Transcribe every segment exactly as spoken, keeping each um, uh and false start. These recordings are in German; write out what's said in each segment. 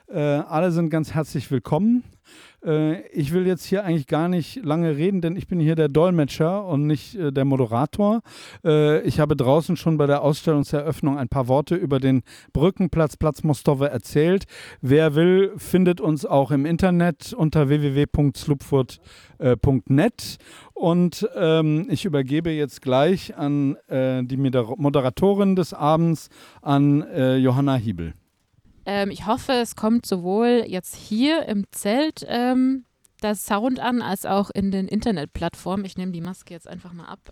Äh, alle sind ganz herzlich willkommen. Äh, ich will jetzt hier eigentlich gar nicht lange reden, denn ich bin hier der Dolmetscher und nicht äh, der Moderator. Äh, ich habe draußen schon bei der Ausstellungseröffnung ein paar Worte über den Brückenplatz Platz Mostowe erzählt. Wer will, findet uns auch im Internet unter w w w punkt slupfurt punkt net. Und ähm, ich übergebe jetzt gleich an äh, die Moderatorin des Abends, an äh, Johanna Hiebel. Ähm, ich hoffe, es kommt sowohl jetzt hier im Zelt ähm, das Sound an, als auch in den Internetplattformen. Ich nehme die Maske jetzt einfach mal ab.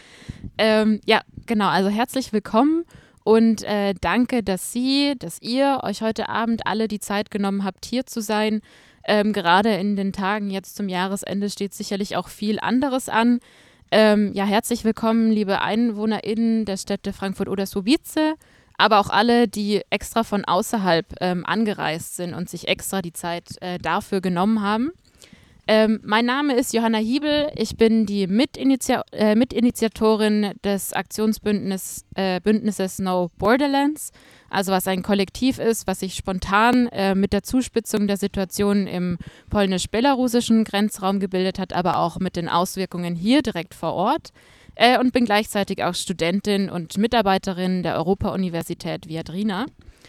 ähm, ja, genau, also herzlich willkommen und äh, danke, dass Sie, dass ihr euch heute Abend alle die Zeit genommen habt, hier zu sein. Ähm, gerade in den Tagen jetzt zum Jahresende steht sicherlich auch viel anderes an. Ähm, ja, herzlich willkommen, liebe EinwohnerInnen der Städte Frankfurt oder Słubice, aber auch alle, die extra von außerhalb ähm, angereist sind und sich extra die Zeit äh, dafür genommen haben. Ähm, mein Name ist Johanna Hiebel, ich bin die Mitiniti- äh, Mitinitiatorin des Aktionsbündnisses äh, Bündnisses No Borderlands, also was ein Kollektiv ist, was sich spontan äh, mit der Zuspitzung der Situation im polnisch-belarussischen Grenzraum gebildet hat, aber auch mit den Auswirkungen hier direkt vor Ort. Äh, und bin gleichzeitig auch Studentin und Mitarbeiterin der Europa-Universität Viadrina.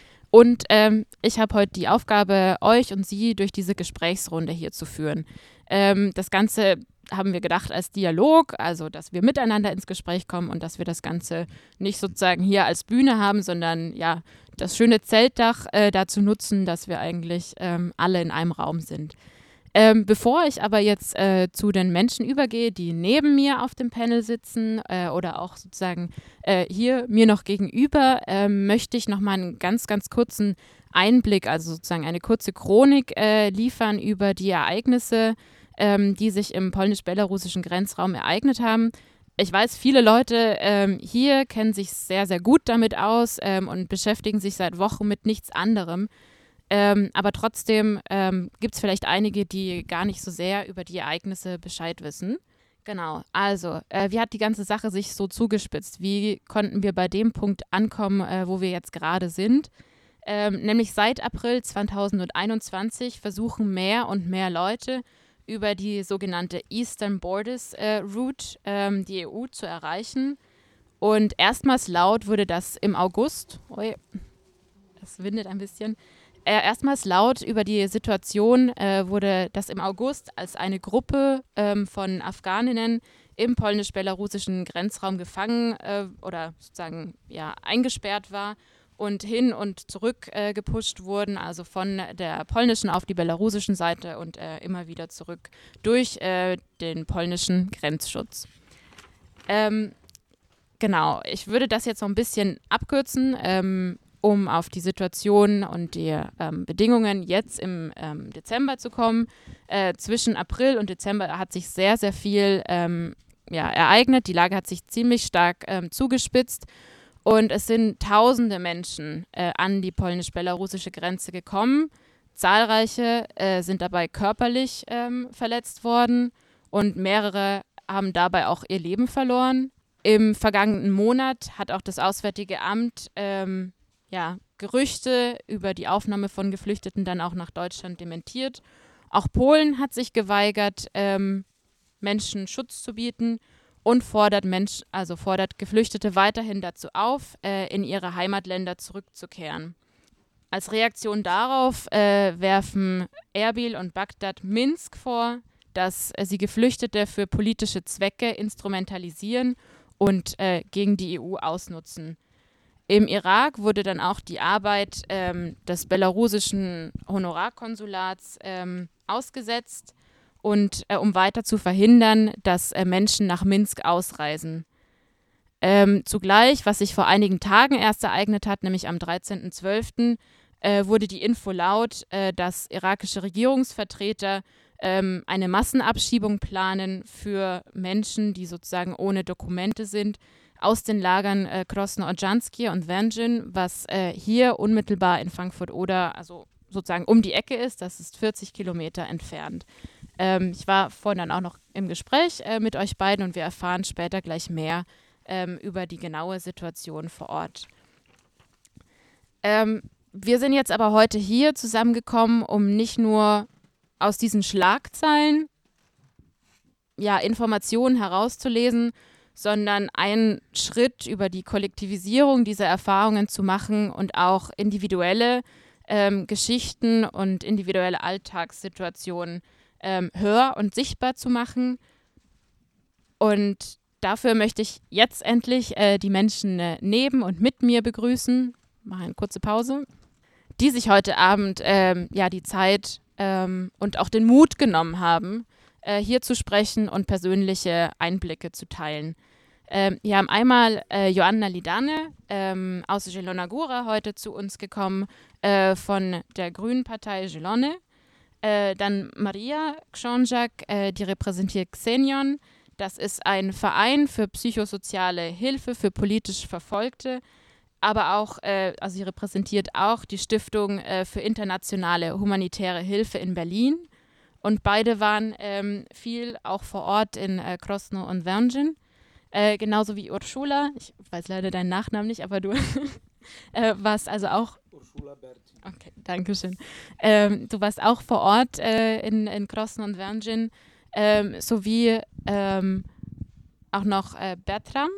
Und ähm, ich habe heute die Aufgabe, euch und Sie durch diese Gesprächsrunde hier zu führen. Ähm, das Ganze haben wir gedacht als Dialog, also dass wir miteinander ins Gespräch kommen und dass wir das Ganze nicht sozusagen hier als Bühne haben, sondern ja das schöne Zeltdach äh, dazu nutzen, dass wir eigentlich ähm, alle in einem Raum sind. Ähm, bevor ich aber jetzt äh, zu den Menschen übergehe, die neben mir auf dem Panel sitzen äh, oder auch sozusagen äh, hier mir noch gegenüber, äh, möchte ich noch mal einen ganz, ganz kurzen Einblick, also sozusagen eine kurze Chronik äh, liefern über die Ereignisse, ähm, die sich im polnisch-belarussischen Grenzraum ereignet haben. Ich weiß, viele Leute ähm, hier kennen sich sehr, sehr gut damit aus ähm, und beschäftigen sich seit Wochen mit nichts anderem. Ähm, aber trotzdem ähm, gibt es vielleicht einige, die gar nicht so sehr über die Ereignisse Bescheid wissen. Genau, also äh, wie hat die ganze Sache sich so zugespitzt? Wie konnten wir bei dem Punkt ankommen, äh, wo wir jetzt gerade sind? Ähm, nämlich seit April zweitausendeinundzwanzig versuchen mehr und mehr Leute über die sogenannte Eastern Borders äh, Route ähm, die E U zu erreichen. Und erstmals laut wurde das im August, ui, das windet ein bisschen, erstmals laut über die Situation äh, wurde das im August, als eine Gruppe ähm, von Afghaninnen im polnisch-belarussischen Grenzraum gefangen äh, oder sozusagen ja, eingesperrt war und hin und zurück äh, gepusht wurden, also von der polnischen auf die belarussischen Seite und äh, immer wieder zurück durch äh, den polnischen Grenzschutz. Ähm, genau, ich würde das jetzt noch ein bisschen abkürzen, ähm, um auf die Situation und die ähm, Bedingungen jetzt im ähm, Dezember zu kommen. Äh, zwischen April und Dezember hat sich sehr, sehr viel ähm, ja, ereignet. Die Lage hat sich ziemlich stark ähm, zugespitzt und es sind tausende Menschen äh, an die polnisch-belarussische Grenze gekommen. Zahlreiche äh, sind dabei körperlich ähm, verletzt worden und mehrere haben dabei auch ihr Leben verloren. Im vergangenen Monat hat auch das Auswärtige Amt ähm, ja, Gerüchte über die Aufnahme von Geflüchteten dann auch nach Deutschland dementiert. Auch Polen hat sich geweigert, ähm, Menschen Schutz zu bieten und fordert, Mensch, also fordert Geflüchtete weiterhin dazu auf, äh, in ihre Heimatländer zurückzukehren. Als Reaktion darauf äh, werfen Erbil und Bagdad Minsk vor, dass äh, sie Geflüchtete für politische Zwecke instrumentalisieren und äh, gegen die E U ausnutzen. Im Irak wurde dann auch die Arbeit ähm, des belarussischen Honorarkonsulats ähm, ausgesetzt, und äh, um weiter zu verhindern, dass äh, Menschen nach Minsk ausreisen. Ähm, zugleich, was sich vor einigen Tagen erst ereignet hat, nämlich am dreizehnten zwölften, äh, wurde die Info laut, äh, dass irakische Regierungsvertreter ähm, eine Massenabschiebung planen für Menschen, die sozusagen ohne Dokumente sind, aus den Lagern äh, Krosno-Odrzańskie und Węgrzyn, was äh, hier unmittelbar in Frankfurt-Oder, also sozusagen um die Ecke ist. Das ist vierzig Kilometer entfernt. Ähm, ich war vorhin dann auch noch im Gespräch äh, mit euch beiden und wir erfahren später gleich mehr ähm, über die genaue Situation vor Ort. Ähm, wir sind jetzt aber heute hier zusammengekommen, um nicht nur aus diesen Schlagzeilen ja, Informationen herauszulesen, sondern einen Schritt über die Kollektivisierung dieser Erfahrungen zu machen und auch individuelle ähm, Geschichten und individuelle Alltagssituationen ähm, hör- und sichtbar zu machen. Und dafür möchte ich jetzt endlich äh, die Menschen äh, neben und mit mir begrüßen, mache eine kurze Pause, die sich heute Abend ähm, ja, die Zeit ähm, und auch den Mut genommen haben, äh, hier zu sprechen und persönliche Einblicke zu teilen. Ähm, wir haben einmal äh, Joanna Lidane ähm, aus Zielona Góra heute zu uns gekommen, äh, von der Grünen Partei Zielone. Äh, dann Maria Książak, äh, die repräsentiert Xenion. Das ist ein Verein für psychosoziale Hilfe für politisch Verfolgte, aber auch, äh, also sie repräsentiert auch die Stiftung äh, für internationale humanitäre Hilfe in Berlin. Und beide waren ähm, viel auch vor Ort in äh, Krosno und Węgień. Äh, genauso wie Urszula, ich weiß leider deinen Nachnamen nicht, aber du äh, warst also auch... Urszula Berti. Okay, danke schön. Ähm, du warst auch vor Ort äh, in, in Krosno und Węgień, ähm, sowie ähm, auch noch äh, Bertram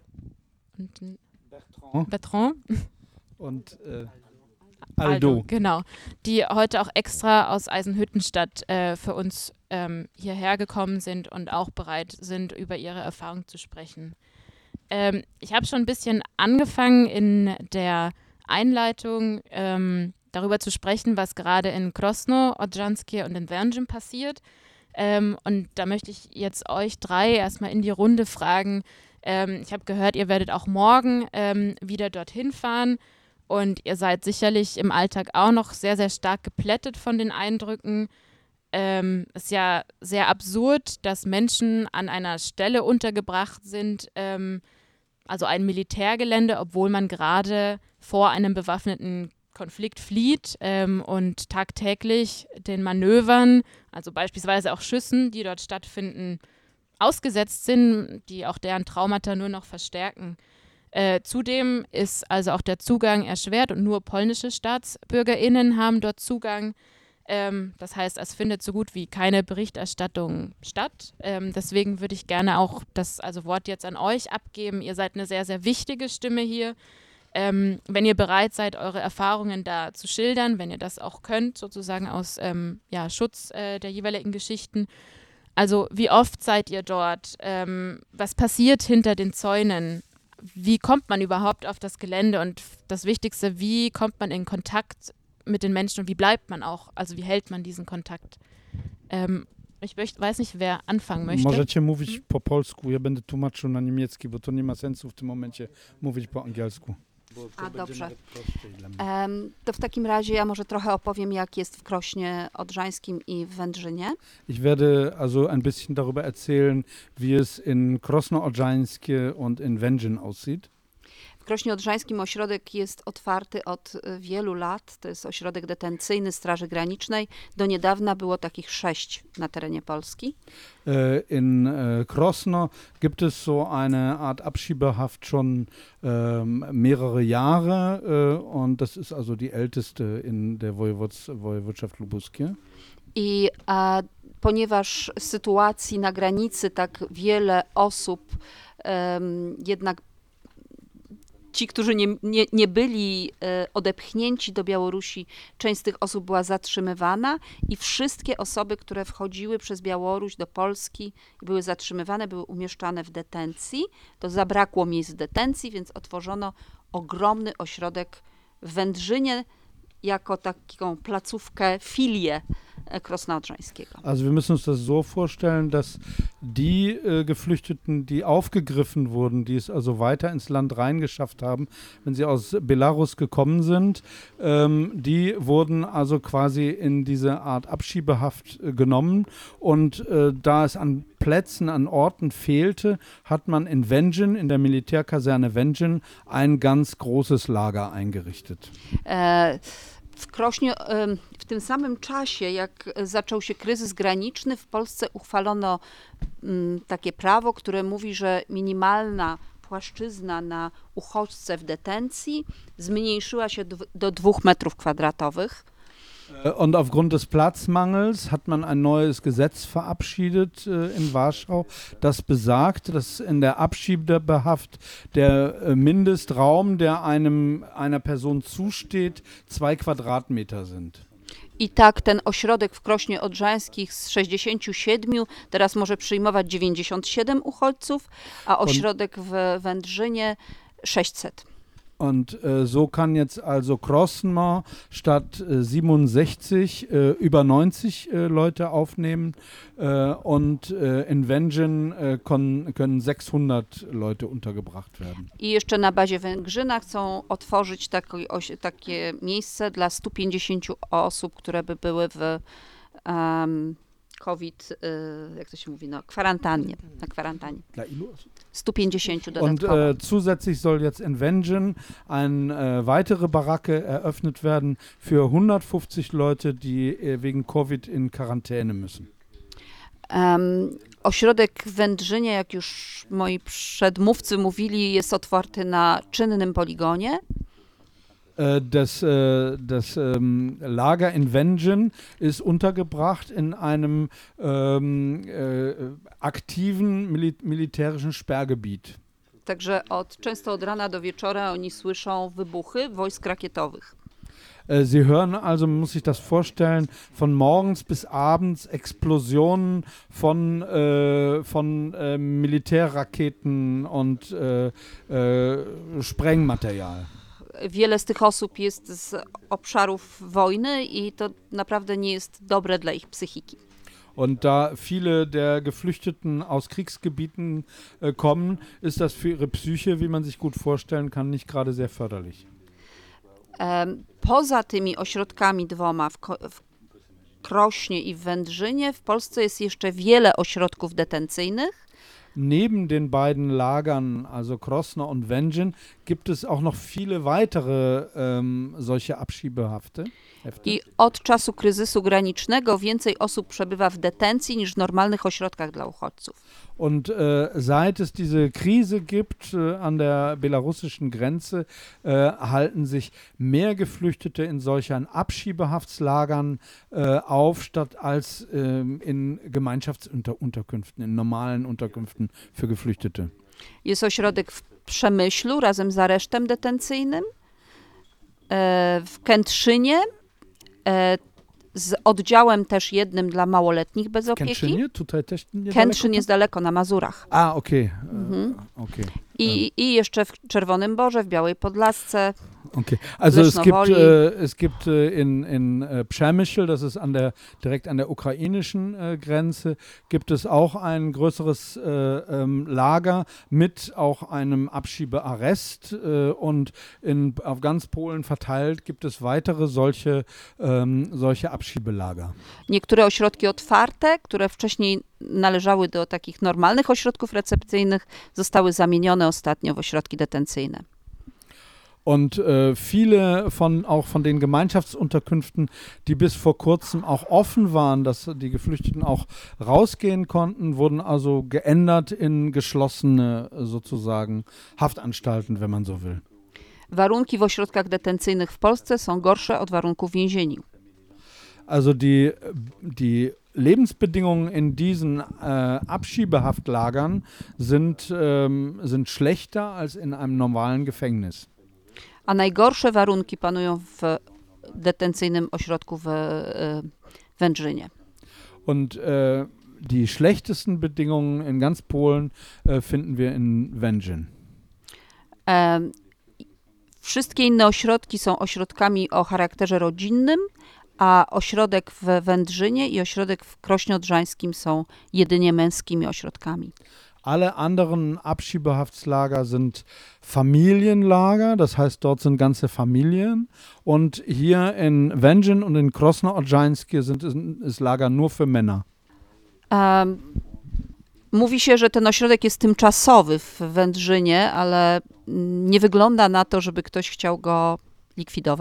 und Bertrand. Bertrand. Und äh, Aldo. Aldo. Genau, die heute auch extra aus Eisenhüttenstadt äh, für uns ähm, hierher gekommen sind und auch bereit sind, über ihre Erfahrung zu sprechen. Ähm, ich habe schon ein bisschen angefangen in der Einleitung ähm, darüber zu sprechen, was gerade in Krosno, Odrzańskie und in Węgień passiert. Ähm, und da möchte ich jetzt euch drei erstmal in die Runde fragen. Ähm, ich habe gehört, ihr werdet auch morgen ähm, wieder dorthin fahren. Und ihr seid sicherlich im Alltag auch noch sehr, sehr stark geplättet von den Eindrücken. Ähm, es ist ja sehr absurd, dass Menschen an einer Stelle untergebracht sind, ähm, also ein Militärgelände, obwohl man gerade vor einem bewaffneten Konflikt flieht ähm, und tagtäglich den Manövern, also beispielsweise auch Schüssen, die dort stattfinden, ausgesetzt sind, die auch deren Traumata nur noch verstärken. Äh, zudem ist also auch der Zugang erschwert und nur polnische StaatsbürgerInnen haben dort Zugang. Ähm, das heißt, es findet so gut wie keine Berichterstattung statt. Ähm, deswegen würde ich gerne auch das also Wort jetzt an euch abgeben. Ihr seid eine sehr, sehr wichtige Stimme hier. Ähm, wenn ihr bereit seid, eure Erfahrungen da zu schildern, wenn ihr das auch könnt, sozusagen aus ähm, ja, Schutz äh, der jeweiligen Geschichten. Also wie oft seid ihr dort? Ähm, was passiert hinter den Zäunen? Wie kommt man überhaupt auf das Gelände? Und das Wichtigste, wie kommt man in Kontakt mit den Menschen und wie bleibt man auch? Also wie hält man diesen Kontakt? Ähm, ich möcht, weiß nicht, wer anfangen möchte. Możecie mówić hmm? po polsku, ja będę tłumaczył na niemiecki, bo to nie ma sensu w tym momencie mówić po angielsku. A dobrze. Um, to w takim razie ja może trochę opowiem, jak jest w Krośnie Odrzańskim i w Węgrzynie. Ich werde also ein bisschen darüber erzählen, wie es in Krosno Odrzańskie und in Węgień aussieht. W Krośnie Odrzańskim ośrodek jest otwarty od wielu lat. To jest ośrodek detencyjny Straży Granicznej. Do niedawna było takich sześć na terenie Polski. In Krosno gibt es so eine Art Abschiebehaft schon ähm, mehrere Jahre äh, und das ist also die älteste in der Wojewodschaft Lubuskie. I a, ponieważ sytuacji na granicy tak wiele osób um, jednak ci, którzy nie, nie, nie byli e, odepchnięci do Białorusi, część z tych osób była zatrzymywana i wszystkie osoby, które wchodziły przez Białoruś do Polski i były zatrzymywane, były umieszczane w detencji. To zabrakło miejsc w detencji, więc otworzono ogromny ośrodek w Węgrzynie jako taką placówkę, filię Krosna Odrzańskiego. Also wir müssen uns das so vorstellen, dass die äh, Geflüchteten, die aufgegriffen wurden, die es also weiter ins Land reingeschafft haben, wenn sie aus Belarus gekommen sind, ähm, die wurden also quasi in diese Art Abschiebehaft äh, genommen und äh, da es an Plätzen, an Orten fehlte, hat man in Węgień, in der Militärkaserne Węgień, ein ganz großes Lager eingerichtet. Äh, W Krośnie w tym samym czasie, jak zaczął się kryzys graniczny, w Polsce uchwalono takie prawo, które mówi, że minimalna płaszczyzna na uchodźce w detencji zmniejszyła się do dwóch metrów kwadratowych. Und aufgrund des Platzmangels hat man ein neues Gesetz verabschiedet äh, in Warschau, das besagt, dass in der Abschiebehaft der äh, Mindestraum, der einem einer Person zusteht, zwei Quadratmeter sind. I tak ten ośrodek w Krośnie Odrzańskich z sześćdziesięciu siedmiu teraz może przyjmować dziewięćdziesiąt siedem uchodźców, a ośrodek w Wędrzynie sześćset. Und äh, so kann jetzt also Krosno statt äh, siebenundsechzig äh, über neunzig äh, Leute aufnehmen äh, und äh, in Węgrzyn äh, kon, können sechshundert Leute untergebracht werden. I jeszcze na bazie Węgrzyna chcą otworzyć taki, oś, takie miejsce dla stu pięćdziesięciu osób, które by były w um, COVID, y, jak to się mówi, no, kwarantannie, na kwarantannie. Dla ilu osób? stu pięćdziesięciu Und dodatkowo. äh, zusätzlich soll jetzt in Węgrzyn eine äh, weitere Baracke eröffnet werden für hundertfünfzig Leute, die äh, wegen Covid in Quarantäne müssen. Um, ośrodek w Wędrzynie, jak już moi przedmówcy mówili, jest otwarty na czynnym poligonie. Das, das ähm, Lager in Węgrzyn ist untergebracht in einem ähm, äh, aktiven mili militärischen Sperrgebiet. Także od, często od rana do wieczora oni słyszą wybuchy wojsk rakietowych. Sie hören also, man muss sich das vorstellen, von morgens bis abends Explosionen von, äh, von äh, Militärraketen und äh, äh, Sprengmaterial. Wiele z tych osób jest z obszarów wojny i to naprawdę nie jest dobre dla ich psychiki. Und da viele der Geflüchteten aus Kriegsgebieten äh, kommen, ist das für ihre Psyche, wie man sich gut vorstellen kann, nicht gerade sehr förderlich. Um, poza tymi ośrodkami dwoma w, Ko w Krośnie i w Wędrzynie w Polsce jest jeszcze wiele ośrodków detencyjnych. Neben den beiden Lagern, also Krosno und Węgrzyn, gibt es auch noch viele weitere ähm, solche Abschiebehafte. I od czasu kryzysu granicznego więcej osób przebywa w detencji niż w normalnych ośrodkach dla uchodźców. Und äh, seit es diese Krise gibt äh, an der belarussischen Grenze, äh, halten sich mehr Geflüchtete in solchen Abschiebehaftlagern äh, auf, statt als äh, in Gemeinschaftsunterkünften, in normalen Unterkünften für Geflüchtete. Jest ośrodek w Przemyślu razem z aresztem detencyjnym, e, w Kętrzynie, e, z oddziałem też jednym dla małoletnich bez opieki. Kętrzynie? Tutaj też niedaleko? Kętrzyn jest daleko, na Mazurach. A, okej. Okay. Mhm. Okay. I, I jeszcze w Czerwonym Borze, w Białej Podlasce. Okay, also es gibt, äh, es gibt äh, in, in äh, Przemyśl, das ist an der, direkt an der ukrainischen äh, Grenze, gibt es auch ein größeres äh, ähm, Lager mit auch einem Abschiebearrest äh, und in, auf ganz Polen verteilt gibt es weitere solche, ähm, solche Abschiebelager. Niektóre ośrodki otwarte, które wcześniej należały do takich normalnych ośrodków recepcyjnych, zostały zamienione ostatnio w ośrodki detencyjne. Und äh, viele von auch von den Gemeinschaftsunterkünften, die bis vor kurzem auch offen waren, dass die Geflüchteten auch rausgehen konnten, wurden also geändert in geschlossene sozusagen Haftanstalten, wenn man so will. Warunki w ośrodkach detencyjnych w Polsce są gorsze od warunków więzieni. Also die, die Lebensbedingungen in diesen äh, Abschiebehaftlagern sind, ähm, sind schlechter als in einem normalen Gefängnis. A najgorsze warunki panują w detencyjnym ośrodku w e, Wędrzynie. Und äh, die schlechtesten Bedingungen in ganz Polen äh, finden wir in Węgrzyn. E, wszystkie inne ośrodki są ośrodkami o charakterze rodzinnym, a ośrodek w Wędrzynie i ośrodek w Krośnie Odrzańskim są jedynie męskimi ośrodkami. Alle anderen Abschiebehaftlage sind Familienlager, das heißt, dort sind ganze Familien. Und hier in Węgrzyn und in Krosno Odrzańskie sind ist Lager nur für Männer. Um, mówi się, że ten ośrodek jest tymczasowy w Wędrzynie, ale nie wygląda na to, żeby ktoś chciał go likwidować.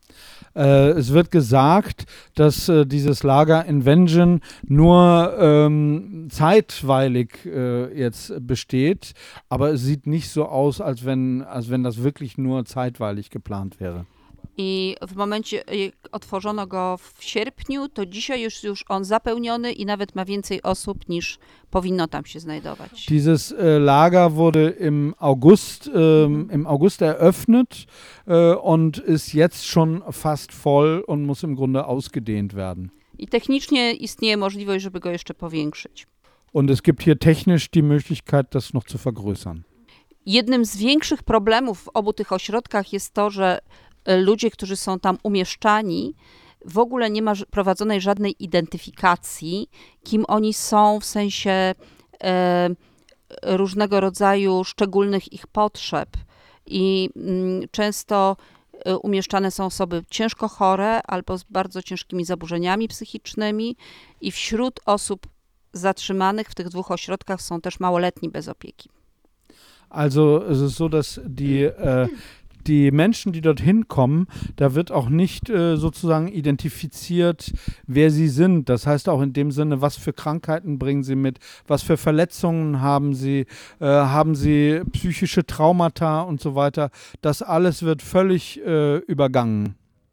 Äh, es wird gesagt, dass äh, dieses Lager in Wengen nur ähm, zeitweilig äh, jetzt besteht, aber es sieht nicht so aus, als wenn, als wenn das wirklich nur zeitweilig geplant wäre. I w momencie, jak otworzono go w sierpniu, to dzisiaj już już on zapełniony i nawet ma więcej osób niż powinno tam się znajdować. Dieses äh, Lager wurde im August, ähm, im August eröffnet äh, und ist jetzt schon fast voll und muss im Grunde ausgedehnt werden. I technicznie istnieje możliwość, żeby go jeszcze powiększyć. Und es gibt hier technisch die Möglichkeit, das noch zu vergrößern. Jednym z większych problemów w obu tych ośrodkach jest to, że ludzie, którzy są tam umieszczani, w ogóle nie ma prowadzonej żadnej identyfikacji, kim oni są w sensie e, różnego rodzaju szczególnych ich potrzeb. I mm, często e, umieszczane są osoby ciężko chore albo z bardzo ciężkimi zaburzeniami psychicznymi i wśród osób zatrzymanych w tych dwóch ośrodkach są też małoletni bez opieki. Also es ist so, dass die äh, Die Menschen, die dorthin kommen, da wird auch nicht äh, sozusagen identifiziert, wer sie sind. Das heißt auch in dem Sinne, was für Krankheiten bringen sie mit, was für Verletzungen haben sie, äh, haben sie psychische Traumata und so weiter. Das alles wird völlig äh, übergangen.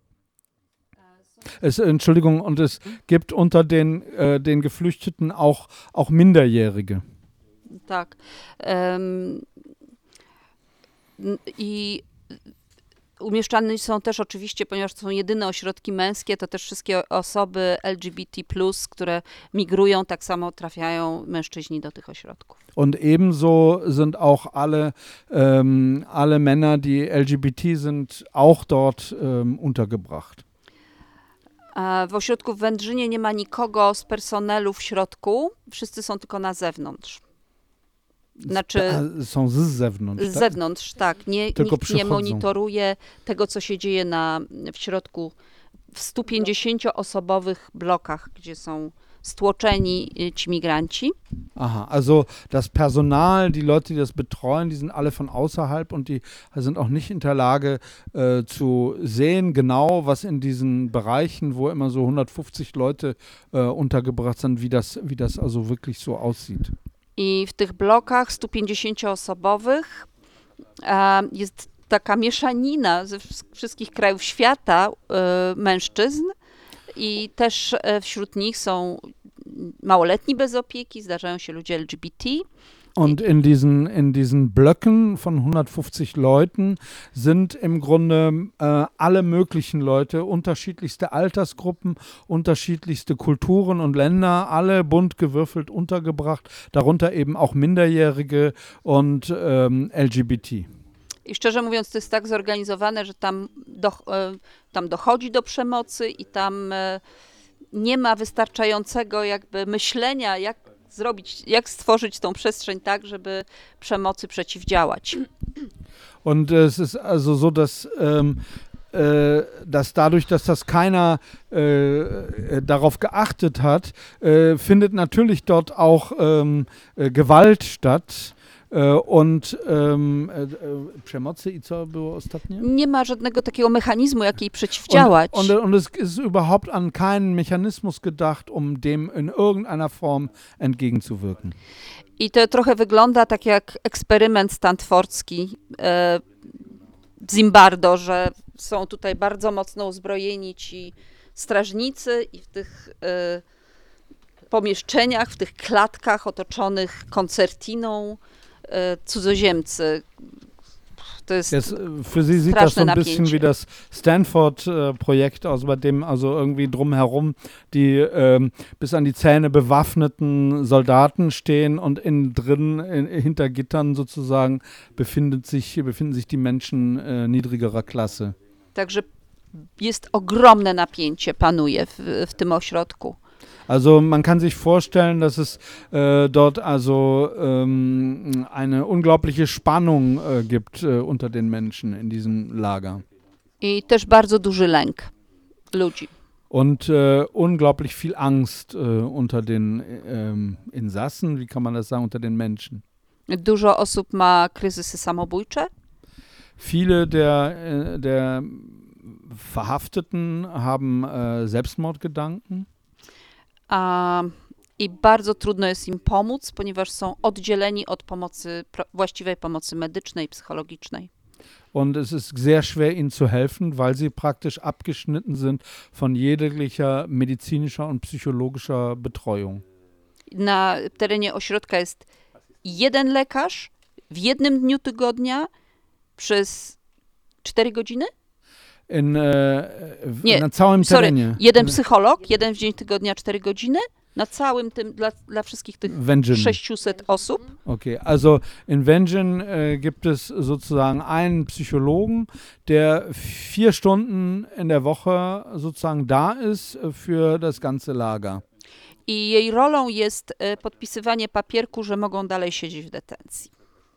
Es, Entschuldigung, und es gibt unter den, äh, den Geflüchteten auch, auch Minderjährige. Tak. Um, I umieszczane są też oczywiście, ponieważ to są jedyne ośrodki męskie, to też wszystkie osoby L G B T plus, które migrują, tak samo trafiają mężczyźni do tych ośrodków. Und ebenso sind auch alle, ähm, alle Männer, die L G B T sind, auch dort ähm, untergebracht. W ośrodku w Wędrzynie nie ma nikogo z personelu w środku, wszyscy są tylko na zewnątrz. Znaczy, są z zewnątrz, z zewnątrz, tak. tak. Nie, nikt nie monitoruje tego, co się dzieje na, w środku w stu pięćdziesięcioosobowych blokach, gdzie są stłoczeni ci migranci. Aha, also das Personal, die Leute, die das betreuen, die sind alle von außerhalb und die sind auch nicht in der Lage äh, zu sehen genau, was in diesen Bereichen, wo immer so hundertfünfzig Leute äh, untergebracht sind, wie das, wie das also wirklich so aussieht. I w tych blokach stu pięćdziesięcioosobowych e, jest taka mieszanina ze wszystkich krajów świata e, mężczyzn i też e, wśród nich są małoletni bez opieki, zdarzają się ludzie L G B T. Und in diesen, in diesen Blöcken von hundertfünfzig Leuten sind im Grunde äh, alle möglichen Leute, unterschiedlichste Altersgruppen, unterschiedlichste Kulturen und Länder, alle bunt gewürfelt untergebracht, darunter eben auch Minderjährige und ähm, L G B T. I szczerze mówiąc, to jest tak zorganizowane, że tam, do, tam dochodzi do przemocy i tam nie ma wystarczającego jakby myślenia, jak zrobić, jak stworzyć tą przestrzeń tak, żeby przemocy przeciwdziałać. Und es ist also so, dass, ähm, äh, dass dadurch, dass das keiner äh, darauf geachtet hat, äh, findet natürlich dort auch ähm, äh, Gewalt statt. Und um, przemocy i co było ostatnie? Nie ma żadnego takiego mechanizmu, jak jej przeciwdziałać. Und, und, und es ist überhaupt an keinen Mechanismus gedacht, um dem in irgendeiner Form entgegenzuwirken. I to trochę wygląda tak jak eksperyment stanfordzki e, Zimbardo, że są tutaj bardzo mocno uzbrojeni ci strażnicy i w tych e, pomieszczeniach, w tych klatkach otoczonych koncertiną cudzoziemcy. To jest Jetzt, für Sie sieht das so ein bisschen wie das Stanford-Projekt aus, bei dem also irgendwie drumherum die ähm, bis an die Zähne bewaffneten Soldaten stehen und innen drin, in, hinter Gittern sozusagen, befindet sich, befinden sich die Menschen äh, niedrigerer Klasse. Także jest ogromne napięcie, panuje w, w tym ośrodku. Also man kann sich vorstellen, dass es äh, dort also ähm, eine unglaubliche Spannung äh, gibt äh, unter den Menschen in diesem Lager. I też bardzo duży lęk ludzi. Und äh, unglaublich viel Angst äh, unter den ähm, Insassen, wie kann man das sagen, unter den Menschen. Dużo osób ma kryzysy samobójcze. Viele der, der Verhafteten haben äh, Selbstmordgedanken. A, I bardzo trudno jest im pomóc, ponieważ są oddzieleni od pomocy, pro, właściwej pomocy medycznej, psychologicznej. Und es ist sehr schwer, ihnen zu helfen, weil sie praktisch abgeschnitten sind von jeglicher medizinischer und psychologischer Betreuung. Na terenie ośrodka jest jeden lekarz w jednym dniu tygodnia przez cztery godziny? In, e, w, Nie, na całym sorry, terenie. jeden psycholog, jeden w dzień tygodnia, cztery godziny, na całym tym, dla, dla wszystkich tych Wengen. sześciuset osób. Okay, also in Wengen äh, gibt es sozusagen einen Psychologen, der vier Stunden in der Woche sozusagen da ist für das ganze Lager. I jej rolą jest e, podpisywanie papierku, że mogą dalej siedzieć w detencji.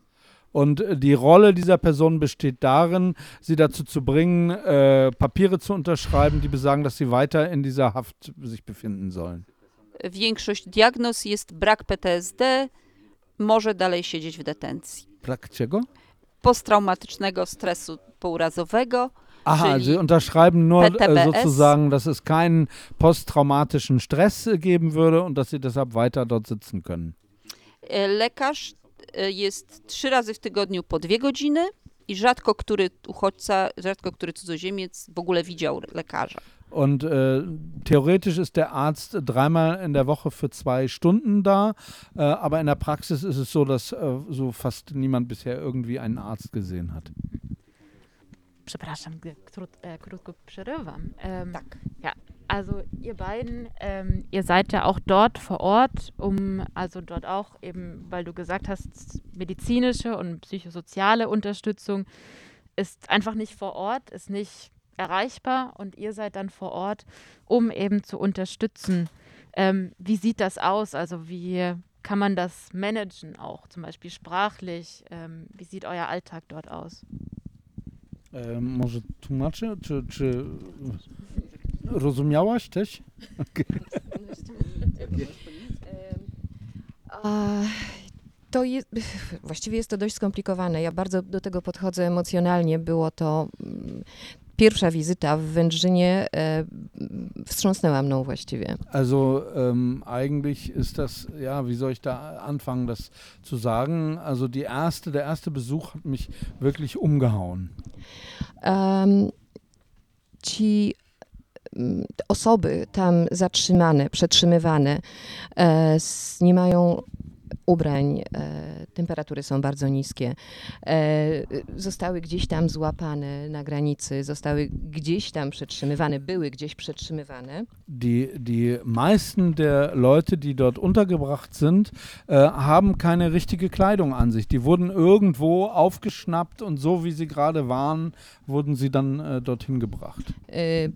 Und die Rolle dieser Person besteht darin, sie dazu zu bringen, äh, Papiere zu unterschreiben, die besagen, dass sie weiter in dieser Haft sich befinden sollen. Większość diagnoz jest brak P T S D, może dalej siedzieć w detencji. Brak czego? Posttraumatycznego stresu pourazowego. Aha, czyli sie unterschreiben nur P T B S. äh, sozusagen, dass es keinen posttraumatischen Stress äh, geben würde und dass sie deshalb weiter dort sitzen können. E, Lekarz e, jest trzy razy w tygodniu po dwie godziny i rzadko który uchodźca, rzadko który cudzoziemiec w ogóle widział lekarza. Und äh, theoretisch ist der Arzt dreimal in der Woche für zwei Stunden da, äh, aber in der Praxis ist es so, dass äh, so fast niemand bisher irgendwie einen Arzt gesehen hat. Przepraszam, krót, äh, krótko przerywam. Ähm, Tak. Ja, also ihr beiden, ähm, ihr seid ja auch dort vor Ort, um, also dort auch eben, weil du gesagt hast, medizinische und psychosoziale Unterstützung ist einfach nicht vor Ort, ist nicht erreichbar und ihr seid dann vor Ort, um eben zu unterstützen. Ähm, wie sieht das aus? Also wie kann man das managen auch, zum Beispiel sprachlich? Ähm, wie sieht euer Alltag dort aus? E, może tłumaczę? Czy, czy rozumiałaś też? Okay. A, to jest, właściwie jest to dość skomplikowane. Ja bardzo do tego podchodzę emocjonalnie. Było to mm, pierwsza wizyta w Wędrzynie, e, wstrząsnęła mną właściwie. Also ähm, eigentlich ist das, ja, wie soll ich da anfangen, das zu sagen? Also die erste, der erste Besuch hat mich wirklich umgehauen. Um, ci um, osoby tam zatrzymane, przetrzymywane, e, s, nie mają ubrań, e, temperatury są bardzo niskie, e, zostały gdzieś tam złapane na granicy, zostały gdzieś tam przetrzymywane, były gdzieś przetrzymywane. Die, die meisten der Leute, die dort untergebracht sind, äh, haben keine richtige Kleidung an sich. Die wurden irgendwo aufgeschnappt und so wie sie gerade waren, wurden sie dann äh, dorthin gebracht. E,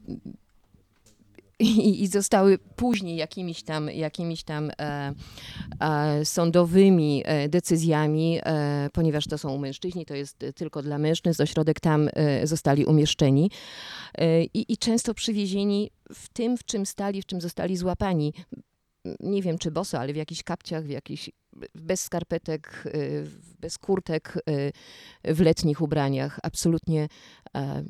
I, i zostały później jakimiś tam, jakimiś tam e, e, sądowymi e, decyzjami, e, ponieważ to są mężczyźni, to jest tylko dla mężczyzn, ośrodek tam e, zostali umieszczeni e, i, i często przywiezieni w tym, w czym stali, w czym zostali złapani. Nie wiem, czy boso, ale w jakichś kapciach, w jakichś, bez skarpetek, bez kurtek, w letnich ubraniach. Absolutnie um,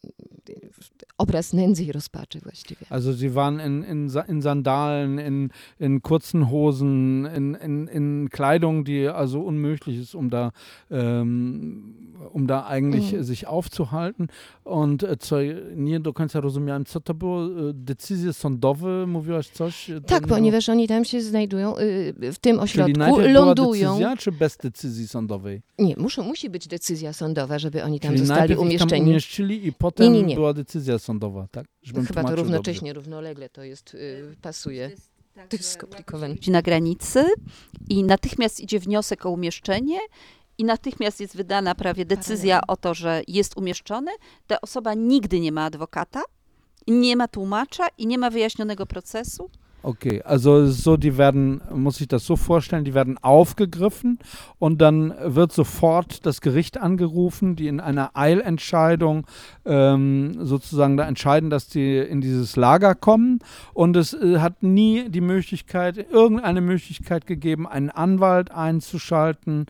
obraz nędzy i rozpaczy właściwie. Also sie waren in, in, in Sandalen, in, in kurzen Hosen, in, in, in Kleidung, die also unmöglich ist, um da, ähm, um da eigentlich mm. sich aufzuhalten. Und e, co, nie do końca rozumiałem, co to było? Decyzje sądowe? Mówiłaś coś? Tak, ponieważ oni tam się znajdują, w tym ośrodku, Czyli najpierw lądują. Była decyzja, czy bez decyzji sądowej? Nie, muszą, musi być decyzja sądowa, żeby oni tam Czyli zostali najpierw umieszczeni. Ich tam umieścili i potem nie, nie, nie. była decyzja sądowa, tak? Żebym Chyba to równocześnie, dobrze. równolegle to jest, y, pasuje. To jest skomplikowane. Na granicy i natychmiast idzie wniosek o umieszczenie i natychmiast jest wydana prawie decyzja o to, że jest umieszczony. Ta osoba nigdy nie ma adwokata, nie ma tłumacza i nie ma wyjaśnionego procesu. Okay, also es ist so, die werden, muss ich das so vorstellen, die werden aufgegriffen und dann wird sofort das Gericht angerufen, die in einer Eilentscheidung ähm, sozusagen da entscheiden, dass die in dieses Lager kommen, und es äh, hat nie die Möglichkeit, irgendeine Möglichkeit gegeben, einen Anwalt einzuschalten,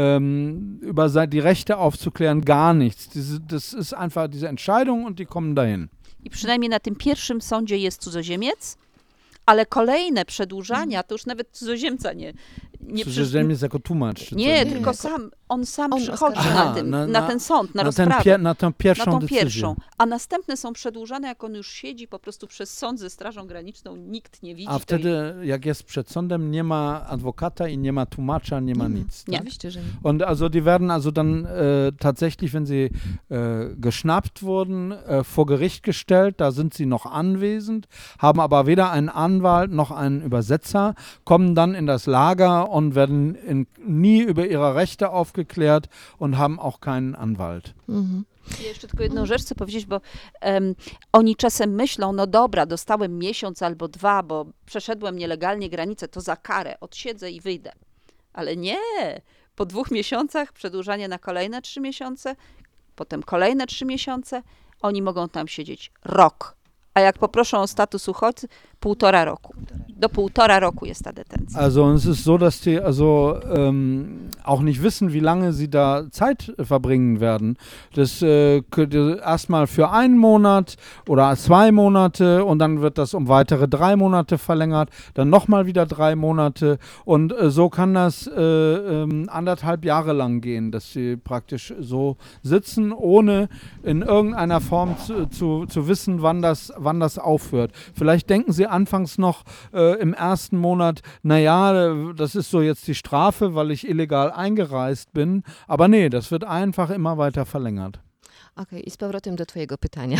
ähm, über se- die Rechte aufzuklären, gar nichts. Diese, das ist einfach diese Entscheidung und die kommen dahin. I przynajmniej na tym pierwszym sądzie jest cudzoziemiec, ale kolejne przedłużania to już nawet cudzoziemca nie nie Cudzoziemiec jako tłumacz. Czy Nie, co? tylko sam, on sam On przychodzi oskarża. na, Aha, tym, na- na, na- ten sąd, na, na, ten rozprawę. pier, na tą pierwszą na tą decyzję. pierwszą, a następne są przedłużane, jak on już siedzi po prostu przez sąd ze Strażą Graniczną, nikt nie widzi. A to wtedy, jak jest przed sądem, nie ma adwokata i nie ma tłumacza, nie ma nic. Nie. Tak? Oczywiście, że nie. Und also die werden also dann äh, tatsächlich, wenn sie äh, geschnappt wurden, äh, vor Gericht gestellt, da sind sie noch anwesend, haben aber weder einen Anwalt noch einen Übersetzer, kommen dann in das Lager und werden in, nie über ihre Rechte aufgeklärt und haben auch keinen Anwalt. Mhm. Ja jeszcze tylko jedną rzecz chcę powiedzieć, bo em, oni czasem myślą, no dobra, dostałem miesiąc albo dwa, bo przeszedłem nielegalnie granicę, to za karę odsiedzę i wyjdę. Ale nie, po dwóch miesiącach przedłużanie na kolejne trzy miesiące, potem kolejne trzy miesiące, oni mogą tam siedzieć rok. A jak poproszą o status uchodźcy, półtora roku. Do półtora roku jest ta detencja. Also es ist so, dass die also ähm, auch nicht wissen, wie lange sie da Zeit verbringen werden. Das äh, könnte erstmal für einen Monat oder zwei Monate und dann wird das um weitere drei Monate verlängert, dann nochmal wieder drei Monate und äh, so kann das äh, ähm, anderthalb Jahre lang gehen, dass sie praktisch so sitzen, ohne in irgendeiner Form zu, zu, zu wissen, wann das, wann das aufhört. Vielleicht denken sie anfangs noch äh, im ersten Monat, naja, das ist so jetzt die Strafe, weil ich illegal eingereist bin. Aber nee, das wird einfach immer weiter verlängert. Okej, i z powrotem do twojego pytania.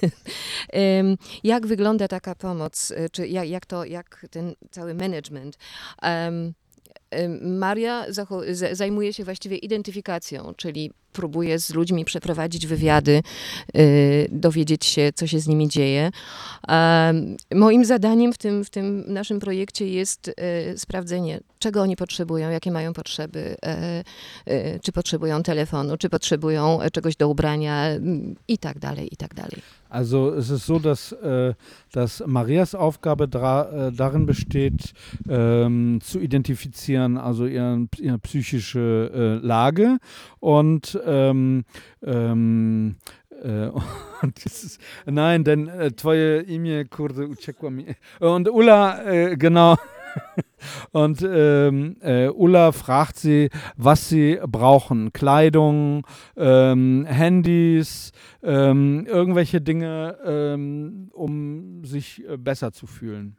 Em, jak wygląda taka pomoc, e, czy jak, jak to, jak ten cały management? Em, em, Maria zacho- z- zajmuje się właściwie identyfikacją, czyli próbuje z ludźmi przeprowadzić wywiady, y, dowiedzieć się, co się z nimi dzieje. Em, moim zadaniem w tym, w tym naszym projekcie jest y, sprawdzenie, czego oni potrzebują, jakie mają potrzeby, e, e, czy potrzebują telefonu, czy potrzebują e, czegoś do ubrania m, i tak dalej, i tak dalej. Also es ist so, dass, äh, dass Marias Aufgabe dra, äh, darin besteht, ähm, zu identifizieren, also ihren, ihre psychische äh, Lage und ähm, ähm, äh, und das ist, nein, denn äh, twoje imię, kurde, uciekło mi. Und Ulla, äh, genau. Und ähm, äh, Ulla fragt sie, was sie brauchen. Kleidung, ähm, Handys, ähm, irgendwelche Dinge, ähm, um sich äh, besser zu fühlen.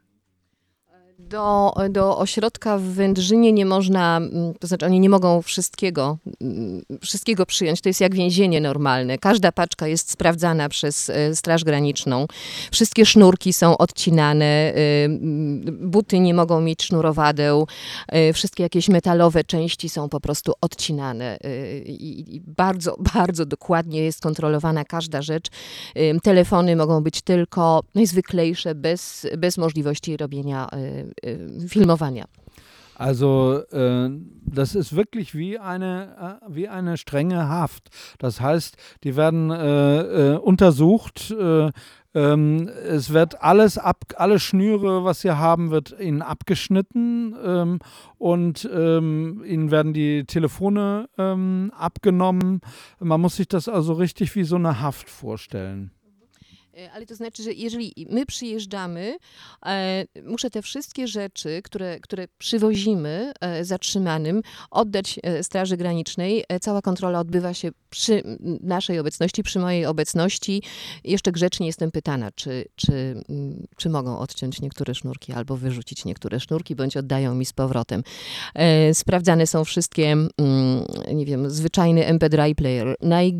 Do, do ośrodka w Wędrzynie nie można, mm, to znaczy oni nie mogą wszystkiego, mm, wszystkiego przyjąć. To jest jak więzienie normalne. Każda paczka jest sprawdzana przez e, Straż Graniczną. Wszystkie sznurki są odcinane, e, mm, buty nie mogą mieć sznurowadeł, e, wszystkie jakieś metalowe części są po prostu odcinane. e, I, i bardzo, bardzo dokładnie jest kontrolowana każda rzecz. E, Telefony mogą być tylko najzwyklejsze, bez, bez możliwości robienia e, Filmowania. Also äh, das ist wirklich wie eine, äh, wie eine strenge Haft. Das heißt, die werden äh, äh, untersucht, äh, ähm, es wird alles ab, alle Schnüre, was sie haben, wird ihnen abgeschnitten ähm, und ähm, ihnen werden die Telefone ähm, abgenommen. Man muss sich das also richtig wie so eine Haft vorstellen. Ale to znaczy, że jeżeli my przyjeżdżamy, e, muszę te wszystkie rzeczy, które, które przywozimy e, zatrzymanym, oddać e, Straży Granicznej. E, cała kontrola odbywa się przy naszej obecności, przy mojej obecności. Jeszcze grzecznie jestem pytana, czy, czy, m, czy mogą odciąć niektóre sznurki albo wyrzucić niektóre sznurki, bądź oddają mi z powrotem. E, sprawdzane są wszystkie, m, nie wiem, zwyczajny em pe drive player, najgłup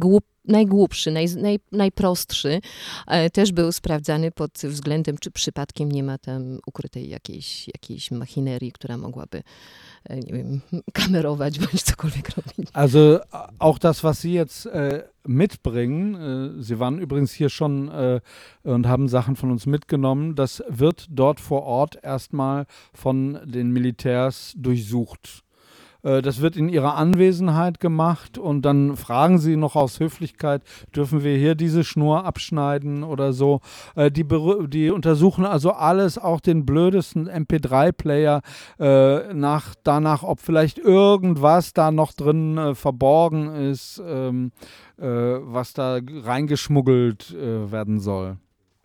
najgłupszy, naj, naj, najprostszy, e, też był sprawdzany pod względem, czy przypadkiem nie ma tam ukrytej jakiejś, jakiejś machinerii, która mogłaby, e, nie wiem, kamerować bądź cokolwiek robić. Also auch das, was Sie jetzt äh, mitbringen, äh, Sie waren übrigens hier schon äh, und haben Sachen von uns mitgenommen, das wird dort vor Ort erstmal von den Militärs durchsucht. Das wird in ihrer Anwesenheit gemacht und dann fragen sie noch aus Höflichkeit, dürfen wir hier diese Schnur abschneiden oder so. Die, die untersuchen also alles, auch den blödesten M P drei Player, äh, nach, danach, ob vielleicht irgendwas da noch drin äh, verborgen ist, ähm, äh, was da reingeschmuggelt äh, werden soll.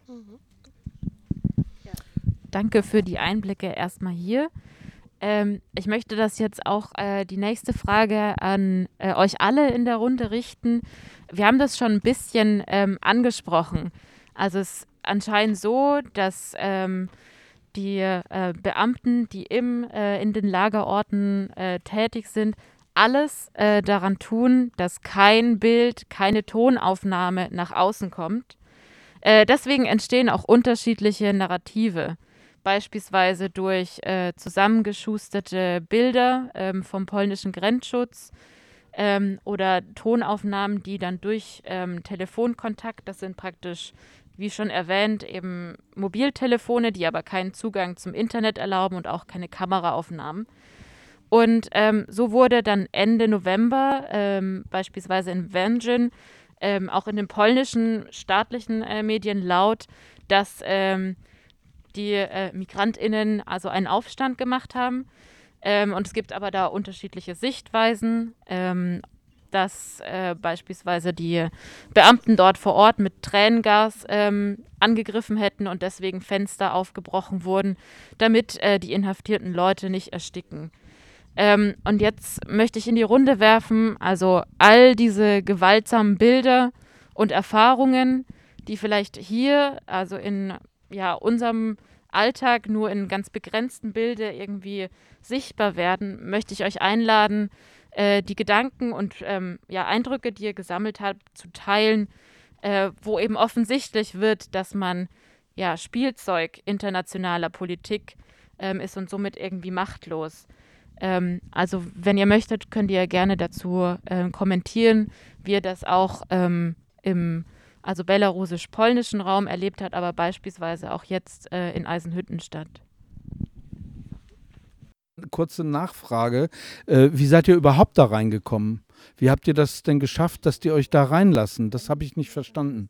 Danke für die Einblicke erstmal hier. Ähm, ich möchte das jetzt auch äh, die nächste Frage an äh, euch alle in der Runde richten. Wir haben das schon ein bisschen ähm, angesprochen. Also es ist anscheinend so, dass ähm, die äh, Beamten, die im, äh, in den Lagerorten äh, tätig sind, alles äh, daran tun, dass kein Bild, keine Tonaufnahme nach außen kommt. Äh, deswegen entstehen auch unterschiedliche Narrative. Beispielsweise durch äh, zusammengeschusterte Bilder ähm, vom polnischen Grenzschutz ähm, oder Tonaufnahmen, die dann durch ähm, Telefonkontakt, das sind praktisch, wie schon erwähnt, eben Mobiltelefone, die aber keinen Zugang zum Internet erlauben und auch keine Kameraaufnahmen. Und ähm, so wurde dann Ende November ähm, beispielsweise in Węgrzyn ähm, auch in den polnischen staatlichen äh, Medien laut, dass ähm, die äh, MigrantInnen also einen Aufstand gemacht haben. Ähm, und es gibt aber da unterschiedliche Sichtweisen, ähm, dass äh, beispielsweise die Beamten dort vor Ort mit Tränengas ähm, angegriffen hätten und deswegen Fenster aufgebrochen wurden, damit äh, die inhaftierten Leute nicht ersticken. Ähm, und jetzt möchte ich in die Runde werfen, also all diese gewaltsamen Bilder und Erfahrungen, die vielleicht hier, also in ja, unserem Alltag nur in ganz begrenzten Bildern irgendwie sichtbar werden, möchte ich euch einladen, äh, die Gedanken und ähm, ja, Eindrücke, die ihr gesammelt habt, zu teilen, äh, wo eben offensichtlich wird, dass man ja, Spielzeug internationaler Politik ähm, ist und somit irgendwie machtlos. Ähm, also wenn ihr möchtet, könnt ihr gerne dazu äh, kommentieren, wie ihr das auch ähm, im also belarusisch-polnischen Raum erlebt hat, aber beispielsweise auch jetzt äh, in Eisenhüttenstadt. Kurze Nachfrage, äh, wie seid ihr überhaupt da reingekommen? Wie habt ihr das denn geschafft, dass die euch da reinlassen? Das habe ich nicht verstanden.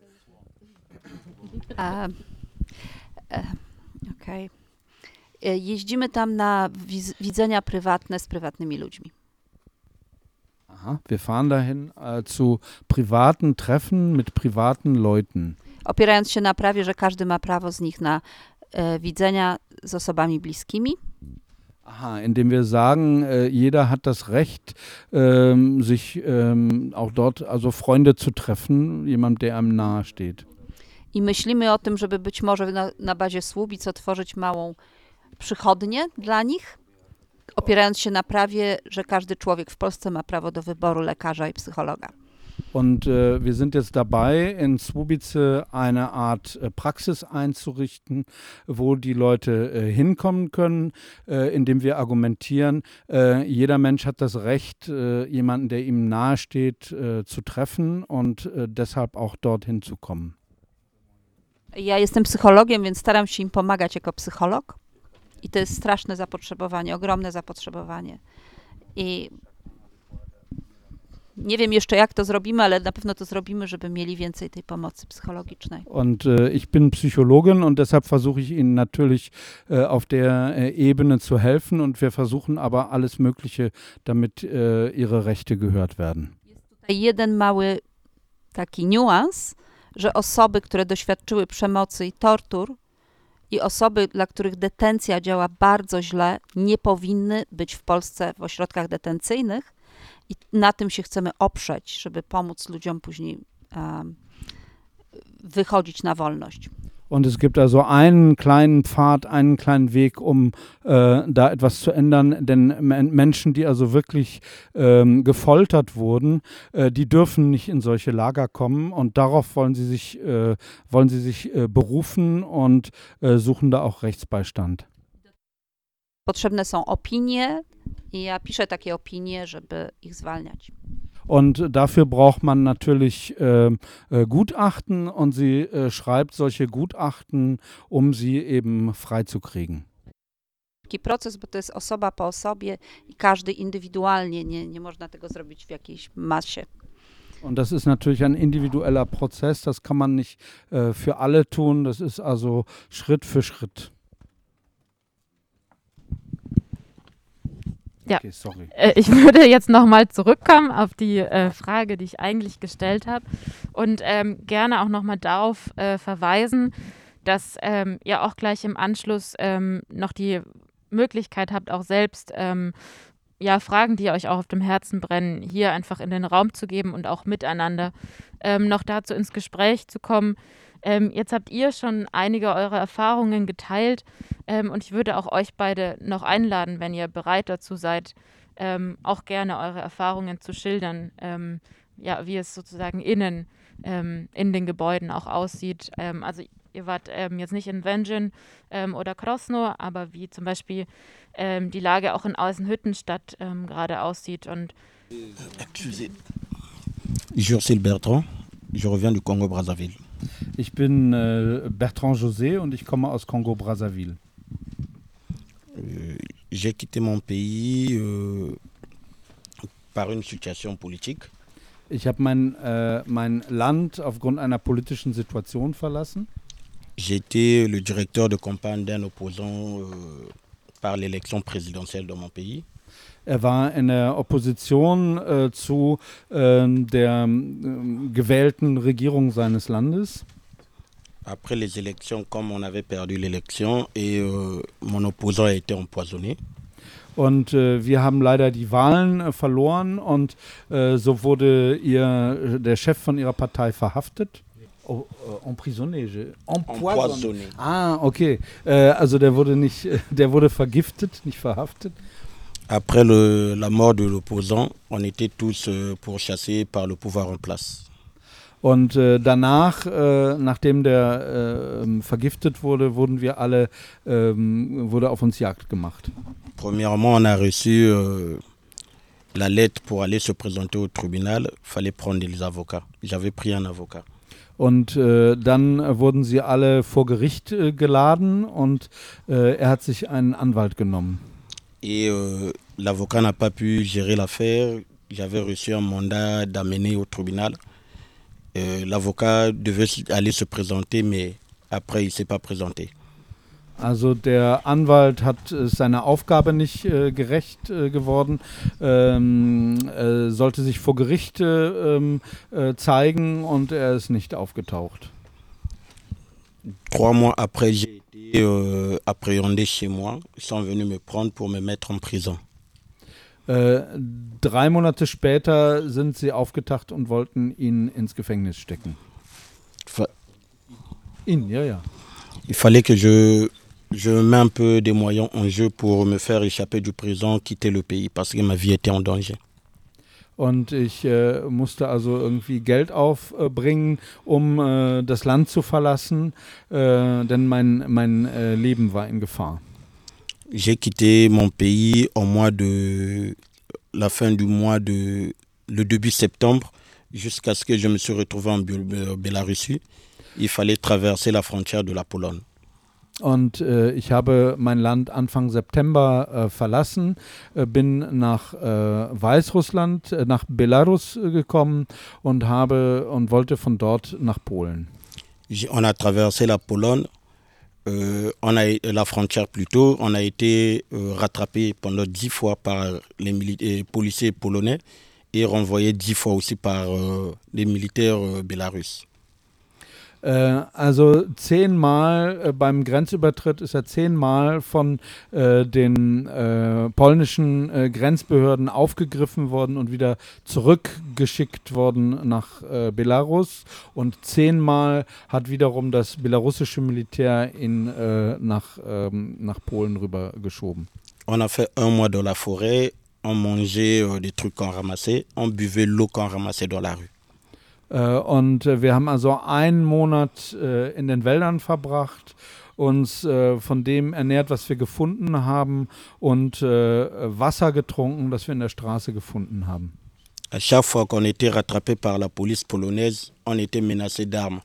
Uh, uh, Okej. Okay. Jeździmy tam na wiz- widzenia prywatne z prywatnymi ludźmi. Aha, wir fahren dahin äh, zu privaten Treffen mit privaten Leuten. Opierając się na prawie, że każdy ma prawo z nich na e, widzenia z osobami bliskimi. Aha, indem wir sagen, äh, jeder hat das Recht, ähm, sich ähm, auch dort, also Freunde zu treffen, jemand, der einem nahe steht. I myślimy o tym, żeby być może na, na bazie Słubic otworzyć małą przychodnię dla nich, opierając się na prawie, że każdy człowiek w Polsce ma prawo do wyboru lekarza i psychologa. Und äh, wir sind jetzt dabei, in Słubice eine Art äh, Praxis einzurichten, wo die Leute äh, hinkommen können, äh, indem wir argumentieren, äh, jeder Mensch hat das Recht, äh, jemanden, der ihm nahesteht, äh, zu treffen und äh, deshalb auch dorthin zu kommen. Ja jestem psychologiem, więc staram się im pomagać jako psycholog. I to jest straszne zapotrzebowanie, ogromne zapotrzebowanie. I nie wiem jeszcze, jak to zrobimy, ale na pewno to zrobimy, żeby mieli więcej tej pomocy psychologicznej. Und äh, ich bin Psychologin und deshalb versuche ich Ihnen natürlich äh, auf der äh, Ebene zu helfen und wir versuchen aber alles Mögliche, damit äh, Ihre Rechte gehört werden. Jest tutaj jeden mały taki niuans, że osoby, które doświadczyły przemocy i tortur i osoby, dla których detencja działa bardzo źle, nie powinny być w Polsce w ośrodkach detencyjnych i na tym się chcemy oprzeć, żeby pomóc ludziom później um, wychodzić na wolność. Und es gibt also einen kleinen Pfad, einen kleinen Weg, um äh, da etwas zu ändern. Denn Men- Menschen, die also wirklich ähm, gefoltert wurden, äh, die dürfen nicht in solche Lager kommen. Und darauf wollen sie sich, äh, wollen sie sich äh, berufen und äh, suchen da auch Rechtsbeistand. Potrzebne są opinie i ja piszę takie opinie, żeby ich zwalniać. Und dafür braucht man natürlich äh, äh, Gutachten und sie äh, schreibt solche Gutachten, um sie eben freizukriegen. Taki proces, bo to jest osoba po osobie i każdy indywidualnie, nie, nie można tego zrobić w jakiejś masie. Und das ist natürlich ein individueller Prozess, das kann man nicht äh, für alle tun, das ist also Schritt für Schritt. Ja. Okay, sorry. Äh, Ich würde jetzt nochmal zurückkommen auf die äh, Frage, die ich eigentlich gestellt habe und ähm, gerne auch nochmal darauf äh, verweisen, dass ähm, ihr auch gleich im Anschluss ähm, noch die Möglichkeit habt, auch selbst ähm, ja, Fragen, die euch auch auf dem Herzen brennen, hier einfach in den Raum zu geben und auch miteinander ähm, noch dazu ins Gespräch zu kommen. Ähm, jetzt habt ihr schon einige eurer Erfahrungen geteilt ähm, und ich würde auch euch beide noch einladen, wenn ihr bereit dazu seid, ähm, auch gerne eure Erfahrungen zu schildern, ähm, ja, wie es sozusagen innen ähm, in den Gebäuden auch aussieht. Ähm, also ihr wart ähm, jetzt nicht in Węgrzyn ähm, oder Krosno, aber wie zum Beispiel ähm, die Lage auch in Eisenhüttenstadt ähm, gerade aussieht. Und Excusez. Jurcil Bertrand, je reviens du Congo-Brazzaville. Ich bin äh, Bertrand José und ich komme aus Kongo-Brazzaville. Euh, J'ai quitté mon pays euh, par une situation politique. Ich habe mein, äh, mein Land aufgrund einer politischen Situation verlassen. J'étais le directeur de campagne d'un opposant euh, par l'élection présidentielle dans mon pays. Er war in der Opposition äh, zu äh, der äh, gewählten Regierung seines Landes. Après les élections, comme on avait perdu l'élection et euh, mon opposant a été empoisonné. Und äh, wir haben leider die Wahlen äh, verloren und äh, so wurde ihr, der Chef von ihrer Partei verhaftet. Oh, äh, emprisonné, je- Empoisonné. Ah, okay. Äh, also der wurde nicht, der wurde vergiftet, nicht verhaftet. Après le, la mort de l'opposant, on était tous euh, pourchassés par le pouvoir en place. Und äh, danach, äh, nachdem der äh, vergiftet wurde, wurden wir alle, ähm, wurde auf uns Jagd gemacht. Premièrement, on a reçu euh, la lettre pour aller se présenter au tribunal. Il fallait prendre des avocats. J'avais pris un avocat. Und äh, dann äh, wurden sie alle vor Gericht äh, geladen und äh, er hat sich einen Anwalt genommen. Et euh, l'avocat n'a pas pu gérer l'affaire. J'avais reçu un mandat d'amener au tribunal. Euh, l'avocat devait aller se présenter, mais après, il ne s'est pas présenté. Also der Anwalt hat äh, seiner Aufgabe nicht äh, gerecht äh, geworden, ähm, äh, sollte sich vor Gericht äh, äh, zeigen und er ist nicht aufgetaucht. Trois mois après, j'ai été euh, appréhendé chez moi. Ils sont venus me prendre pour me mettre en prison. Äh, drei Monate später sind sie aufgetaucht und wollten ihn ins Gefängnis stecken. Fa- Ihn, ja, ja. Il fallait que je, je mette un peu des moyens en jeu pour me faire échapper du prison, quitter le pays, parce que ma vie était en danger. Und ich äh, musste also irgendwie Geld aufbringen, um äh, das Land zu verlassen, äh, denn mein, mein äh, Leben war in Gefahr. J'ai quitté mon pays au mois de la fin du mois de le début septembre, jusqu'à ce que je me suis retrouvé en Biel- Biélorussie. Il fallait traverser la frontière de la Pologne. Und äh, ich habe mein Land Anfang September äh, verlassen, äh, bin nach äh, Weißrussland, äh, nach Belarus äh, gekommen und habe und wollte von dort nach Polen. J'ai- On a traversé la Pologne, euh, on a la frontière plutôt. On a été euh, rattrapé pendant dix fois par les mili- euh, policiers polonais et renvoyé dix fois aussi par euh, les militaires euh, bélarusses. Äh, also zehnmal äh, beim Grenzübertritt ist er zehnmal von äh, den äh, polnischen äh, Grenzbehörden aufgegriffen worden und wieder zurückgeschickt worden nach äh, Belarus. Und zehnmal hat wiederum das belarussische Militär ihn äh, nach, ähm, nach Polen rübergeschoben. On a fait un mois dans la forêt, on mangeait euh, des trucs qu'on ramassait, on buvait l'eau qu'on ramassait dans la rue. Und wir haben also einen Monat äh, in den Wäldern verbracht, uns äh, von dem ernährt, was wir gefunden haben und äh, Wasser getrunken, das wir in der Straße gefunden haben. À chaque fois qu'on était rattrapé par la police polonaise, on était menacé d'armes.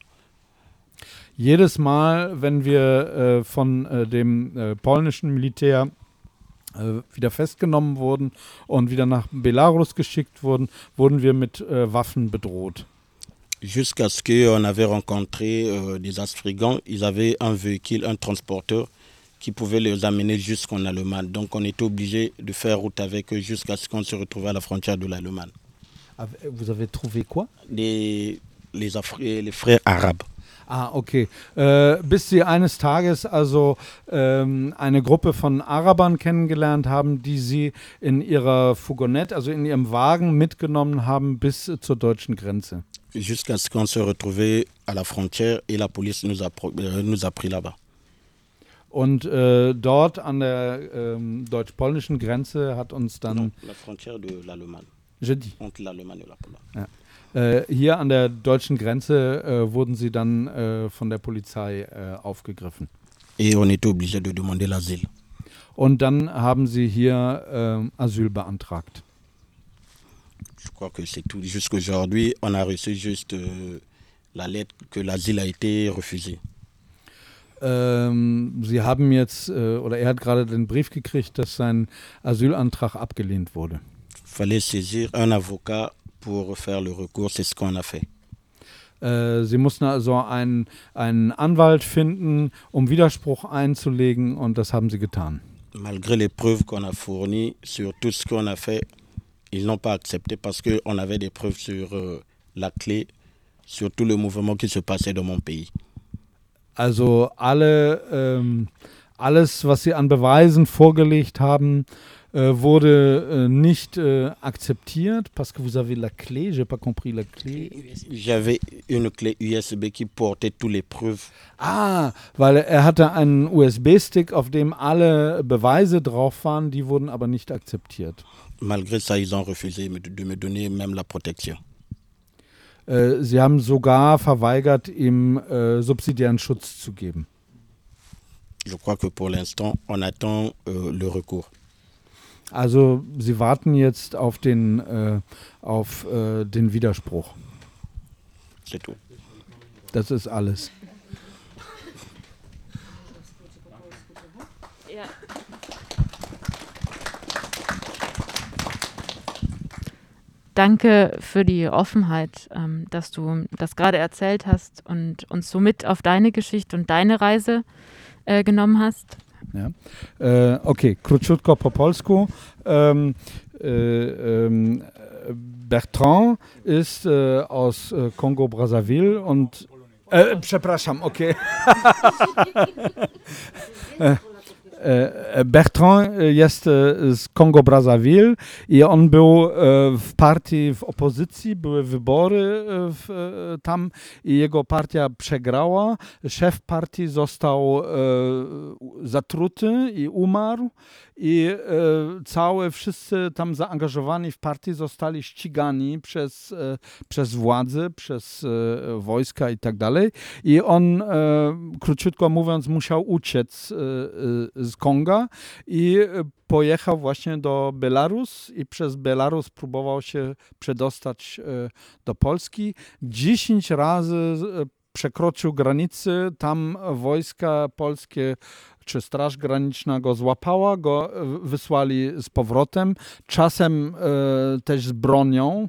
Jedes Mal, wenn wir äh, von äh, dem äh, polnischen Militär äh, wieder festgenommen wurden und wieder nach Belarus geschickt wurden, wurden wir mit äh, Waffen bedroht. Jusqu'à ce qu'on avait rencontré euh, des Africains, ils avaient un véhicule, un transporteur qui pouvait les amener jusqu'en Allemagne. Donc on était obligé de faire route avec eux jusqu'à ce qu'on se retrouve à la frontière de l'Allemagne. Vous avez trouvé quoi? Les, les, Afri- les frères arabes. Ah, okay. Äh, bis sie eines Tages also ähm, eine Gruppe von Arabern kennengelernt haben, die sie in ihrer Fourgonnette, also in ihrem Wagen mitgenommen haben bis äh, zur deutschen Grenze. Jusqu'à ce qu'on se retrouve à la frontière et la police nous a, euh, nous a pris là-bas. Und äh, dort an der ähm, deutsch-polnischen Grenze hat uns dann... Non, la frontière de l'Allemagne. Je dis. Entre l'Allemagne et la Pologne. Ja. Äh, hier an der deutschen Grenze äh, wurden sie dann äh, von der Polizei äh, aufgegriffen. Et on était obligé de demander l'asile. Und dann haben sie hier äh, Asyl beantragt. Je crois que c'est tout. Jusqu'aujourd'hui, on a reçu juste euh, la lettre que l'asile a été refusé. Ähm, sie haben jetzt, äh, oder er hat gerade den Brief gekriegt, dass sein Asylantrag abgelehnt wurde. Fallait saisir un avocat pour faire le recours, c'est ce qu'on a fait. Äh, sie mussten also einen, einen Anwalt finden, um Widerspruch einzulegen, und das haben sie getan. Malgré les preuves qu'on a fournies sur tout ce qu'on a fait, ils n'ont pas accepté parce qu'on avait des preuves sur euh, la clé, sur tout le mouvement qui se passait dans mon pays. Also alle, ähm, alles, was sie an Beweisen vorgelegt haben, äh, wurde äh, nicht äh, akzeptiert. Parce que vous avez la clé, j'ai pas compris la clé. J'avais une clé U S B qui portait toutes les preuves. Ah, weil er hatte einen U S B-Stick, auf dem alle Beweise drauf waren, die wurden aber nicht akzeptiert. Malgré ça, ils ont refusé de me donner même la protection. Äh, sie haben sogar verweigert, ihm äh, subsidiären Schutz zu geben. Je crois que pour l'instant, on attend euh, le recours. Also sie warten jetzt auf den, äh, auf, äh, den Widerspruch. C'est tout. Das ist alles. Ja. Danke für die Offenheit, ähm, dass du das gerade erzählt hast und uns so mit auf deine Geschichte und deine Reise äh, genommen hast. Ja. Äh, okay, króciutko po polsku. Ähm, äh, ähm, Bertrand ist äh, aus äh, Kongo-Brazzaville und äh, przepraszam, okay. äh, Bertrand jest z Kongo-Brazzaville i on był w partii w opozycji, były wybory w, tam i jego partia przegrała. Szef partii został zatruty i umarł i całe wszyscy tam zaangażowani w partii zostali ścigani przez, przez władze, przez wojska i tak dalej. I on, króciutko mówiąc, musiał uciec z Konga i pojechał właśnie do Belarus i przez Belarus próbował się przedostać do Polski. Dziesięć razy przekroczył granicy, tam wojska polskie czy Straż Graniczna go złapała, go wysłali z powrotem, czasem e, też z bronią.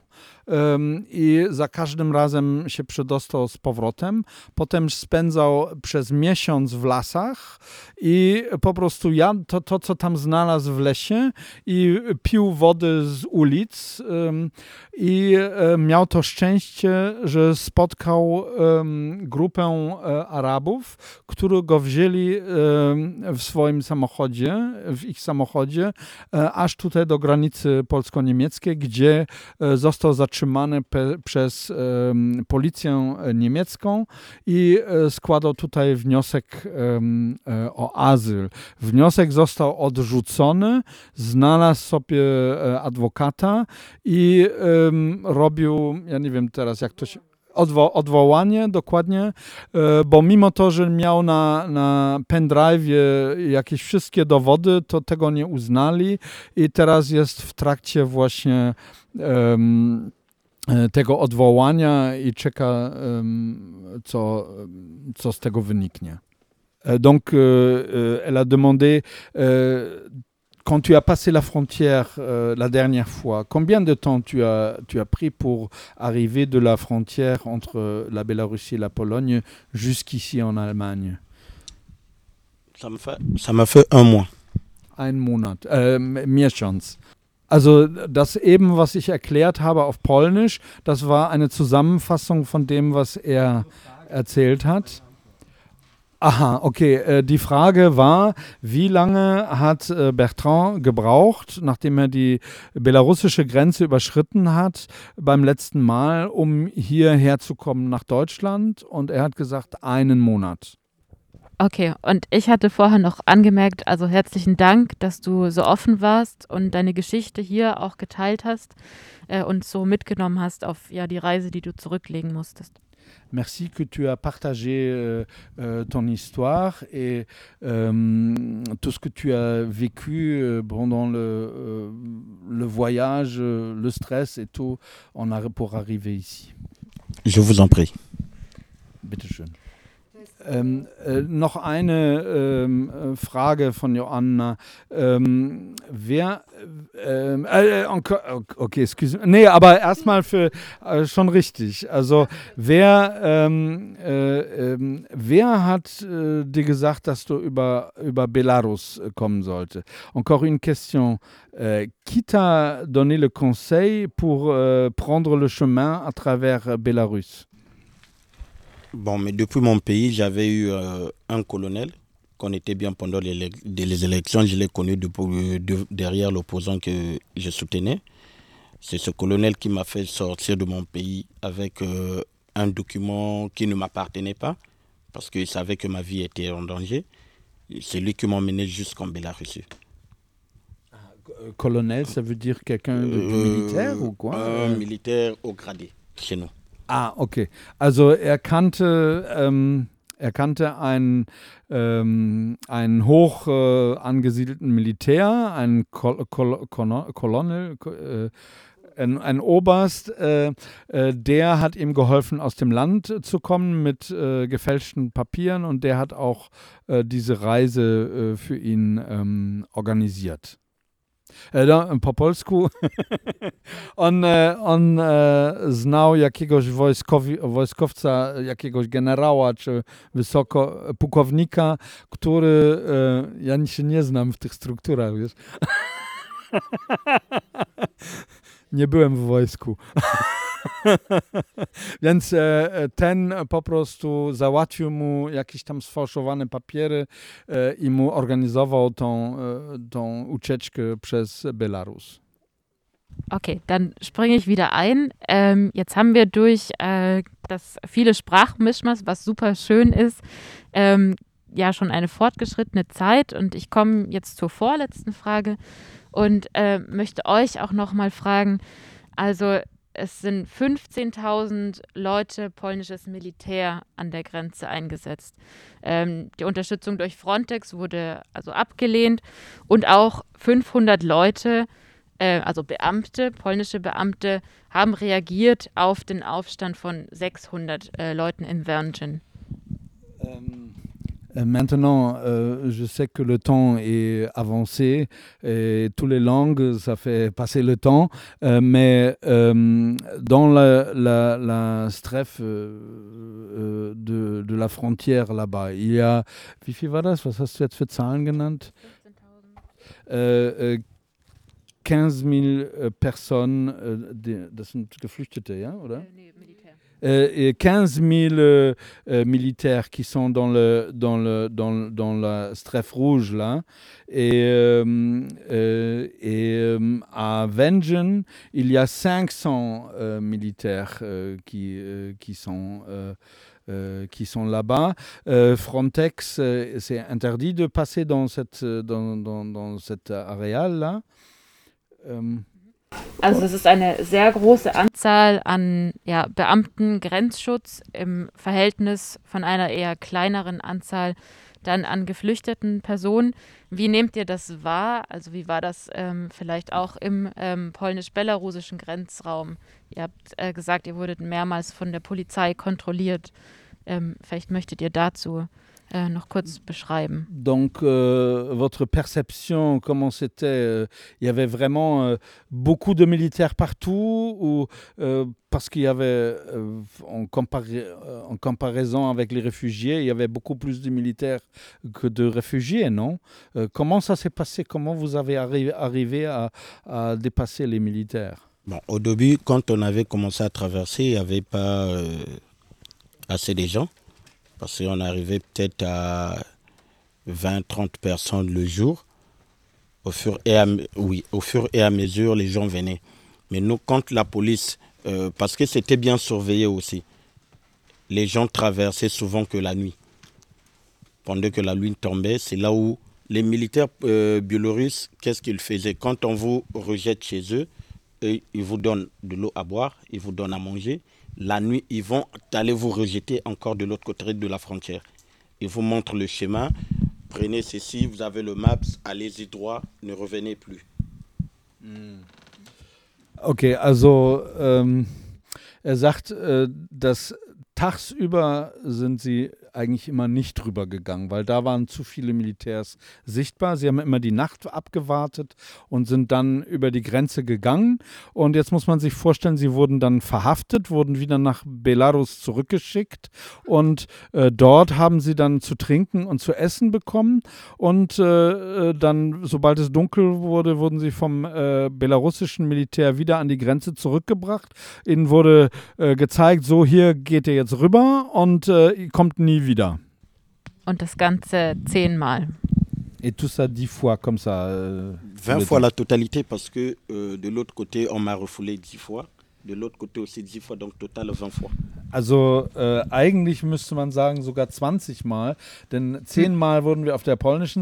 um, i za każdym razem się przedostał z powrotem. Potem spędzał przez miesiąc w lasach i po prostu jadł to, to co tam znalazł w lesie i pił wody z ulic um, i um, miał to szczęście, że spotkał um, grupę um, Arabów, którzy go wzięli um, w swoim samochodzie, w ich samochodzie, um, aż tutaj do granicy polsko-niemieckiej, gdzie um, został zatrzymany pe, przez um, policję niemiecką i um, składał tutaj wniosek um, o azyl. Wniosek został odrzucony, znalazł sobie adwokata i um, robił, ja nie wiem teraz jak to się... Odwo- odwołanie, dokładnie, bo mimo to, że miał na, na pendrive'ie jakieś wszystkie dowody, to tego nie uznali i teraz jest w trakcie właśnie um, tego odwołania i czeka, um, co, co z tego wyniknie. Donc, euh, elle a demandé, euh, quand tu as passé la frontière euh, la dernière fois, combien de temps tu as, tu as pris pour arriver de la frontière entre la Biélorussie et la Pologne jusqu'ici en Allemagne? Ça m'a fait, ça m'a fait un mois. Ein Monat, äh, miesiąc. Also das eben, was ich erklärt habe auf Polnisch, das war eine Zusammenfassung von dem, was er erzählt hat. Aha, okay. Die Frage war, wie lange hat Bertrand gebraucht, nachdem er die belarussische Grenze überschritten hat, beim letzten Mal, um hierher zu kommen nach Deutschland? Und er hat gesagt, einen Monat. Okay, und ich hatte vorher noch angemerkt, also herzlichen Dank, dass du so offen warst und deine Geschichte hier auch geteilt hast äh, und so mitgenommen hast auf ja, die Reise, die du zurücklegen musstest. Merci que tu as partagé euh, euh, ton histoire et euh, tout ce que tu as vécu euh, pendant le, euh, le voyage, euh, le stress et tout en arri- pour arriver ici. Je vous en prie. Bitte schön. Ähm, äh, noch eine ähm, Frage von Joanna. Ähm, wer, ähm, äh, okay, excuse me. Nee, aber erstmal für, äh, schon richtig. Also, wer, ähm, äh, äh, wer hat äh, dir gesagt, dass du über, über Belarus kommen sollte? Encore une question. Euh, qui t'a donné le conseil pour euh, prendre le chemin à travers Belarus? Bon, mais depuis mon pays, j'avais eu euh, un colonel, qu'on était bien pendant les, les élections. Je l'ai connu de, de, derrière l'opposant que je soutenais. C'est ce colonel qui m'a fait sortir de mon pays avec euh, un document qui ne m'appartenait pas, parce qu'il savait que ma vie était en danger. C'est lui qui m'a emmené jusqu'en Bélarussie. Colonel, ça veut dire quelqu'un de, euh, militaire ou quoi? Un militaire au gradé, chez nous. Ah, okay. Also er kannte, ähm, er kannte einen, ähm, einen hoch äh, angesiedelten Militär, einen Kol Kol Kol Colonel, äh, ein, ein Oberst, äh, äh, der hat ihm geholfen, aus dem Land zu kommen mit äh, gefälschten Papieren und der hat auch äh, diese Reise äh, für ihn ähm, organisiert. Da, po polsku. on, on e, znał jakiegoś wojskowi, wojskowca, jakiegoś generała czy wysoko pułkownika, który, e, ja się nie znam w tych strukturach, wiesz. Nie byłem w wojsku. Więc e, ten po prostu załatwił mu jakieś tam sfałszowane papiery e, i mu organizował tą, e, tą ucieczkę przez Belarus. Okay, dann springe ich wieder ein. Ähm, jetzt haben wir durch äh, das viele Sprachmischmasch, was super schön ist, ähm, ja schon eine fortgeschrittene Zeit und ich komme jetzt zur vorletzten Frage und äh, möchte euch auch nochmal fragen, also es sind fünfzehntausend Leute, polnisches Militär an der Grenze eingesetzt. Ähm, die Unterstützung durch Frontex wurde also abgelehnt und auch fünfhundert Leute, äh, also Beamte, polnische Beamte, haben reagiert auf den Aufstand von sechshundert äh, Leuten in Werngen. Ähm, Euh, Maintenant, euh, je sais que le temps est avancé et toutes les langues, ça fait passer le temps. Euh, mais euh, dans la, la, la stref euh, äh, de, de la frontière là-bas, il y a, wie viel war das? Was hast du jetzt für Zahlen genannt? Äh, äh, quinze mille äh, Personen, äh, die, das sind Geflüchtete, ja, oder? Nee, Militär. Euh, quinze mille euh, euh, militaires qui sont dans, le, dans, le, dans, dans la stref rouge là. Et, euh, euh, et euh, à Wengen, il y a cinq cents euh, militaires euh, qui, euh, qui sont, euh, euh, qui sont là-bas. Euh, Frontex, euh, c'est interdit de passer dans, cette, dans, dans, dans cet aréal là. Euh, Also es ist eine sehr große Anzahl an ja, Beamten, Grenzschutz im Verhältnis von einer eher kleineren Anzahl dann an geflüchteten Personen. Wie nehmt ihr das wahr? Also wie war das ähm, vielleicht auch im ähm, polnisch-belarussischen Grenzraum? Ihr habt äh, gesagt, ihr wurdet mehrmals von der Polizei kontrolliert. Ähm, vielleicht möchtet ihr dazu äh, noch kurz beschreiben. Donc, euh, votre perception, comment c'était euh, il y avait vraiment euh, beaucoup de militaires partout ou euh, parce qu'il y avait, euh, en, compara- en comparaison avec les réfugiés, il y avait beaucoup plus de militaires que de réfugiés, non? Euh, Comment ça s'est passé? Comment vous avez arri- arrivé à, à dépasser les militaires? Bon, au début, quand on avait commencé à traverser, il n'y avait pas euh, assez de gens. Parce qu'on arrivait peut-être à vingt trente personnes le jour. Au fur, et à, oui, au fur et à mesure, les gens venaient. Mais nous, quand la police, euh, parce que c'était bien surveillé aussi, les gens traversaient souvent que la nuit. Pendant que la nuit tombait, c'est là où les militaires euh, biélorusses, qu'est-ce qu'ils faisaient? Quand on vous rejette chez eux, eux, ils vous donnent de l'eau à boire, ils vous donnent à manger. La nuit, ils vont aller vous rejeter encore de l'autre côté de la frontière. Ils vous montrent le schéma. Prenez ceci, vous avez le Maps, allez-y droit, ne revenez plus. Okay, also ähm, er sagt, äh, dass tagsüber sind sie eigentlich immer nicht drüber gegangen, weil da waren zu viele Militärs sichtbar. Sie haben immer die Nacht abgewartet und sind dann über die Grenze gegangen. Und jetzt muss man sich vorstellen, sie wurden dann verhaftet, wurden wieder nach Belarus zurückgeschickt und äh, dort haben sie dann zu trinken und zu essen bekommen. Und äh, dann, sobald es dunkel wurde, wurden sie vom äh, belarussischen Militär wieder an die Grenze zurückgebracht. Ihnen wurde äh, gezeigt, so hier geht ihr jetzt rüber und äh, ihr kommt nie wieder. Und das Ganze zehnmal. Et tout ça dix fois comme ça. Euh, vingt fois la totalité parce que euh, de l'autre côté, on m'a refoulé dix fois. De l'autre côté aussi dix fois, donc total vingt fois. Also äh, eigentlich müsste man sagen sogar zwanzig Mal, denn zehn Mal wurden wir auf der polnischen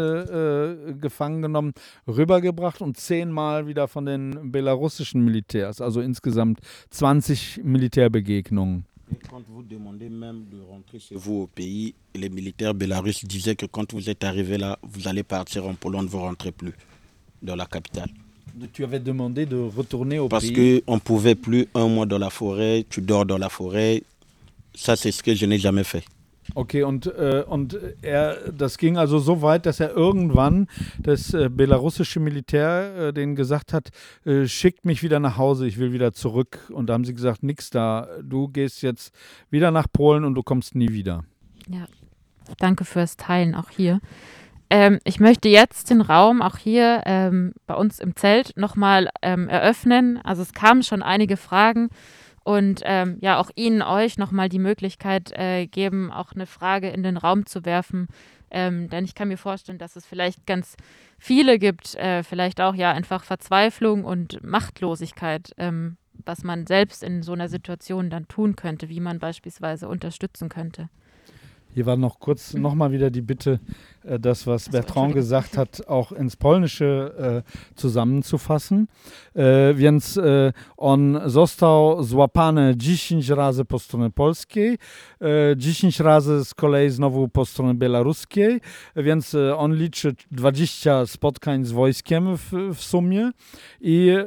Seite äh, gefangen genommen, rübergebracht und zehn Mal wieder von den belarussischen Militärs, also insgesamt zwanzig Militärbegegnungen. Et quand vous demandez même de rentrer chez vous au pays, les militaires bélarusses disaient que quand vous êtes arrivé là, vous allez partir en Pologne, vous ne rentrez plus dans la capitale. Tu avais demandé de retourner au Parce pays. qu'on ne pouvait plus un mois dans la forêt, tu dors dans la forêt. Ça, c'est ce que je n'ai jamais fait. Okay, und, äh, und er, das ging also so weit, dass er irgendwann das äh, belarussische Militär äh, denen gesagt hat, äh, schickt mich wieder nach Hause, ich will wieder zurück. Und da haben sie gesagt, nix da, du gehst jetzt wieder nach Polen und du kommst nie wieder. Ja, danke fürs Teilen auch hier. Ähm, ich möchte jetzt den Raum auch hier ähm, bei uns im Zelt nochmal ähm, eröffnen. Also es kamen schon einige Fragen. Und ähm, ja, auch Ihnen, euch nochmal die Möglichkeit äh, geben, auch eine Frage in den Raum zu werfen. Ähm, denn ich kann mir vorstellen, dass es vielleicht ganz viele gibt, äh, vielleicht auch ja einfach Verzweiflung und Machtlosigkeit, ähm, was man selbst in so einer Situation dann tun könnte, wie man beispielsweise unterstützen könnte. Hier war noch kurz nochmal wieder die Bitte, äh, das, was Bertrand gesagt hat, auch ins Polnische äh, zusammenzufassen. Äh, więc e, on został złapany dziesięć razy po stronie polskiej, e, dziesięć razy z kolei znowu po stronie białoruskiej, więc e, on liczy dwadzieścia spotkań z wojskiem w, w sumie i e,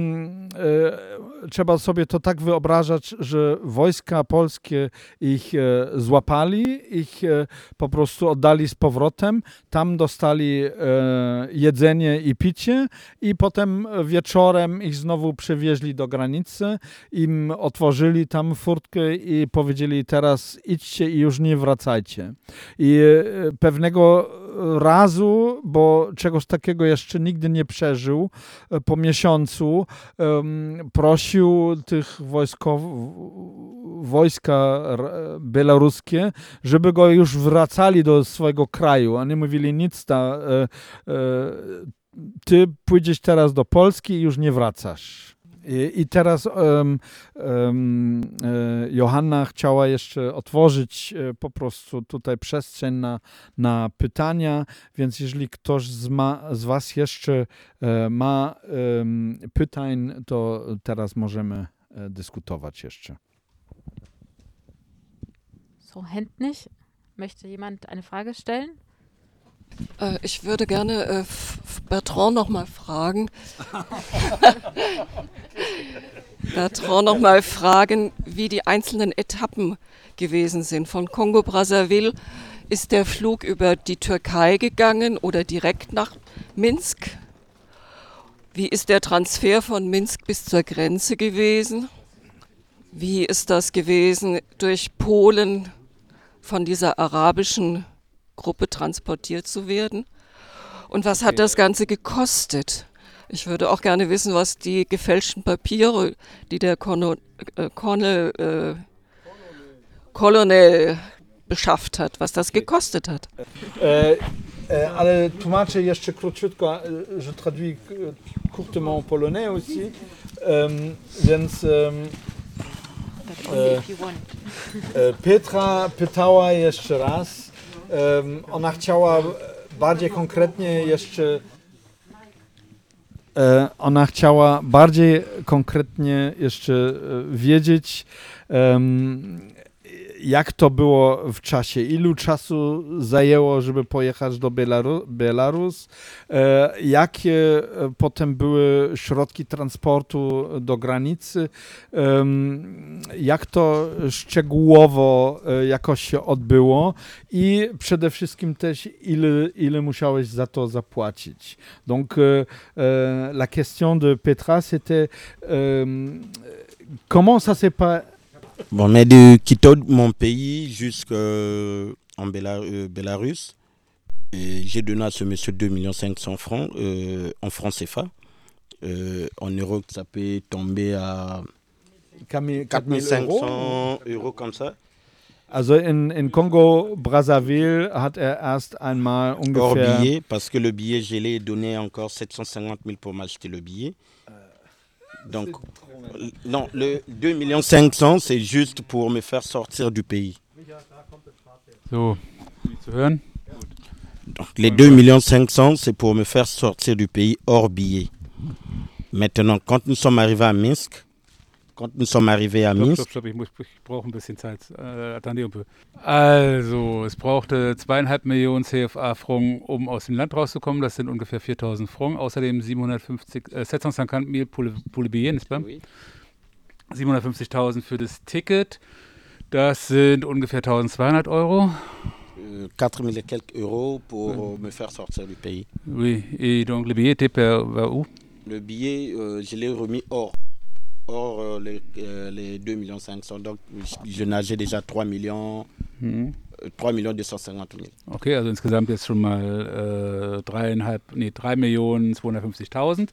e, trzeba sobie to tak wyobrażać, że wojska polskie ich e, złapali ich e, po prostu oddali z powrotem. Tam dostali e, jedzenie i picie i potem wieczorem ich znowu przewieźli do granicy. Im otworzyli tam furtkę i powiedzieli: teraz idźcie i już nie wracajcie. I e, pewnego razu, bo czegoś takiego jeszcze nigdy nie przeżył, e, po miesiącu um, prosił tych wojskowych, wojska białoruskie, żeby go już wracali do swojego kraju. Oni mówili: nic, ta, e, e, ty pójdziesz teraz do Polski i już nie wracasz. I, i teraz um, um, e, Johanna chciała jeszcze otworzyć e, po prostu tutaj przestrzeń na, na pytania, więc jeżeli ktoś z, ma, z was jeszcze e, ma e, pytań, to teraz możemy e, dyskutować jeszcze. So, Hand nicht. Möchte jemand eine Frage stellen? Äh, ich würde gerne äh, Bertrand noch mal fragen. Bertrand noch mal fragen, wie die einzelnen Etappen gewesen sind. Von Kongo-Brazzaville ist der Flug über die Türkei gegangen oder direkt nach Minsk? Wie ist der Transfer von Minsk bis zur Grenze gewesen? Wie ist das gewesen, durch Polen von dieser arabischen Gruppe transportiert zu werden? Und was hat das Ganze gekostet? Ich würde auch gerne wissen, was die gefälschten Papiere, die der Colonel, äh, Colonel, äh, Colonel beschafft hat, was das gekostet hat. E, e, ale tłumaczę jeszcze króciutko, je traduis courtement en polonais aussi, um, więc um, e, e, Petra pytała jeszcze raz. Um, ona chciała bardziej konkretnie jeszcze e, ona chciała bardziej konkretnie jeszcze wiedzieć, um, jak to było w czasie, ilu czasu zajęło, żeby pojechać do Bielaru- Białorus, e, jakie potem były środki transportu do granicy, e, jak to szczegółowo e, jakoś się odbyło i przede wszystkim też ile, ile musiałeś za to zapłacić. Donc e, e, la question de Petra c'était e, comment ça s'est pas Bon, mais de quitter mon pays jusqu'en Béla- euh, Bélarus, et j'ai donné à ce monsieur deux millions cinq cents francs euh, en francs C F A. Euh, en euros, ça peut tomber à quatre mille cinq cents euros comme ça. Also in, in Kongo-Brazzaville hat er erst einmal Hors ungefähr... billet, parce que le billet, je l'ai donné encore sept cent cinquante mille pour m'acheter le billet. Donc, non, le deux millions cinq cents, c'est juste pour me faire sortir du pays. So, zu hören? Donc, les deux millions cinq cents, c'est pour me faire sortir du pays hors billet. Maintenant, quand nous sommes arrivés à Minsk, quand nous sommes arrivés à Stopp, Minsk, stopp, stopp, ich, muss, ich brauche ein bisschen Zeit. Äh, attendez un peu. Also, es brauchte zweieinhalb Millionen C F A-Francs, um aus dem Land rauszukommen. Das sind ungefähr viertausend Francs. Außerdem siebenhundertfünfzig, äh, sept cent cinquante mille pour le, pour le billet, n'est-ce pas? Oui. siebenhundertfünfzigtausend für das Ticket. Das sind ungefähr eintausendzweihundert Euro. euh, quatre mille et quelques euros pour euh, me faire sortir du pays. Oui, et donc le billet était per, vers où? Le billet, euh, je l'ai remis hors, hors euh, les, euh, les deux millions cinq cents. Donc, je, je nageais déjà trois millions, Mhm. euh, trois millions deux cent cinquante mille. Okay, also insgesamt jetzt schon mal äh, dreieinhalb, nee, drei Millionen zweihundertfünfzigtausend.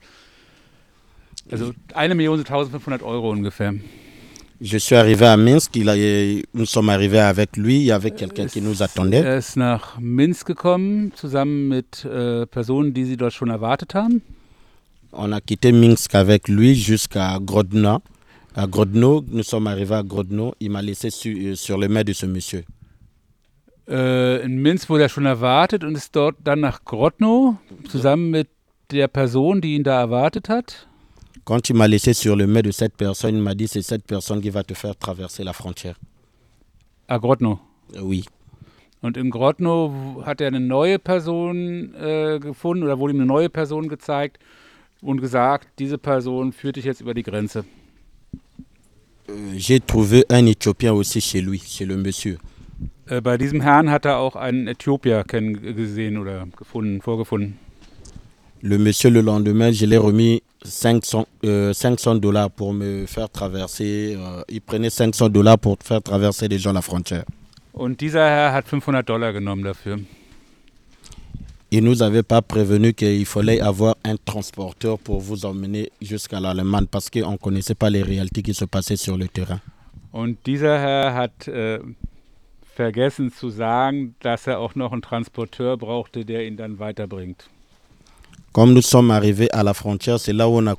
Also eine Million sind eintausendfünfhundert Euro ungefähr. Je suis arrivé à Minsk, il a, nous sommes arrivés avec lui, il y avait quelqu'un qui nous attendait. Er ist nach Minsk gekommen, zusammen mit äh, Personen, die sie dort schon erwartet haben. On a quitté Minsk avec lui jusqu'à Grodno. À Grodno, nous sommes arrivés à Grodno, il m'a laissé su, sur le mets de ce monsieur. Äh, in Minsk wurde er schon erwartet und ist dort dann nach Grodno, zusammen mit der Person, die ihn da erwartet hat. Quand il m'a laissé sur le mets de cette personne, il m'a dit c'est cette personne qui va te faire traverser la frontière. Ah, Grodno. Euh, Oui. Und in Grodno hat er eine neue Person äh, gefunden oder wurde ihm eine neue Person gezeigt und gesagt, diese Person führt dich jetzt über die Grenze. Euh, J'ai trouvé un Éthiopien aussi chez lui, chez le monsieur. Äh, bei diesem Herrn hat er auch einen Äthiopier gesehen oder gefunden, vorgefunden. Le monsieur, le lendemain, je l'ai remis cinq cents, euh, cinq cents dollars pour me faire traverser. Euh, il prenait cinq cents dollars pour faire traverser les gens la frontière. Und dieser Herr hat fünfhundert Dollar genommen dafür. Il nous avait pas prévenu qu'il fallait avoir un transporteur pour vous emmener jusqu'à l'Allemagne parce qu'on ne connaissait pas les réalités qui se passaient sur le terrain. Und dieser Herr hat äh, vergessen zu sagen, dass er auch noch einen Transporteur brauchte, der ihn dann weiterbringt. Comme nous sommes arrivés à la frontière, c'est là où on a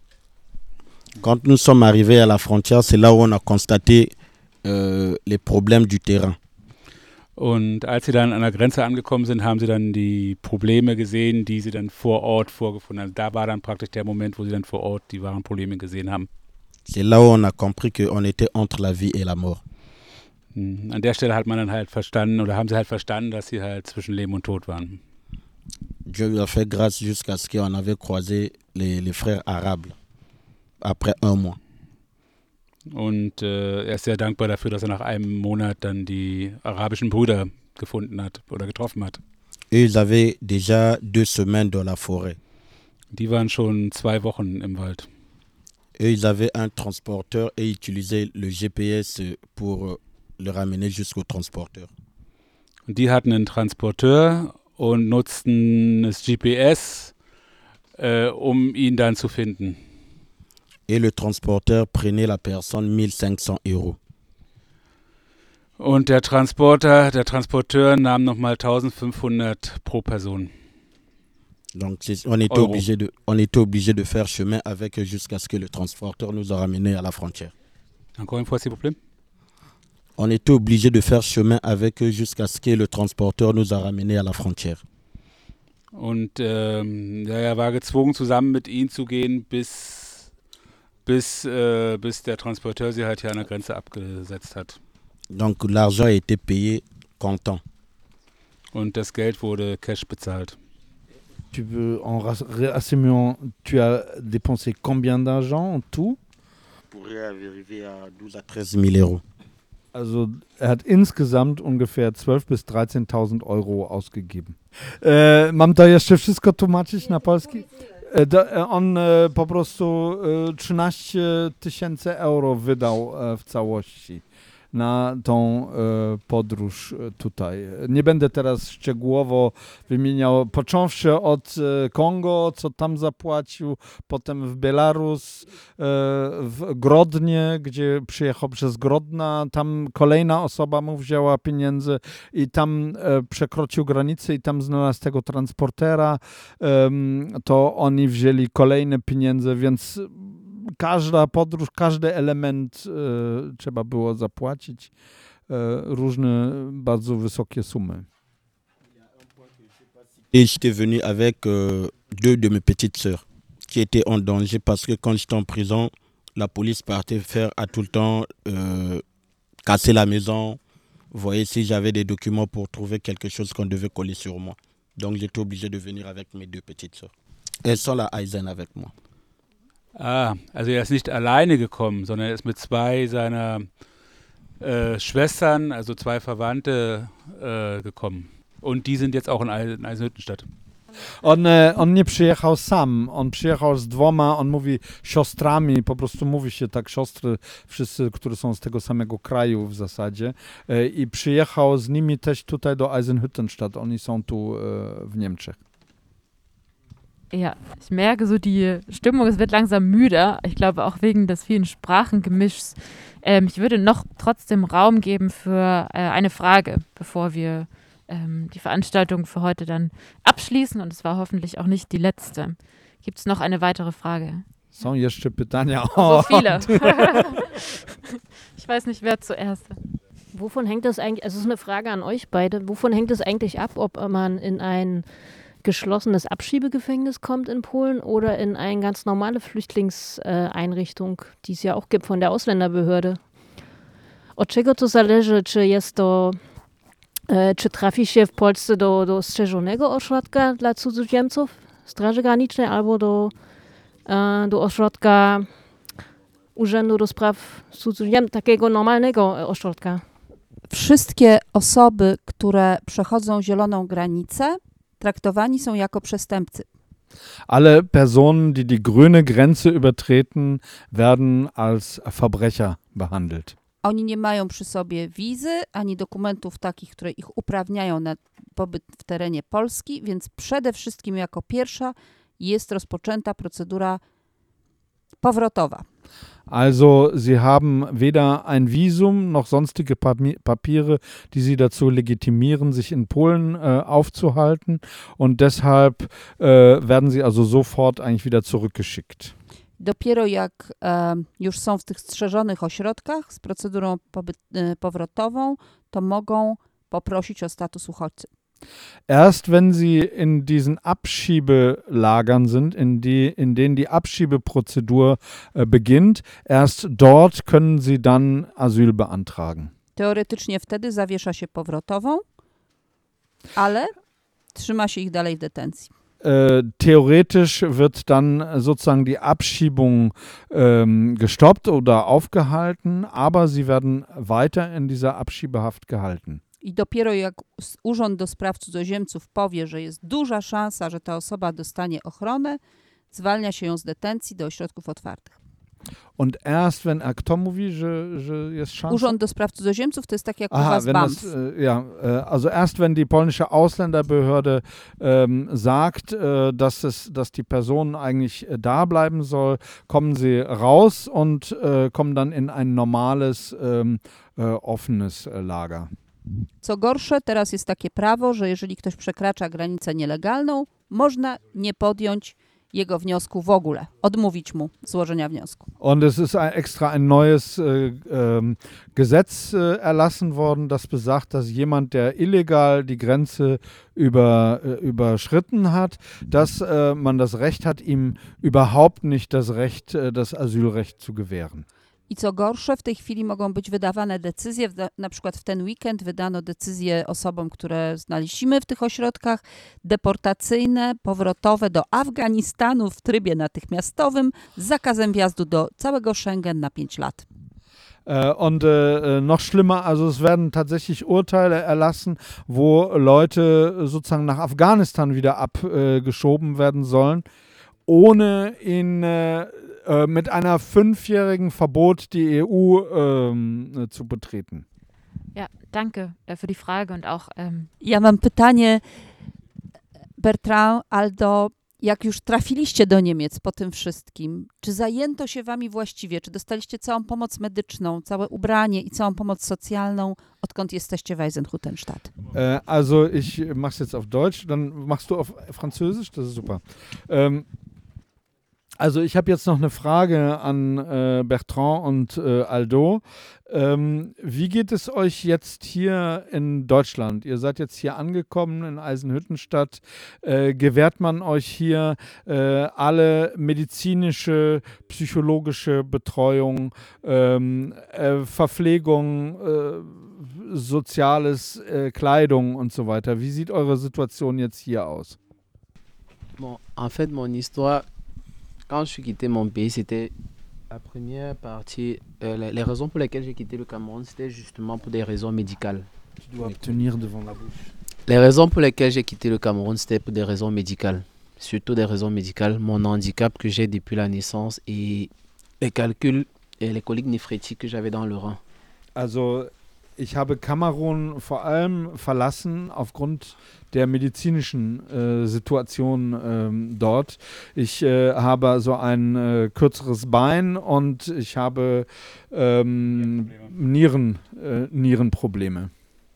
quand nous sommes arrivés à la frontière, c'est là où on a constaté euh, les problèmes du terrain. Und als sie dann an der Grenze angekommen sind, haben sie dann die Probleme gesehen, die sie dann vor Ort vorgefunden haben. Da war dann praktisch der Moment, wo sie dann vor Ort die wahren Probleme gesehen haben. C'est là où on a compris qu'on était entre la vie et la mort. An der Stelle hat man dann halt verstanden, oder haben sie halt verstanden, dass sie halt zwischen Leben und Tod waren. Dieu lui a fait grâce jusqu'à ce qu'on avait croisé les, les frères arabes après un mois. Und äh, er ist sehr dankbar dafür, dass er nach einem Monat dann die arabischen Brüder gefunden hat oder getroffen hat. Et ils avaient déjà deux semaines dans la forêt. Die waren schon zwei Wochen im Wald. Et ils avaient un transporteur et utilisaient le G P S pour le ramener jusqu'au transporteur. Und die hatten einen Transporteur und nutzten das G P S, äh, um ihn dann zu finden. Et le transporteur prenait la personne mille cinq cents euros. Und der Transporter, der Transporteur nahm nochmal eintausendfünfhundert pro Person. Donc on était, obligé de, on était obligé de faire chemin avec eux jusqu'à ce que le transporteur nous a ramenés à la frontière. Encore une fois, s'il vous plaît. On était obligé de faire chemin avec eux jusqu'à ce que le transporteur nous a ramenés à la frontière. Und ähm, ja, er war gezwungen, zusammen mit ihnen zu gehen, bis, bis, äh, bis der Transporteur sie halt hier an der Grenze abgesetzt hat. Donc l'argent a été payé comptant. Und das Geld wurde Cash bezahlt. Tu veux en rassemblement, tu as dépensé combien d'argent en tout? Pourrait arriver à douze à treize mille euros. Also er hat insgesamt ungefähr zwölftausend bis dreizehntausend Euro ausgegeben. E, mam to jeszcze wszystko tłumaczyć na polski? E, do, on e, po prostu e, trzynaście tysięcy euro wydał e, w całości na tą e, podróż tutaj. Nie będę teraz szczegółowo wymieniał, począwszy od e, Kongo, co tam zapłacił, potem w Belarus, e, w Grodnie, gdzie przyjechał przez Grodna, tam kolejna osoba mu wzięła pieniądze i tam e, przekroczył granicę i tam znalazł tego transportera, e, to oni wzięli kolejne pieniądze, więc każda podróż, każdy element e, trzeba było zapłacić, e, różne bardzo wysokie sumy. Et j'étais venu avec euh, deux de mes petites sœurs qui étaient en danger parce que quand j'étais en prison, la police partait faire à tout le temps euh, casser la maison. Vous voyez, si j'avais des documents pour trouver quelque chose qu'on devait coller sur moi. Donc j'étais obligé de venir avec mes deux petites sœurs. Elles sont là à Eisen avec moi. Ah, also er ist nicht alleine gekommen, sondern er ist mit zwei seiner äh, Schwestern, also zwei Verwandte, äh, gekommen. Und die sind jetzt auch in Eisenhüttenstadt. On, on nie przyjechał sam, on przyjechał z dwoma, on mówi siostrami, po prostu mówi się tak, siostry, wszyscy, które są z tego samego kraju w zasadzie, i przyjechał z nimi też tutaj do Eisenhüttenstadt, oni są tu w Niemczech. Ja, ich merke so, die Stimmung, es wird langsam müder. Ich glaube auch wegen des vielen Sprachengemischs. Ähm, ich würde noch trotzdem Raum geben für äh, eine Frage, bevor wir ähm, die Veranstaltung für heute dann abschließen. Und es war hoffentlich auch nicht die letzte. Gibt es noch eine weitere Frage? Są jeszcze pytania? So viele. Ich weiß nicht, wer zuerst. Wovon hängt das eigentlich, also es ist eine Frage an euch beide, wovon hängt es eigentlich ab, ob man in ein geschlossenes Abschiebegefängnis kommt in Polen oder in eine ganz normale Flüchtlingseinrichtung, die es ja auch gibt von der Ausländerbehörde. Od czego to zależy, czy jest to, e, czy trafi się w Polsce do, do strzeżonego ośrodka dla cudzoziemców, Straży Granicznej, albo do, e, do ośrodka Urzędu do Spraw Cudzoziemców, takiego normalnego ośrodka? wszystkie osoby, które przechodzą zieloną granicę, traktowani są jako przestępcy. Alle Personen, die die grüne Grenze übertreten, werden als Verbrecher behandelt. Oni nie mają przy sobie wizy ani dokumentów takich, które ich uprawniają na pobyt w terenie Polski, więc przede wszystkim jako pierwsza jest rozpoczęta procedura powrotowa. Also sie haben weder ein Visum noch sonstige Papi- Papiere, die sie dazu legitimieren, sich in Polen äh, aufzuhalten, und deshalb äh, werden sie also sofort eigentlich wieder zurückgeschickt. Dopiero jak e, już są w tych strzeżonych ośrodkach z procedurą pobyt, e, powrotową, to mogą poprosić o status uchodźcy. Erst wenn sie in diesen Abschiebelagern sind, in, die, in denen die Abschiebeprozedur äh, beginnt, erst dort können sie dann Asyl beantragen. Teoretycznie wtedy zawiesza się powrotową, ale trzyma się ich dalej w detencji. Äh, theoretisch wird dann sozusagen die Abschiebung ähm, gestoppt oder aufgehalten, aber sie werden weiter in dieser Abschiebehaft gehalten. I dopiero jak s- Urząd do Spraw Cudzoziemców powie, że jest duża szansa, że ta osoba dostanie ochronę, zwalnia się ją z detencji do ośrodków otwartych. Und erst wenn, a kto mówi, że, że jest szansa? Urząd do Spraw Cudzoziemców to jest tak jak u Aha, was wenn B A M das, F. äh, ja, äh, also erst wenn die polnische Ausländerbehörde ähm, sagt, äh, dass, es, dass die Person eigentlich äh, da bleiben soll, kommen sie raus und äh, kommen dann in ein normales, ähm, äh, offenes äh, Lager. Co gorsze, teraz jest takie prawo, że jeżeli ktoś przekracza granicę nielegalną, można nie podjąć jego wniosku w ogóle, odmówić mu złożenia wniosku. Und es ist ein, extra ein neues äh, ähm, Gesetz äh, erlassen worden, das besagt, dass jemand, der illegal die Grenze über, äh, überschritten hat, dass äh, man das Recht hat, ihm überhaupt nicht das Recht, äh, das Asylrecht zu gewähren. I co gorsze, w tej chwili mogą być wydawane decyzje, wda- na przykład w ten weekend wydano decyzje osobom, które znaleźliśmy w tych ośrodkach, deportacyjne, powrotowe do Afganistanu w trybie natychmiastowym z zakazem wjazdu do całego Schengen na pięć lat. Äh, und äh, noch schlimmer, also es werden tatsächlich Urteile erlassen, wo Leute sozusagen nach Afghanistan wieder abgeschoben werden sollen, ohne in, äh, äh, mit einer fünfjährigen Verbot die E U ähm, äh, zu betreten. Ja, danke äh, für die Frage und auch ähm, Ja mam pytanie, Bertrand, Aldo, jak już trafiliście do Niemiec po tym wszystkim, czy zajęto się wami właściwie, czy dostaliście całą pomoc medyczną, całe ubranie i całą pomoc socjalną, odkąd jesteście w Eisenhüttenstadt? Äh, also ich mach's jetzt auf Deutsch, dann machst du auf Französisch, das ist super. Ähm, Also ich habe jetzt noch eine Frage an äh, Bertrand und äh, Aldo. Ähm, wie geht es euch jetzt hier in Deutschland? Ihr seid jetzt hier angekommen in Eisenhüttenstadt. Äh, gewährt man euch hier äh, alle medizinische, psychologische Betreuung, ähm, äh, Verpflegung, äh, Soziales, äh, Kleidung und so weiter? Wie sieht eure Situation jetzt hier aus? Bon, en fait, mon histoire, quand je suis quitté mon pays, c'était la première partie. Euh, les, les raisons pour lesquelles j'ai quitté le Cameroun, c'était justement pour des raisons médicales. Tu dois tenir devant la bouche. Les raisons pour lesquelles j'ai quitté le Cameroun, c'était pour des raisons médicales. Surtout des raisons médicales. Mon handicap que j'ai depuis la naissance et les calculs et les coliques néphrétiques que j'avais dans le rein. Also ich habe Kamerun vor allem verlassen aufgrund der medizinischen äh, Situation ähm, dort. Ich äh, habe so ein äh, kürzeres Bein und ich habe ähm, Nieren, äh, Nierenprobleme.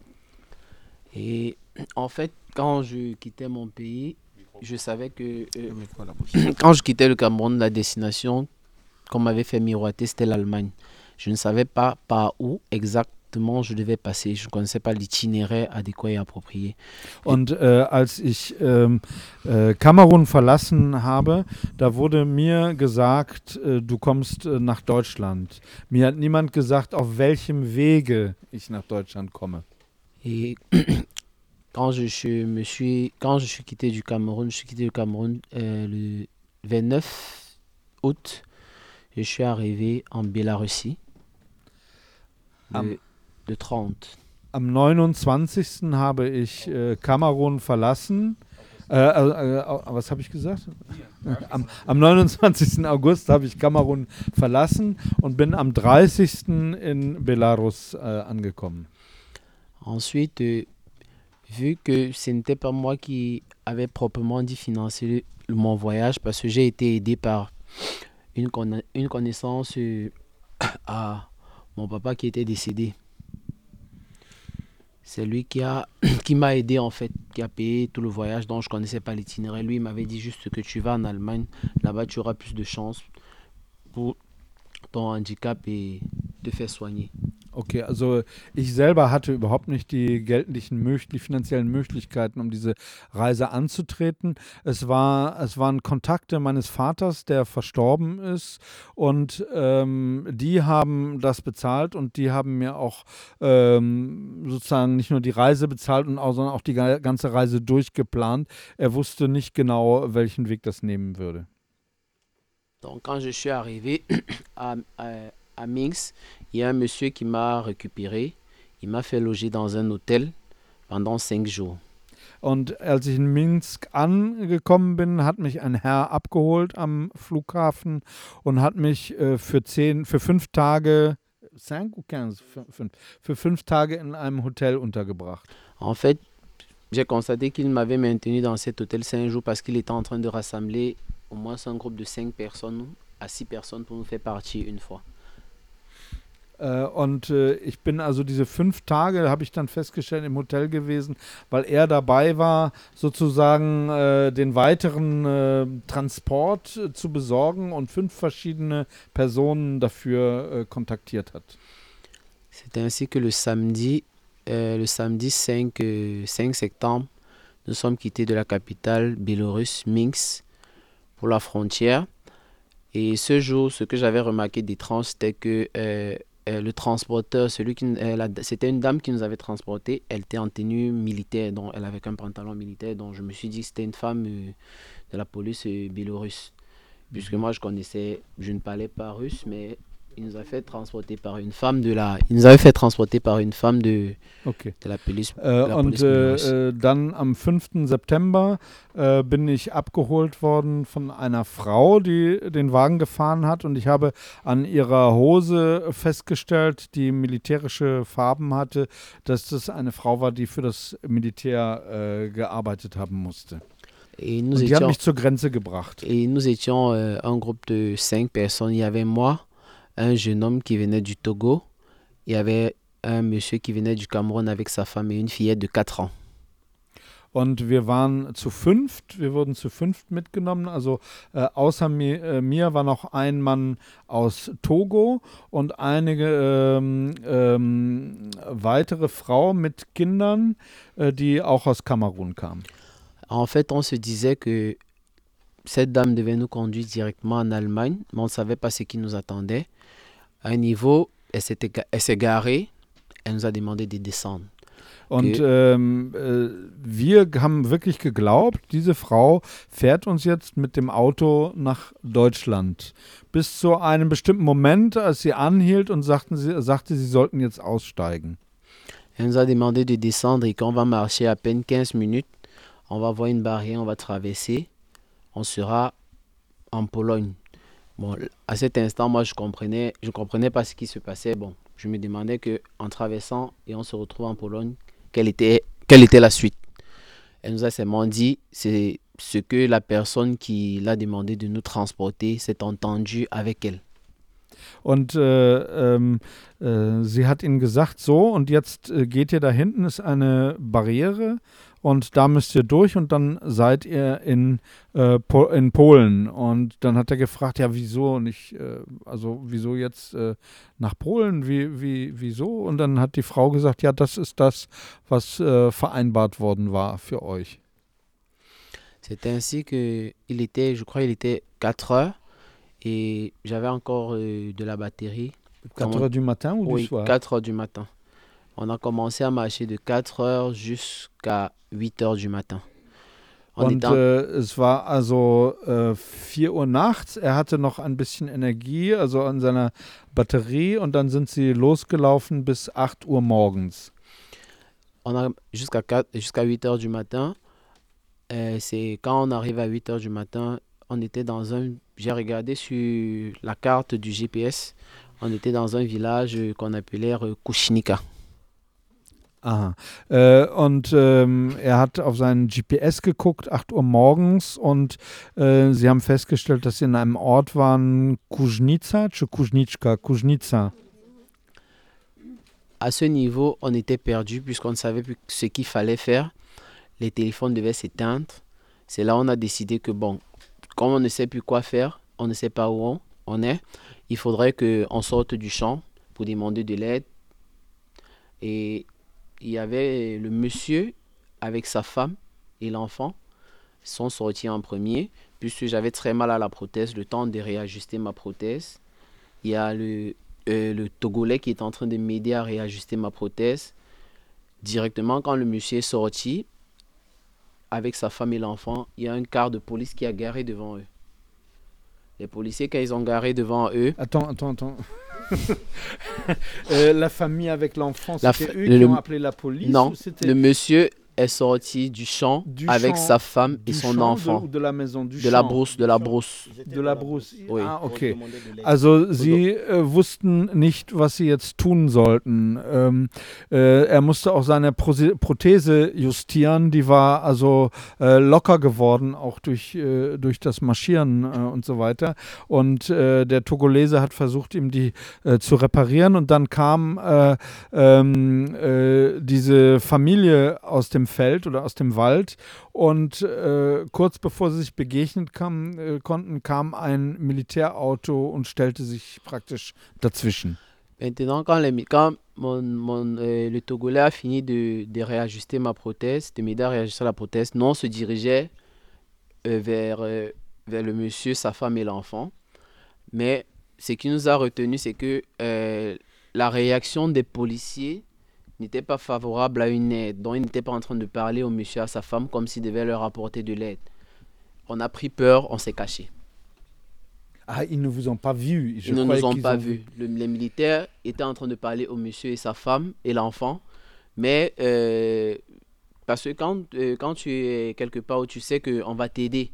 Et en fait, quand je quittais mon pays, je savais que euh, quand je quittais le Cameroun, la destination qu'on m'avait fait miroiter, c'était l'Allemagne. Je ne savais pas par où exactement je devais passer. Je ne connaissais pas l'itinéraire adéquat et approprié. Und äh, als ich ähm, äh, Kamerun verlassen habe, da wurde mir gesagt, äh, du kommst äh, nach Deutschland. Mir hat niemand gesagt, auf welchem Wege ich nach Deutschland komme. Et quand je, suis- me suis, quand je suis quitté du Cameroun, je suis quitté du Cameroun euh, le vingt-neuf août. Je suis arrivé en Biélorussie le, Am- le trente. Am neunundzwanzigsten habe ich äh, Kamerun verlassen. Äh, äh, äh, was habe ich gesagt? Am, am neunundzwanzigsten August habe ich Kamerun verlassen und bin am dreißigsten in Belarus äh, angekommen. Ensuite, euh, vu que ce n'était pas moi qui avait proprement dit financer le- mon voyage, parce que j'ai été aidé par une, conna- une connaissance euh, à mon papa qui était décédé. C'est lui qui a qui m'a aidé en fait, qui a payé tout le voyage dont je connaissais pas l'itinéraire. Lui, il m'avait dit juste que tu vas en Allemagne, là-bas tu auras plus de chances pour ton handicap et te faire soigner. Okay, also ich selber hatte überhaupt nicht die geldlichen, mög- die finanziellen Möglichkeiten, um diese Reise anzutreten. Es war, es waren Kontakte meines Vaters, der verstorben ist, und ähm, die haben das bezahlt und die haben mir auch ähm, sozusagen nicht nur die Reise bezahlt, und auch, sondern auch die ga- ganze Reise durchgeplant. Er wusste nicht genau, welchen Weg das nehmen würde. Donc quand je suis arrivé à, à, à Minsk, il y a un monsieur qui m'a récupéré. Il m'a fait loger dans un hôtel pendant cinq jours. Und als ich in Minsk angekommen bin, hat mich ein Herr abgeholt am Flughafen und hat mich äh, für zehn, für fünf Tage, cinq ou quinze, Fün- fünf, für fünf Tage in einem Hotel untergebracht. En fait, j'ai constaté qu'il m'avait maintenu dans cet hôtel cinq jours parce qu'il était en train de rassembler au moins un groupe de cinq personnes à six personnes pour nous faire partir une fois. Äh, und äh, ich bin also diese fünf Tage, habe ich dann festgestellt, im Hotel gewesen, weil er dabei war, sozusagen äh, den weiteren äh, Transport äh, zu besorgen und fünf verschiedene Personen dafür äh, kontaktiert hat. C'est ainsi que le samedi, euh, le samedi cinq, euh, cinq septembre, nous sommes quittés de la capitale biélorusse, Minsk, pour la frontière. Et ce jour, ce que j'avais remarqué d'étrange, c'était que euh, euh, le transporteur, celui qui, euh, la- c'était une dame qui nous avait transportés. Elle était en tenue militaire, donc elle avait un pantalon militaire. Donc je me suis dit que c'était une femme euh, de la police euh, biélorusse. Puisque moi je connaissais, je ne parlais pas russe, mais il nous a fait transporter par une femme de la, il nous avait fait transporter par une femme de, Okay. de la police. Äh, la und police biélorusse. äh, äh, dann am fünften September äh, bin ich abgeholt worden von einer Frau, die den Wagen gefahren hat, und ich habe an ihrer Hose festgestellt, die militärische Farben hatte, dass das eine Frau war, die für das Militär äh, gearbeitet haben musste. Et nous Und die hat étions, mich zur Grenze gebracht. et nous étions euh, un groupe de cinq personnes. Il y avait moi, un jeune homme qui venait du Togo. Il y avait un monsieur qui venait du Cameroun avec sa femme et une fillette de quatre ans. Und wir waren zu fünft, wir wurden zu fünft mitgenommen. Also äh, außer mir, äh, mir war noch ein Mann aus Togo und einige ähm, ähm, weitere Frauen mit Kindern, äh, die auch aus Kamerun kamen. En fait, on se disait que cette dame devait nous conduire directement en Allemagne, mais on ne savait pas ce qui nous attendait. À un niveau, elle s'était ga- elle s'est garée, elle nous a demandé de descendre. Und Okay. ähm, äh, wir haben wirklich geglaubt, diese Frau fährt uns jetzt mit dem Auto nach Deutschland. Bis zu einem bestimmten Moment, als sie anhielt und sagten sie, sagte, sie sollten jetzt aussteigen. Elle nous a demandé de descendre et qu'on va marcher à peine quinze minutes. On va voir une barrière, on va traverser. On sera en Pologne. Bon, à cet instant, moi, je comprenais, je comprenais pas ce qui se passait. Bon, je me demandais que en traversant et on se retrouve en Pologne, quelle était, quelle était la suite. Elle nous a seulement dit, c'est ce que la personne qui l'a demandé de nous transporter s'est entendu avec elle. Und äh, ähm, äh, sie hat ihnen gesagt, so, und jetzt äh, geht ihr da hinten, ist eine Barriere, und da müsst ihr durch, und dann seid ihr in, äh, po in Polen. Und dann hat er gefragt, ja, wieso nicht, äh, also wieso jetzt äh, nach Polen, wie, wie, wieso? Und dann hat die Frau gesagt, ja, das ist das, was äh, vereinbart worden war für euch. C'est ainsi que il était, je crois, il était quatre heures et j'avais encore euh, de la batterie. quatre heures du matin ou du Oui, soir? quatre heures du matin. On a commencé à marcher de quatre heures jusqu'à huit heures du matin. On Und était en- äh, es war also äh, vier Uhr nachts. Er hatte noch ein bisschen Energie, also an seiner Batterie, und dann sind sie losgelaufen bis acht Uhr morgens. on a jusqu'à quatre jusqu'à huit heures du matin. Euh, c'est quand on arrive à huit heures du matin, on était dans un... J'ai regardé sur la carte du G P S, on était dans un village qu'on appelait euh, Kushnika. Aha. Äh, und ähm, er hat auf seinen G P S geguckt, acht Uhr morgens, und äh, sie haben festgestellt, dass sie in einem Ort waren, Kuźnica, czy Kuźniczka, Kuźnica. À ce niveau, on était perdu puisqu'on ne savait plus ce qu'il fallait faire. Les téléphones devaient s'éteindre. C'est là où on a décidé que, bon, comme on ne sait plus quoi faire, on ne sait pas où on, on est, il faudrait qu'on sorte du champ pour demander de l'aide. Et il y avait le monsieur avec sa femme et l'enfant sont sortis en premier, puisque j'avais très mal à la prothèse, le temps de réajuster ma prothèse. Il y a le, euh, le Togolais qui est en train de m'aider à réajuster ma prothèse. Directement, quand le monsieur est sorti, avec sa femme et l'enfant, il y a un car de police qui a garé devant eux. Les policiers, quand ils ont garé devant eux... Attends, attends, attends. euh, la famille avec l'enfant, La c'était fa- eux le- qui ont appelé la police? Non, ou c'était le monsieur est sorti du champ du avec champ- sa femme et du son champ enfant. De, ou de la maison, du De champ. la brousse, de la brousse. De la brousse. Oui. Ah, okay. Also sie äh, wussten nicht, was sie jetzt tun sollten. Ähm, äh, er musste auch seine Prose- Prothese justieren, die war also äh, locker geworden, auch durch, äh, durch das Marschieren äh, und so weiter. Und äh, der Togolese hat versucht, ihm die äh, zu reparieren, und dann kam äh, ähm, äh, diese Familie aus dem Feld oder aus dem Wald, und äh, kurz bevor sie sich begegnet kam, äh, konnten, kam ein Militärauto und stellte sich praktisch dazwischen. Maintenant, quand, les, quand mon, mon, euh, le Togolais a fini de, de réajuster ma prothèse, de m'aider à réajuster la prothèse, nous on se dirigeait euh, vers, euh, vers le monsieur, sa femme et l'enfant. Mais ce qui nous a retenu, c'est que euh, la réaction des policiers n'était pas favorable à une aide. Donc, ils n'étaient pas en train de parler au monsieur et à sa femme comme s'ils devaient leur apporter de l'aide. On a pris peur, on s'est caché. Ah, ils ne vous ont pas vu. Je Ils ne croyais nous ont qu'ils pas ont vus. Le- les militaires étaient en train de parler au monsieur et sa femme et l'enfant. Mais euh, parce que quand, euh, quand tu es quelque part où tu sais qu'on va t'aider,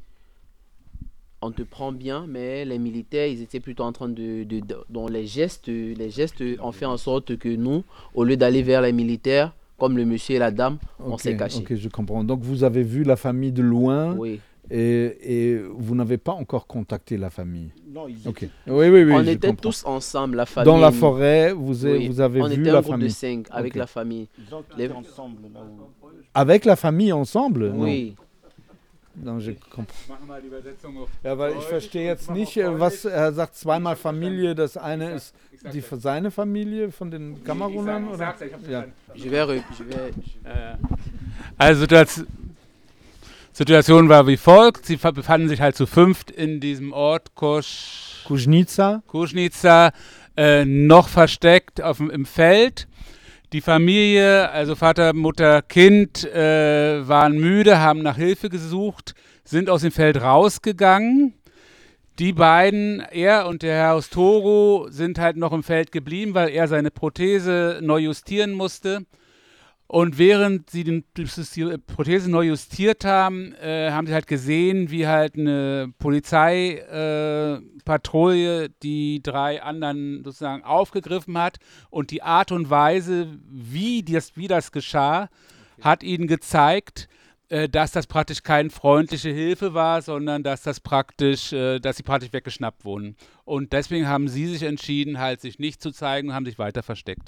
on te prend bien, mais les militaires, ils étaient plutôt en train de... de, de dont les gestes, les gestes ont fait en sorte que nous, au lieu d'aller vers les militaires, comme le monsieur et la dame, on Ok, s'est cachés. ok, je comprends. Donc vous avez vu la famille de loin, Oui. et, et vous n'avez pas encore contacté la famille. Non, ils Ok. Oui, oui, oui. on je était comprends. tous ensemble, la famille. Dans la forêt, vous, avez- Oui. vous avez on vu était un la groupe famille. de cinq avec Ok. la famille. Ils ont quitté Les- ensemble là où... Avec la Famille ensemble? Oui. Non, je comprends. Machen wir die Übersetzung auf Ja, weil ich Deutsch, verstehe jetzt mach nicht, auf äh, was Deutsch. er sagt, zweimal Familie. Das eine ist Ich sag die, das. seine Familie von den Kamerunern? Ich Oder? sag's, ich hab's Ja. verstanden. Je vais, re- je vais, Äh, Also Situation, Situation war wie folgt. Sie ver- befanden sich halt zu fünft in diesem Ort Kosz, Kuźnica. Kuźnica, äh, noch versteckt auf, dem- im Feld. Die Familie, also Vater, Mutter, Kind, äh, waren müde, haben nach Hilfe gesucht, sind aus dem Feld rausgegangen. Die beiden, er und der Herr aus Togo, sind halt noch im Feld geblieben, weil er seine Prothese neu justieren musste. Und während sie den, die Prothese neu justiert haben, äh, haben sie halt gesehen, wie halt eine Polizeipatrouille äh, Patrouille die drei anderen sozusagen aufgegriffen hat. Und die Art und Weise, wie das, wie das geschah, hat ihnen gezeigt, äh, dass das praktisch keine freundliche Hilfe war, sondern dass das praktisch, äh, dass sie praktisch weggeschnappt wurden. Und deswegen haben sie sich entschieden, halt sich nicht zu zeigen und haben sich weiter versteckt.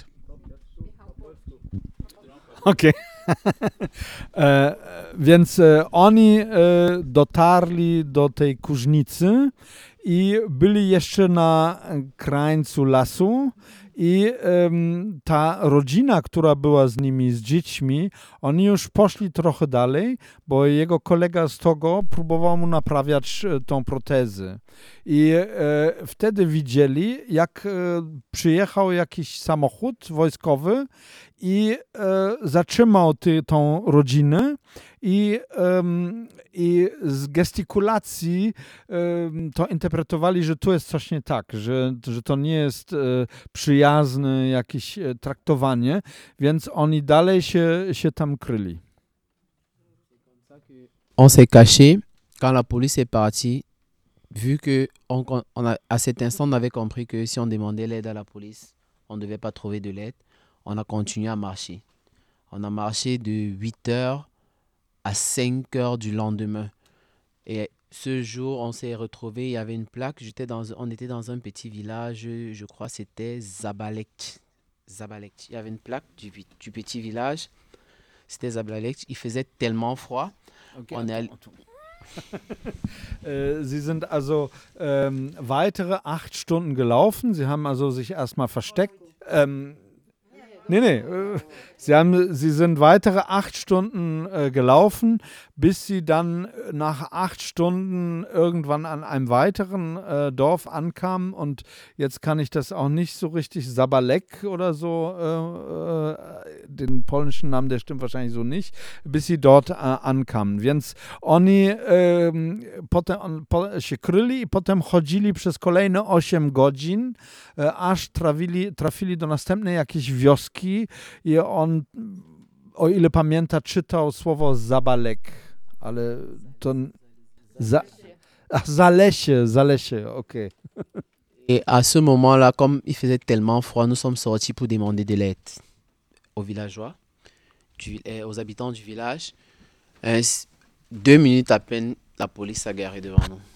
Okej. E, Więc e, oni e, dotarli do tej Kuźnicy i byli jeszcze na krańcu lasu, i em, ta rodzina, która była z nimi, z dziećmi, oni już poszli trochę dalej, bo jego kolega z Togo próbował mu naprawiać e, tą protezę. I e, wtedy widzieli, jak e, przyjechał jakiś samochód wojskowy i e, zatrzymał ty, tą rodzinę i, um, i z gestykulacji um, to interpretowali, że tu jest coś nie tak, że, że to nie jest e, przyjazne jakieś e, traktowanie, więc oni dalej się, się tam kryli. On s'est caché quand la police est partie, vu que on, on a, à cet instant on avait compris que si on demandait l'aide à la police, on ne devait pas trouver de l'aide. On a continué à marcher. On a marché de huit heures à cinq heures du lendemain. Et ce jour, on s'est retrouvés, il y avait une plaque, j'étais dans, on était dans un petit village, je crois c'était Zabalek. Zabalek. Il y avait une plaque du, du petit village, c'était Zabalek. Il faisait tellement froid. Okay, on est allé... Sie sind also ähm, weitere acht Stunden gelaufen. Sie haben also sich erstmal versteckt. Ähm, Nee, nee. Sie, haben, sie sind weitere acht Stunden äh, gelaufen, bis sie dann nach acht Stunden irgendwann an einem weiteren äh, Dorf ankamen. Und jetzt kann ich das auch nicht so richtig, Zabalek oder so, äh, äh, den polnischen Namen, der stimmt wahrscheinlich so nicht, bis sie dort äh, ankamen. Więc oni e, potem po, się kryli i potem chodzili przez kolejne osiem godzin, e, aż trafili, trafili do następnej jakiejś wioski. I on, o ile pamięta, czytał słowo Zabalek, ale to... Za, a, Zalesie, Zalesie, okej. Okay. Et à ce moment-là, comme il faisait tellement froid, nous sommes sortis pour demander de l'aide aux villageois, du, eh, aux habitants du village. Euh, deux minutes à peine, la police s'est garée devant nous.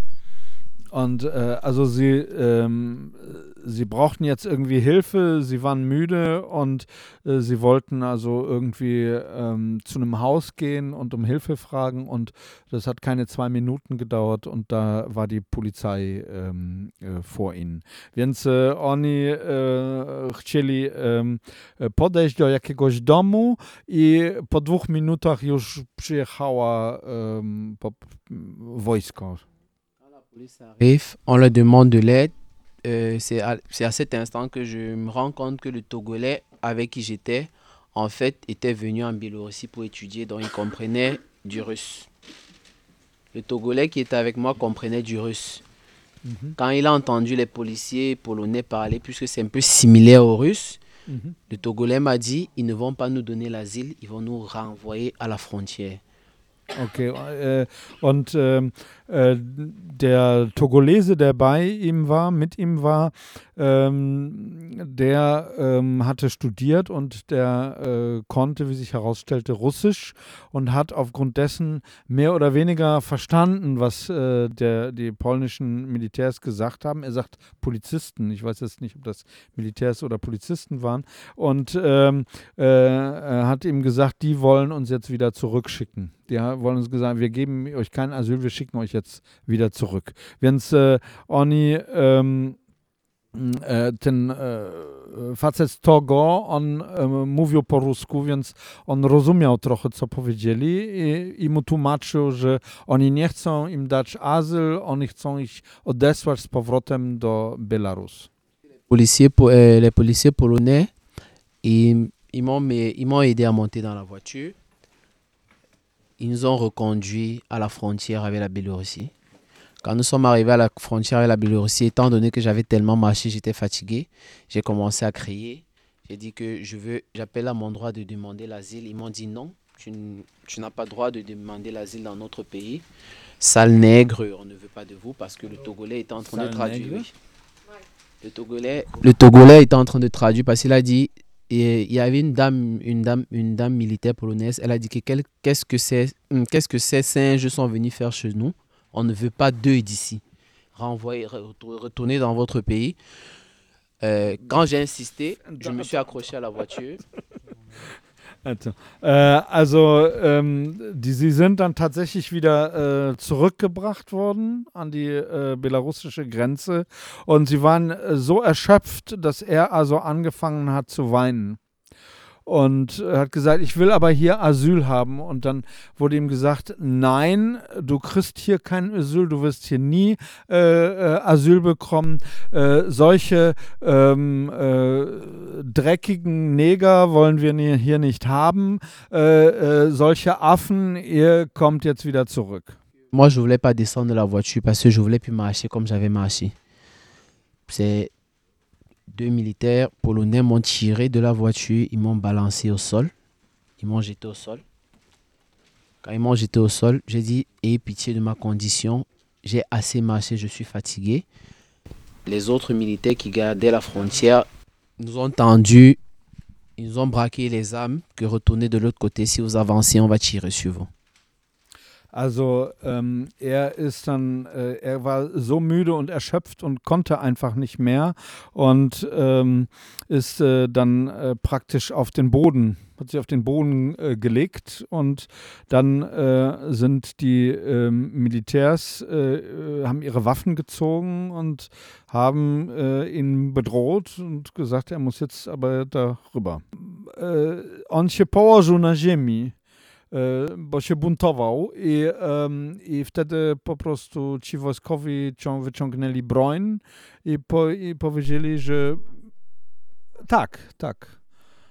Und äh, also sie, ähm, sie brauchten jetzt irgendwie Hilfe, sie waren müde und äh, sie wollten also irgendwie ähm, zu einem Haus gehen und um Hilfe fragen und das hat keine zwei Minuten gedauert und da war die Polizei ähm, äh, vor ihnen. Więc e, oni e, chcieli e, podejść do jakiegoś domu i po dwóch minutach już przyjechała e, po, wojsko. Arrive, on leur demande de l'aide. Euh, c'est à, c'est à cet instant que je me rends compte que le Togolais avec qui j'étais, en fait, était venu en Biélorussie pour étudier, donc il comprenait du russe. Le Togolais qui était avec moi comprenait du russe. Mm-hmm. Quand il a entendu les policiers polonais parler, puisque c'est un peu similaire au russe, mm-hmm. le Togolais m'a dit, ils ne vont pas nous donner l'asile, ils vont nous renvoyer à la frontière. Okay, äh, und äh, äh, der Togolese, der bei ihm war, mit ihm war, ähm, der ähm, hatte studiert und der äh, konnte, wie sich herausstellte, Russisch und hat aufgrund dessen mehr oder weniger verstanden, was äh, der, die polnischen Militärs gesagt haben. Er sagt Polizisten, ich weiß jetzt nicht, ob das Militärs oder Polizisten waren, und ähm, äh, er hat ihm gesagt, die wollen uns jetzt wieder zurückschicken. Die wollen uns gesagt, wir geben euch kein Asyl, wir schicken euch jetzt wieder zurück. Więc e, oni e, ten e, facet z Togo, on e, mówił po rusku, więc on rozumiał trochę, co powiedzieli i, i mu tłumaczył, że oni nie chcą im dać azyl, oni chcą ich odesłać z powrotem do Białorusi. Les policiers polonais, ils, ils m'ont, ils m'ont aidé à monter dans la voiture. Ils nous ont reconduits à la frontière avec la Biélorussie. Quand nous sommes arrivés à la frontière avec la Biélorussie, étant donné que j'avais tellement marché, j'étais fatigué, j'ai commencé à crier. J'ai dit que je veux, j'appelle à mon droit de demander l'asile. Ils m'ont dit non, tu, tu n'as pas le droit de demander l'asile dans notre pays. Sale nègre, on ne veut pas de vous, parce que le Togolais était en train Sale de traduire. Oui. Le Togolais, le Togolais était en train de traduire parce qu'il a dit... Et il y avait une dame, une dame, une dame militaire polonaise. Elle a dit que quel, qu'est-ce que c'est, qu'est-ce que ces singes sont venus faire chez nous. On ne veut pas d'eux d'ici. Renvoyer, retourner dans votre pays. Euh, quand j'ai insisté, je me suis accroché à la voiture. Also, äh, also ähm, die, sie sind dann tatsächlich wieder äh, zurückgebracht worden an die äh, belarussische Grenze und sie waren äh, so erschöpft, dass er also angefangen hat zu weinen. und hat gesagt, ich will aber hier Asyl haben. Und dann wurde ihm gesagt, nein, du kriegst hier kein Asyl, du wirst hier nie äh, äh, Asyl bekommen. Äh, solche ähm, äh, dreckigen Neger wollen wir nie, hier nicht haben. Äh, äh, solche Affen, ihr kommt jetzt wieder zurück. Moi, je voulais pas descendre de la voiture parce que je voulais plus marcher comme j'avais marché. C'est deux militaires polonais m'ont tiré de la voiture, ils m'ont balancé au sol, ils m'ont jeté au sol. Quand ils m'ont jeté au sol, j'ai dit, ayez pitié de ma condition, j'ai assez marché, je suis fatigué. Les autres militaires qui gardaient la frontière nous ont tendu, ils nous ont braqué les armes, que retournez de l'autre côté, si vous avancez, on va tirer sur vous. Also ähm, er ist dann, äh, er war so müde und erschöpft und konnte einfach nicht mehr und ähm, ist äh, dann äh, praktisch auf den Boden, hat sich auf den Boden äh, gelegt und dann äh, sind die äh, Militärs, äh, haben ihre Waffen gezogen und haben äh, ihn bedroht und gesagt, er muss jetzt aber darüber. Äh, on się położył na ziemi. Bo się buntował i, um, i wtedy po prostu ci wojskowi cią, wyciągnęli broń i, po, i powiedzieli, że tak, tak,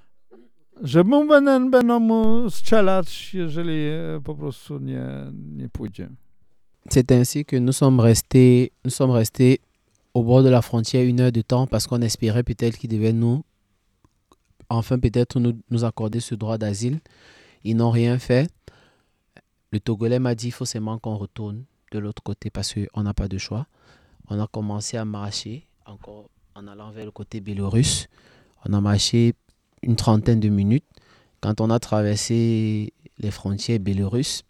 że mu będą, będą mu strzelać, jeżeli po prostu nie, nie pójdzie. C'est ainsi que nous sommes restés, nous sommes restés au bord de la frontière une heure de temps parce qu'on espérait peut-être qu'ils devaient nous, enfin peut-être nous, nous accorder ce droit d'asile. Ils n'ont rien fait. Le Togolais m'a dit qu'il faut seulement qu'on retourne de l'autre côté parce qu'on n'a pas de choix. On a commencé à marcher encore en allant vers le côté biélorusse. On a marché une trentaine de minutes. Quand on a traversé les frontières biélorusses,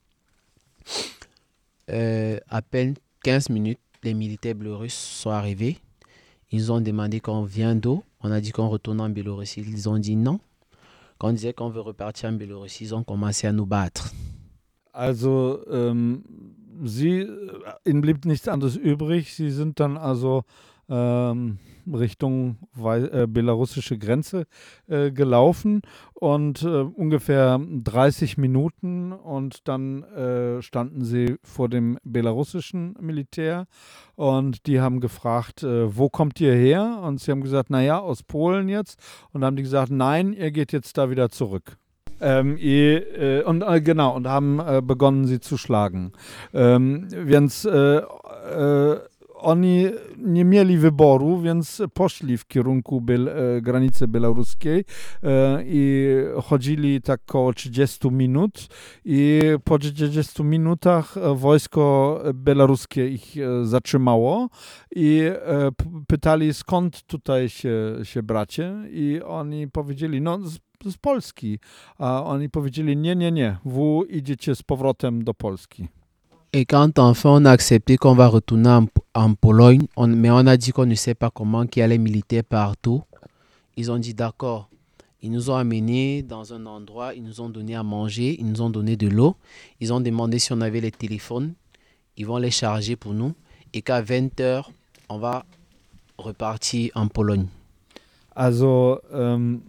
euh, à peine quinze minutes, les militaires biélorusses sont arrivés. Ils ont demandé qu'on vienne d'où. On a dit qu'on retourne en Biélorussie. Ils ont dit non. Quand on disait qu'on veut repartir en Biélorussie, ils ont commencé à nous battre. Also, ähm, sie, ihnen blieb nichts anderes übrig. Sie sind dann also ähm, Richtung äh, belarussische Grenze äh, gelaufen und äh, ungefähr dreißig Minuten und dann äh, standen sie vor dem belarussischen Militär und die haben gefragt, äh, wo kommt ihr her? Und sie haben gesagt, naja, aus Polen jetzt. Und dann haben die gesagt, nein, ihr geht jetzt da wieder zurück. Ähm, i, äh, und äh, genau, und haben äh, begonnen, sie zu schlagen. Ähm, więc äh, äh, oni nie mieli wyboru, więc poszli w kierunku Biel, e, granicy białoruskiej e, i chodzili tak około trzydzieści minut i po trzydziestu minutach wojsko białoruskie ich e, zatrzymało i e, p- pytali, skąd tutaj się, się bracie, i oni powiedzieli, no z, z Polski, a oni powiedzieli, nie, nie, nie, wy idziecie z powrotem do Polski. Et quand enfin on a accepté qu'on va retourner en, en Pologne, on, mais on a dit qu'on ne sait pas comment, qu'il y a les militaires partout, ils ont dit d'accord. Ils nous ont amenés dans un endroit, ils nous ont donné à manger, ils nous ont donné de l'eau, ils ont demandé si on avait les téléphones, ils vont les charger pour nous et qu'à vingt heures, on va repartir en Pologne. Also, ähm,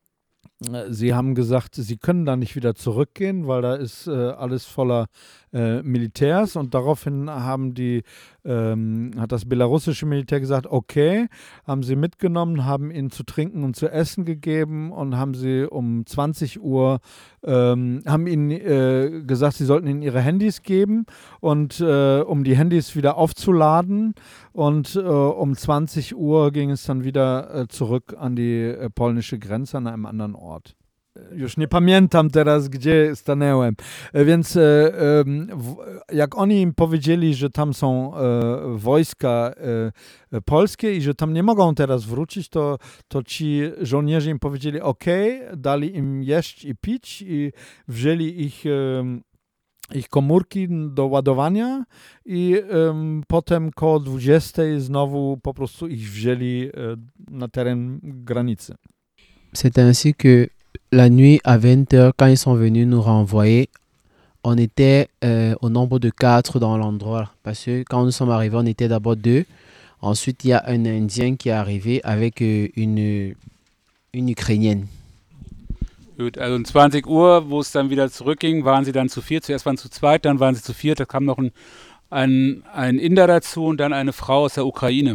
sie haben gesagt, sie können da nicht wieder zurückgehen, weil da ist äh, alles voller äh, Militärs, und daraufhin haben die, ähm, hat das belarussische Militär gesagt, okay, haben sie mitgenommen, haben ihnen zu trinken und zu essen gegeben und haben sie um zwanzig Uhr, ähm, haben ihnen äh, gesagt, sie sollten ihnen ihre Handys geben, und äh, um die Handys wieder aufzuladen, und äh, um zwanzig Uhr ging es dann wieder äh, zurück an die äh, polnische Grenze, an einem anderen Ort. Już nie pamiętam teraz, gdzie stanęłem. E, Więc e, e, w- jak oni im powiedzieli, że tam są e, wojska e, e, polskie i że tam nie mogą teraz wrócić, to, to ci żołnierze im powiedzieli ok, dali im jeść i pić i wzięli ich, e, ich komórki do ładowania i em, potem koło dwudziestej znowu po prostu ich wzięli e, na teren granicy. C'est ainsi que la nuit à vingt heures, quand ils sont venus nous renvoyer, on était euh, au nombre de quatre dans l'endroit. Parce que quand nous sommes arrivés, on était d'abord deux. Ensuite, il y a un Indien qui est arrivé avec euh, une, une Ukrainienne. Gut, also um zwanzig Uhr, wo es dann wieder zurückging, waren sie dann zu viert. Zuerst waren sie zu zweit, dann waren sie zu viert. Da kam noch ein, ein, ein Inder dazu und dann eine Frau aus der Ukraine.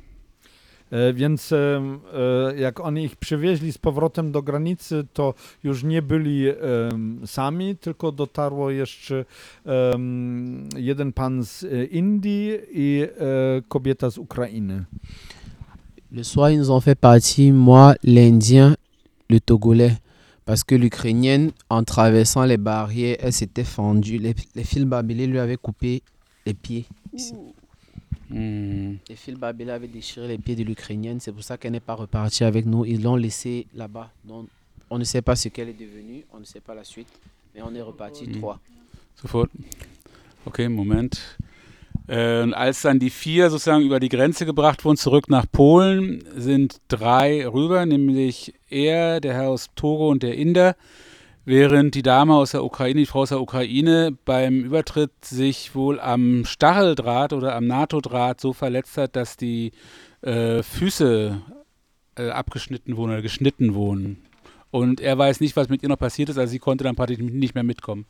E, Więc e, e, jak oni ich przywieźli z powrotem do granicy, to już nie byli e, sami, tylko dotarło jeszcze e, jeden pan z e, Indii i e, kobieta z Ukrainy. Le soir, ils nous ont fait partie, moi, l'Indien, le Togolais. Parce que l'Ukrainienne, en traversant les barrières, elle s'était fendue. Les, les fils barbelés lui avaient coupé les pieds. Ici. Mmh. Les fils barbelés avaient déchiré les pieds de l'Ukrainienne. C'est pour ça qu'elle n'est pas repartie avec nous. Ils l'ont laissée là-bas. Donc, on ne sait pas ce qu'elle est devenue. On ne sait pas la suite. Mais on est repartis Mmh. trois. Sofort. Okay, Moment. Äh, und als dann die vier sozusagen über die Grenze gebracht wurden, zurück nach Polen, sind drei rüber, nämlich er, der Herr aus Togo und der Inder, während die Dame aus der Ukraine, die Frau aus der Ukraine, beim Übertritt sich wohl am Stacheldraht oder am NATO-Draht so verletzt hat, dass die äh, Füße äh, abgeschnitten wurden oder geschnitten wurden. Und er weiß nicht, was mit ihr noch passiert ist, also sie konnte dann praktisch nicht mehr mitkommen.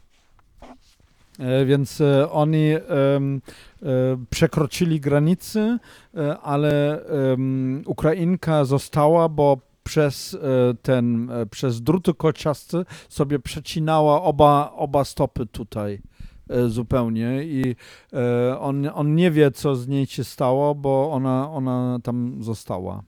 E, Więc e, oni e, e, przekroczyli granicę, e, ale e, Ukrainka została, bo przez e, ten, e, przez druty kolczasty sobie przecinała oba, oba stopy tutaj e, zupełnie i e, on, on nie wie, co z niej się stało, bo ona, ona tam została.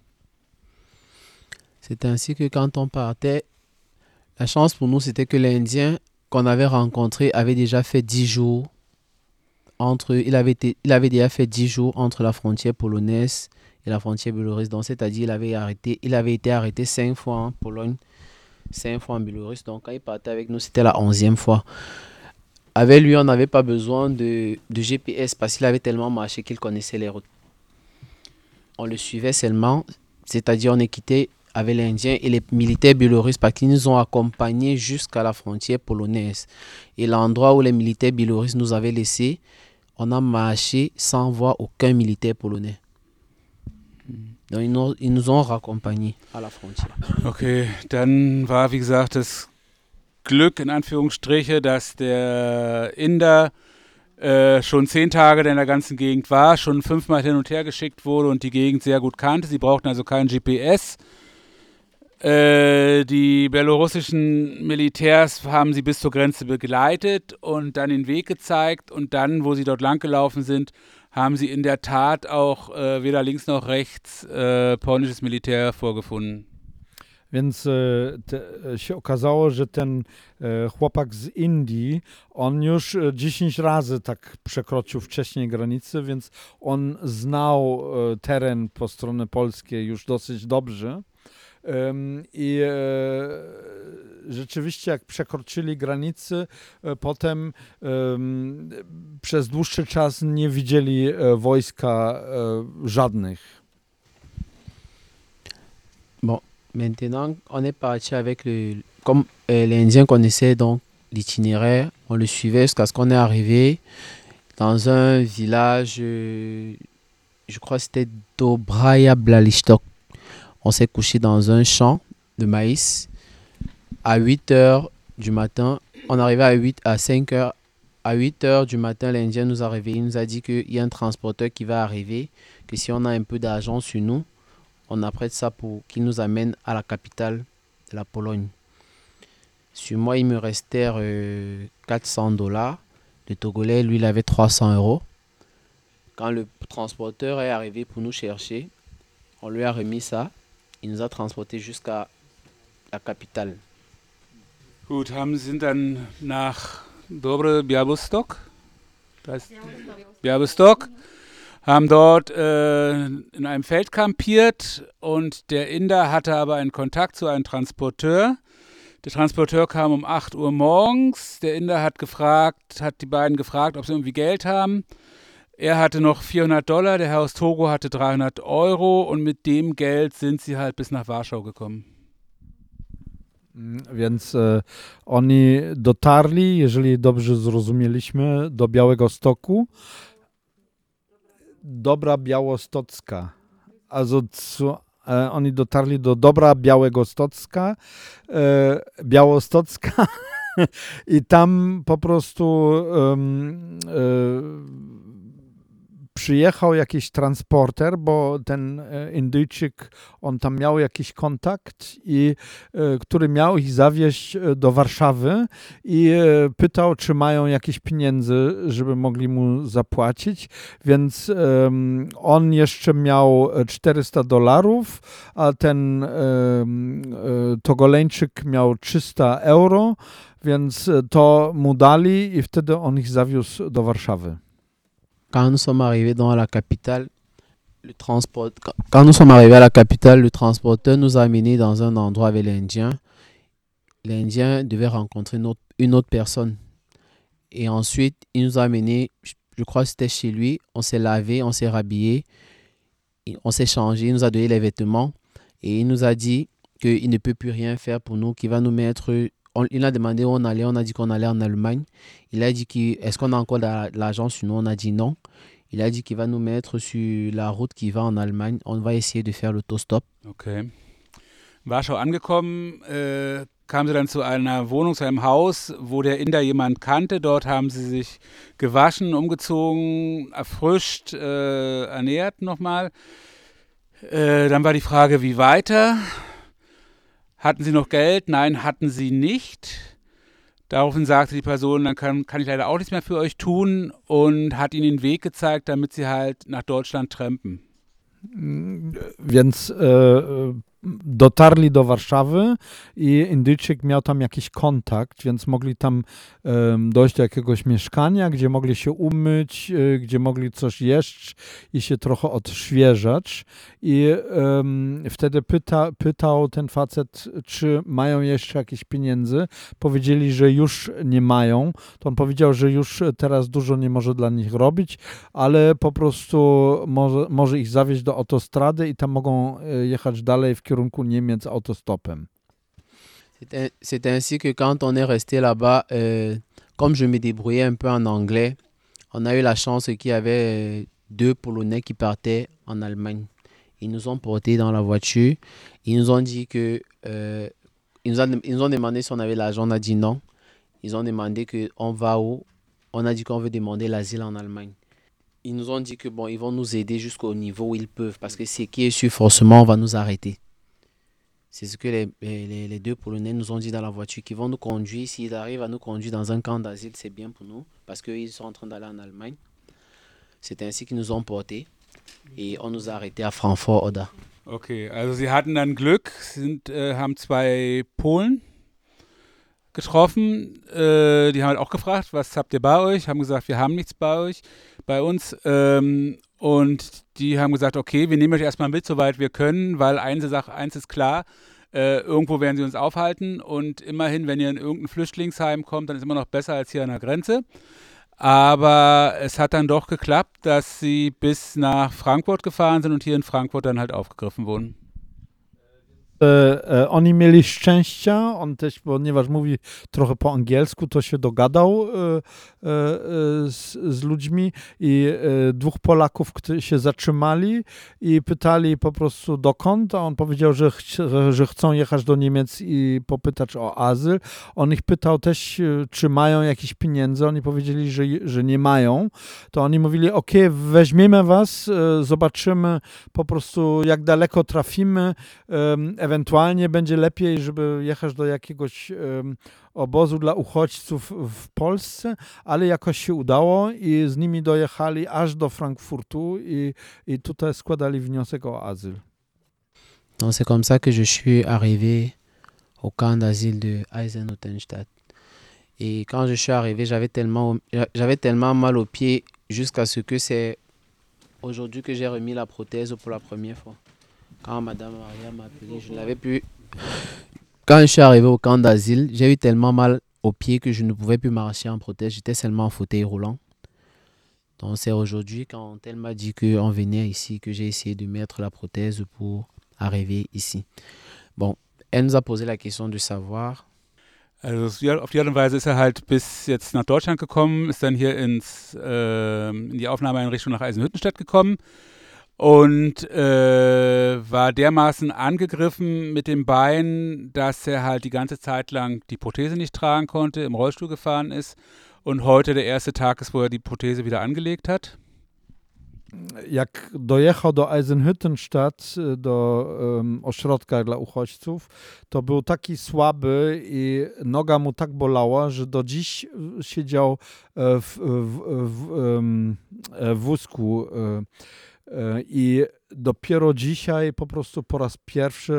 C'est ainsi que quand on partait, la chance pour nous, c'était que l'Indien qu'on avait rencontré avait déjà fait dix jours entre, il avait, été, il avait déjà fait dix jours entre la frontière polonaise et la frontière biélorusse. Donc, c'est-à-dire, il avait arrêté, il avait été arrêté cinq fois en Pologne, cinq fois en Biélorusse. Donc, quand il partait avec nous, c'était la onzième fois. Avec lui, on n'avait pas besoin de, de G P S parce qu'il avait tellement marché qu'il connaissait les routes. On le suivait seulement, c'est-à-dire, on est quitté avec l'Indien et les militaires biélorusses parce qu'ils nous ont accompagnés jusqu'à la frontière polonaise. Et l'endroit où les militaires biélorusses nous avaient laissés, on a marché sans voir aucun militaire polonais. Donc ils nous, ils nous ont raccompagnés à la frontière. Okay, dann war, wie gesagt, das Glück in Anführungsstriche, dass der Inder äh, schon zehn Tage in der ganzen Gegend war, schon fünfmal hin und her geschickt wurde und die Gegend sehr gut kannte. Sie brauchten also kein G P S. Äh, die belarussischen Militärs haben sie bis zur Grenze begleitet und dann den Weg gezeigt und dann, wo sie dort langgelaufen sind, haben sie in der Tat auch äh, weder links noch rechts äh, polnisches Militär vorgefunden. Więc e, te, się okazało, że ten e, chłopak z Indii, on już e, dziesięć razy tak przekroczył wcześniej granicę, więc on znał e, teren po stronie polskiej już dosyć dobrze. Um, I e, rzeczywiście jak przekroczyli granicę, e, potem e, przez dłuższy czas nie widzieli e, wojska e, żadnych. Bon, maintenant, on est parti avec le... Comme euh, l'Indien connaissait donc l'itinéraire, on le suivait jusqu'à ce qu'on est arrivé dans un village, euh, je crois que c'était Dobraya Białystok. On s'est couché dans un champ de maïs à huit heures du matin. On arrivait à, huit, à cinq heures. À huit heures du matin, l'Indien nous a réveillés. Il nous a dit qu'il y a un transporteur qui va arriver, que si on a un peu d'argent sur nous, on apprête ça pour qu'il nous amène à la capitale de la Pologne. Sur moi, il me restait euh, quatre cents dollars. Le Togolais, lui, il avait trois cents euros. Quand le transporteur est arrivé pour nous chercher, on lui a remis ça. Il nous a transportés jusqu'à la capitale. Gut, haben sind dann nach Dobre Białystok, Białystok, haben dort äh, in einem Feld kampiert und der Inder hatte aber einen Kontakt zu einem Transporteur. Der Transporteur kam um acht Uhr morgens. Der Inder hat gefragt, hat die beiden gefragt, ob sie irgendwie Geld haben. Er hatte noch vierhundert Dollar, der Herr aus Togo hatte dreihundert Euro und mit dem Geld sind sie halt bis nach Warschau gekommen. Więc e, oni dotarli, jeżeli dobrze zrozumieliśmy, do Białegostoku. Dobra Białostocka. Also zu e, oni dotarli do Dobra Białego-Stocka, e, Białostocka i tam po prostu um, e, przyjechał jakiś transporter, bo ten e, Indyjczyk, on tam miał jakiś kontakt, i, e, który miał ich zawieźć do Warszawy i e, pytał, czy mają jakieś pieniędzy, żeby mogli mu zapłacić, więc e, on jeszcze miał czterysta dolarów, a ten e, e, Togoleńczyk miał trzysta euro, więc to mu dali i wtedy on ich zawiózł do Warszawy. Quand nous sommes arrivés dans la capitale, le transport... quand nous sommes arrivés à la capitale, le transporteur nous a amenés dans un endroit avec l'Indien. L'Indien devait rencontrer une autre, une autre personne. Et ensuite, il nous a amenés, je crois que c'était chez lui, on s'est lavé, on s'est rhabillé, on s'est changé, il nous a donné les vêtements et il nous a dit qu'il ne peut plus rien faire pour nous, qu'il va nous mettre... On, il a demandé où on allait, on a dit qu'on allait en Allemagne. Il a dit qu'il, est-ce qu'on a encore de l'argent sur nous, on a dit non. Il a dit qu'il va nous mettre sur la route qui va en Allemagne. On va essayer de faire l'autostop. Okay. Warschau angekommen, äh, kamen sie dann zu einer Wohnung, zu einem Haus, wo der Inder jemand kannte. Dort haben sie sich gewaschen, umgezogen, erfrischt, äh, ernährt nochmal. Äh, dann war die Frage, wie weiter? Hatten Sie noch Geld? Nein, hatten sie nicht. Daraufhin sagte die Person, dann kann, kann ich leider auch nichts mehr für euch tun, und hat ihnen den Weg gezeigt, damit sie halt nach Deutschland trampen. Więc e, dotarli do Warszawy i Indyjczyk miał tam jakiś kontakt, więc mogli tam e, dojść do jakiegoś mieszkania, gdzie mogli się umyć, e, gdzie mogli coś jeść i się trochę odświeżać. I e, wtedy pyta, pytał ten facet, czy mają jeszcze jakieś pieniędzy. Powiedzieli, że już nie mają. To on powiedział, że już teraz dużo nie może dla nich robić, ale po prostu może, może ich zawieźć do autostrady i tam mogą jechać dalej w kierunku Niemiec autostopem. C'est, c'est ainsi que quand on est resté là-bas, euh, comme je me débrouillais un peu en anglais, on a eu la chance qu'il y avait deux Polonais qui partaient en Allemagne. Ils nous ont portés dans la voiture. Ils nous ont dit que... Euh, ils, nous a, ils nous ont demandé si on avait l'argent. On a dit non. Ils ont demandé qu'on va où. On a dit qu'on veut demander l'asile en Allemagne. Ils nous ont dit que bon, ils vont nous aider jusqu'au niveau où ils peuvent, parce que ce qui est sûr, forcément, on va nous arrêter. C'est ce que les, les, les deux Polonais nous ont dit dans la voiture, qu'ils vont nous conduire. S'ils arrivent à nous conduire dans un camp d'asile, c'est bien pour nous, parce qu'ils sont en train d'aller en Allemagne. C'est ainsi qu'ils nous ont portés et on nous a arrêtés à Frankfurt-Oder. Okay, also sie hatten dann Glück, sind, äh, haben zwei Polen getroffen, äh, die haben halt auch gefragt, was habt ihr bei euch? Haben gesagt, wir haben nichts bei euch, bei uns. Ähm, und die haben gesagt, okay, wir nehmen euch erstmal mit, soweit wir können, weil eine Sache, eins ist klar, äh, irgendwo werden sie uns aufhalten, und immerhin, wenn ihr in irgendein Flüchtlingsheim kommt, dann ist es immer noch besser als hier an der Grenze. Aber es hat dann doch geklappt, dass sie bis nach Frankfurt gefahren sind und hier in Frankfurt dann halt aufgegriffen wurden. E, e, oni mieli szczęścia, on też, ponieważ mówi trochę po angielsku, to się dogadał e, e, z, z ludźmi i e, dwóch Polaków którzy się zatrzymali i pytali po prostu dokąd, a on powiedział, że, ch że chcą jechać do Niemiec i popytać o azyl. On ich pytał też, czy mają jakieś pieniądze, oni powiedzieli, że, że nie mają. To oni mówili, ok, weźmiemy was, e, zobaczymy po prostu jak daleko trafimy, e, ewentualnie będzie lepiej, żeby jechać do jakiegoś um, obozu dla uchodźców w Polsce, ale jakoś się udało i z nimi dojechali aż do Frankfurtu i, i tutaj składali wniosek o azyl. Donc c'est comme ça que je suis arrivé au camp d'asile de Eisenhüttenstadt. Et quand je suis arrivé, j'avais tellement, j'avais tellement mal aux pieds jusqu'à ce que c'est aujourd'hui que j'ai remis la prothèse pour la première fois. Quand Madame Maria m'a appelé, je n'avais plus... Quand je suis arrivé au camp d'asile, j'ai eu tellement mal aux pieds que je ne pouvais plus marcher en prothèse. J'étais seulement en fauteuil roulant. Donc c'est aujourd'hui, quand elle m'a dit qu'on venait ici, que j'ai essayé de mettre la prothèse pour arriver ici. Bon, elle nous a posé la question de savoir... Also auf die Art und Weise ist er halt bis jetzt nach Deutschland gekommen, ist dann hier ins, äh, in die Aufnahmeeinrichtung nach Eisenhüttenstadt gekommen. und äh, war dermaßen angegriffen mit dem Bein, dass er halt die ganze Zeit lang die Prothese nicht tragen konnte, im Rollstuhl gefahren ist und heute der erste Tag ist, wo er die Prothese wieder angelegt hat. Jak dojechał do Eisenhüttenstadt, do um, ośrodka dla uchodźców, to był taki słaby i noga mu tak bolała, że do dziś siedział w, w, w, w wózku i dopiero dzisiaj po prostu po raz pierwszy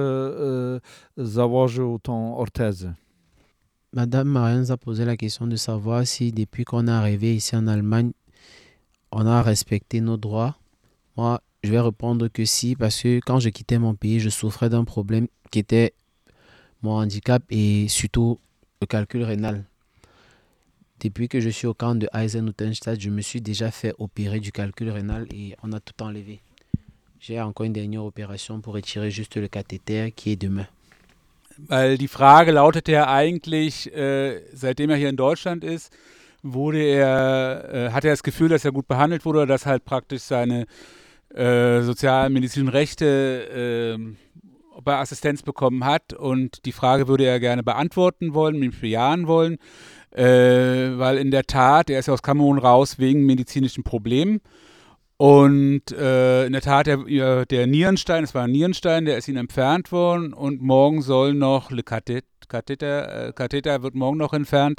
założył tą ortezę. Madame Marianne nous a posé la question de savoir si depuis qu'on est arrivé ici en Allemagne, on a respecté nos droits. Moi, je vais répondre que si, parce que quand je quittais mon pays, je souffrais d'un problème qui était mon handicap et surtout le calcul rénal. Depuis que je suis au camp de Eisenhüttenstadt, je me suis déjà fait opérer du calcul rénal et on a tout enlevé. J'ai encore une dernière opération pour retirer juste le cathéter qui est demain. Weil die Frage lautete ja eigentlich, äh, seitdem er hier in Deutschland ist, wurde er, äh, hat er das Gefühl, dass er gut behandelt wurde oder dass halt praktisch seine äh, sozialmedizinischen Rechte, äh, ob er Assistenz bekommen hat, und die Frage würde er gerne beantworten wollen, mich bejahen wollen, äh, weil in der Tat, er ist ja aus Kamerun raus wegen medizinischen Problemen. Und äh, in der Tat, der, der Nierenstein, es war ein Nierenstein, der ist ihm entfernt worden und morgen soll noch, Le Katheter, Katheter wird morgen noch entfernt.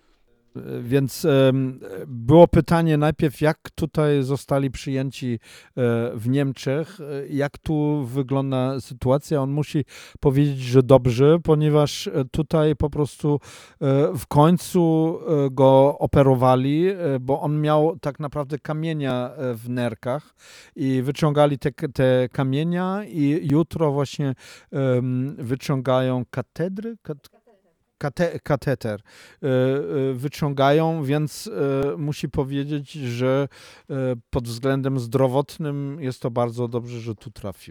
Więc um, było pytanie najpierw, jak tutaj zostali przyjęci e, w Niemczech, jak tu wygląda sytuacja. On musi powiedzieć, że dobrze, ponieważ tutaj po prostu e, w końcu e, go operowali, e, bo on miał tak naprawdę kamienia w nerkach i wyciągali te, te kamienia i jutro właśnie e, wyciągają katedry, kat, Kate, kateter y, y, wyciągają, więc y, musi powiedzieć, że y, pod względem zdrowotnym jest to bardzo dobrze, że tu trafił.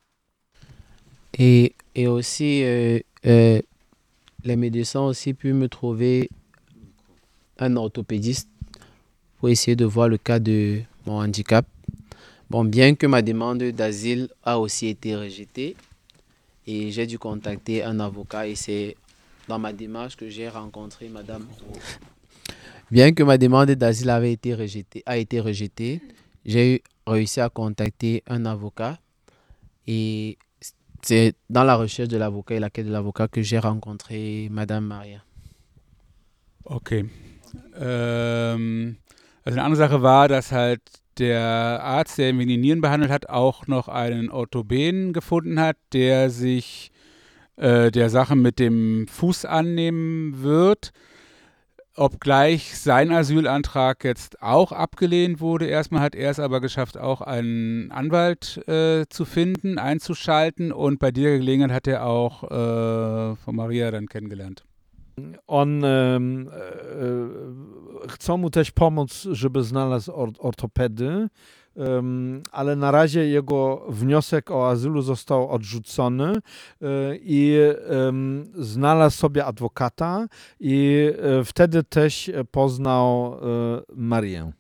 Et, et aussi, euh, euh, les médecins ont aussi pu me trouver un orthopédiste pour essayer de voir le cas de mon handicap. Bon, bien que ma demande d'asile a aussi été rejetée, et j'ai dû contacter un avocat et c'est dans ma démarche que j'ai rencontré Madame. Bien que ma demande d'asile avait été rejetée, a été rejetée, j'ai réussi à contacter un avocat et c'est dans la recherche de l'avocat et la quête de l'avocat que j'ai rencontré Madame Maria. Okay. Ähm, also eine andere Sache war, dass halt der Arzt, der ihn wegen den Nieren behandelt hat, auch noch einen Orthopäden gefunden hat, der sich der Sache mit dem Fuß annehmen wird, obgleich sein Asylantrag jetzt auch abgelehnt wurde. Erstmal hat er es aber geschafft, auch einen Anwalt äh, zu finden, einzuschalten, und bei dieser Gelegenheit hat er auch äh, von Maria dann kennengelernt. On e, e, chcą mu też pomóc, żeby znalazł or, ortopedy, Um, ale na razie jego wniosek o azylu został odrzucony y, i um, znalazł sobie adwokata i y, wtedy też poznał y, Marię.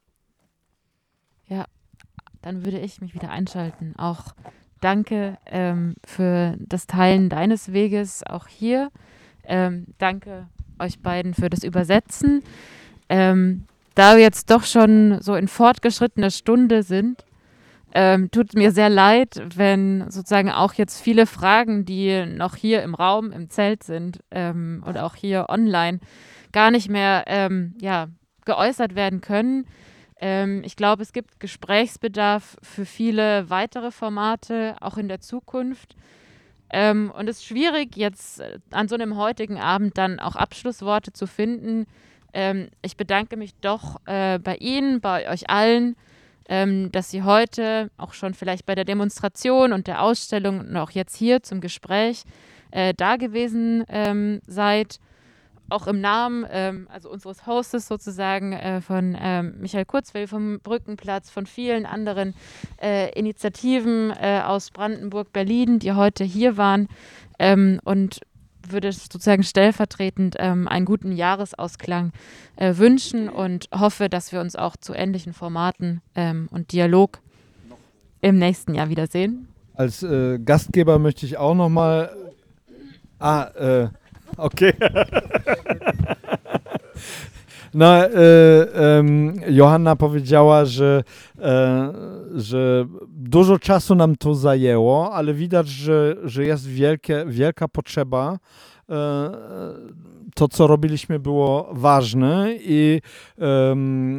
Ja, dann würde ich mich wieder einschalten. Auch danke ähm, für das Teilen deines Weges auch hier. Ähm, danke euch beiden für das Übersetzen. Ähm, Da wir jetzt doch schon so in fortgeschrittener Stunde sind, ähm, tut mir sehr leid, wenn sozusagen auch jetzt viele Fragen, die noch hier im Raum, im Zelt sind ähm, oder auch hier online, gar nicht mehr ähm, ja, geäußert werden können. Ähm, ich glaube, es gibt Gesprächsbedarf für viele weitere Formate, auch in der Zukunft. Ähm, und es ist schwierig, jetzt an so einem heutigen Abend dann auch Abschlussworte zu finden. Ähm, ich bedanke mich doch äh, bei Ihnen, bei euch allen, ähm, dass Sie heute auch schon vielleicht bei der Demonstration und der Ausstellung und auch jetzt hier zum Gespräch äh, da gewesen ähm, seid. Auch im Namen ähm, also unseres Hostes sozusagen äh, von ähm, Michael Kurzweil vom Brückenplatz, von vielen anderen äh, Initiativen äh, aus Brandenburg, Berlin, die heute hier waren, ähm, und würde sozusagen stellvertretend ähm, einen guten Jahresausklang äh, wünschen und hoffe, dass wir uns auch zu ähnlichen Formaten ähm, und Dialog im nächsten Jahr wiedersehen. Als äh, Gastgeber möchte ich auch nochmal. Ah, äh, okay. No, e, um, Johanna powiedziała, że, e, że dużo czasu nam to zajęło, ale widać, że, że jest wielkie, wielka potrzeba. E, to, co robiliśmy, było ważne i um,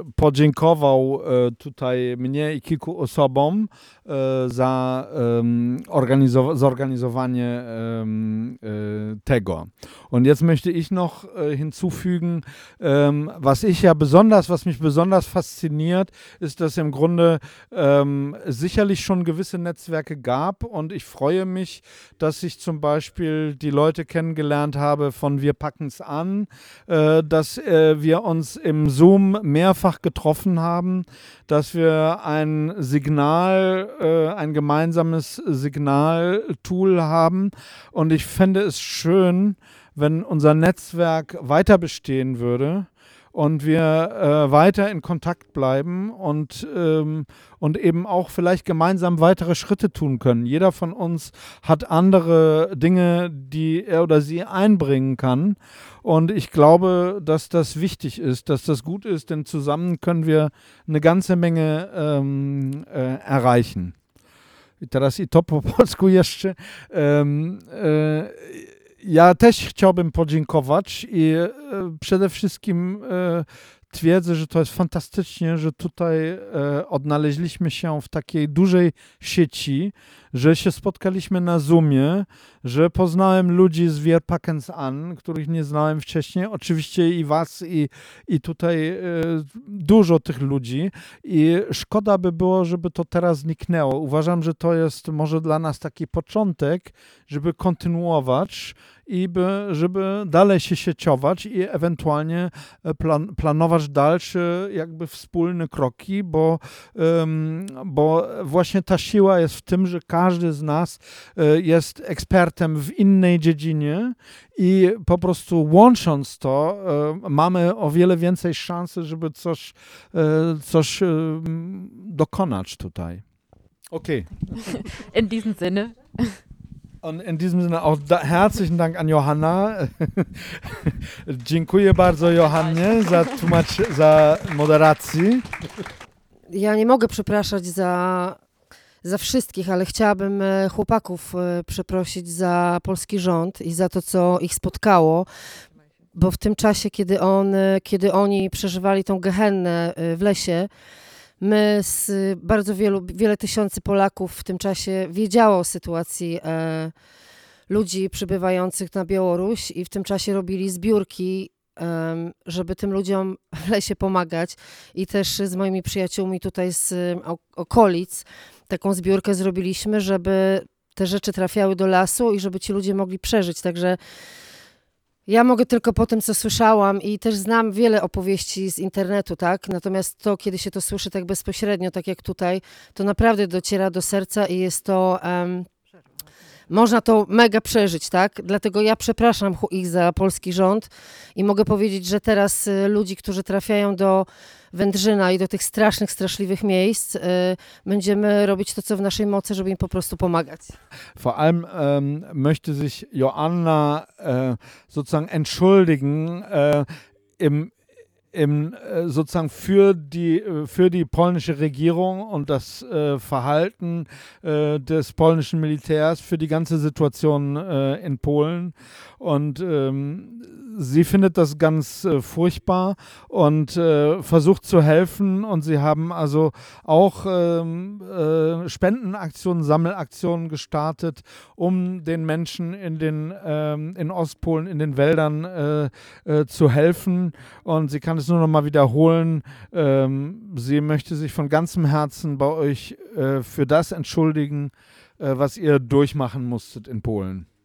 podziękował e, tutaj mnie i kilku osobom e, za um, organizow- zorganizowanie um, e, tego. Und jetzt möchte ich noch äh, hinzufügen, ähm, was ich ja besonders, was mich besonders fasziniert, ist, dass im Grunde ähm, sicherlich schon gewisse Netzwerke gab und ich freue mich, dass ich zum Beispiel die Leute kennengelernt habe von Wir packen's an, äh, dass äh, wir uns im Zoom mehrfach getroffen haben, dass wir ein Signal, äh, ein gemeinsames Signaltool haben und ich fände es schön, wenn unser Netzwerk weiter bestehen würde und wir äh, weiter in Kontakt bleiben und, ähm, und eben auch vielleicht gemeinsam weitere Schritte tun können. Jeder von uns hat andere Dinge, die er oder sie einbringen kann. Und ich glaube, dass das wichtig ist, dass das gut ist, denn zusammen können wir eine ganze Menge ähm, äh, erreichen. I teraz i to po polsku jeszcze. Um, e, Ja też chciałbym podziękować i e, przede wszystkim e, twierdzę, że to jest fantastycznie, że tutaj e, odnaleźliśmy się w takiej dużej sieci, że się spotkaliśmy na Zoomie, że poznałem ludzi z Wir packen's an, których nie znałem wcześniej, oczywiście i was, i, i tutaj e, dużo tych ludzi i szkoda by było, żeby to teraz zniknęło. Uważam, że to jest może dla nas taki początek, żeby kontynuować i by, żeby dalej się sieciować i ewentualnie plan, planować dalsze jakby wspólne kroki, bo, um, bo właśnie ta siła jest w tym, że każdy z nas y, jest ekspertem w innej dziedzinie i po prostu łącząc to y, mamy o wiele więcej szansy, żeby coś, y, coś y, dokonać tutaj. Okay. In diesem Sinne. Und in diesem Sinne auch da, herzlichen Dank an Johanna. Dziękuję bardzo Johannie za tłumacz, za moderację. Ja nie mogę przepraszać za, za wszystkich, ale chciałabym chłopaków przeprosić za polski rząd i za to, co ich spotkało, bo w tym czasie, kiedy, on, kiedy oni przeżywali tą gehennę w lesie, my z bardzo wielu, wiele tysięcy Polaków w tym czasie wiedziało o sytuacji e, ludzi przybywających na Białoruś i w tym czasie robili zbiórki, e, żeby tym ludziom w lesie pomagać i też z moimi przyjaciółmi tutaj z o, okolic taką zbiórkę zrobiliśmy, żeby te rzeczy trafiały do lasu i żeby ci ludzie mogli przeżyć, także ja mogę tylko po tym, co słyszałam i też znam wiele opowieści z internetu, tak? Natomiast to, kiedy się to słyszy tak bezpośrednio, tak jak tutaj, to naprawdę dociera do serca i jest to... Um, można to mega przeżyć, tak? Dlatego ja przepraszam ich za polski rząd i mogę powiedzieć, że teraz y, ludzi, którzy trafiają do Wędrzyna i do tych strasznych, straszliwych miejsc, y, będziemy robić to, co w naszej mocy, żeby im po prostu pomagać. Vor allem ähm, möchte sich Joanna äh, sozusagen entschuldigen äh, im Im, sozusagen für die, für die polnische Regierung und das äh, Verhalten äh, des polnischen Militärs, für die ganze Situation äh, in Polen. Und ähm, sie findet das ganz äh, furchtbar und äh, versucht zu helfen. Und sie haben also auch ähm, äh, Spendenaktionen, Sammelaktionen gestartet, um den Menschen in, den, ähm, in Ostpolen, in den Wäldern äh, äh, zu helfen. Und sie kann es nur noch mal wiederholen. Ähm, sie möchte sich von ganzem Herzen bei euch äh, für das entschuldigen, äh, was ihr durchmachen musstet in Polen.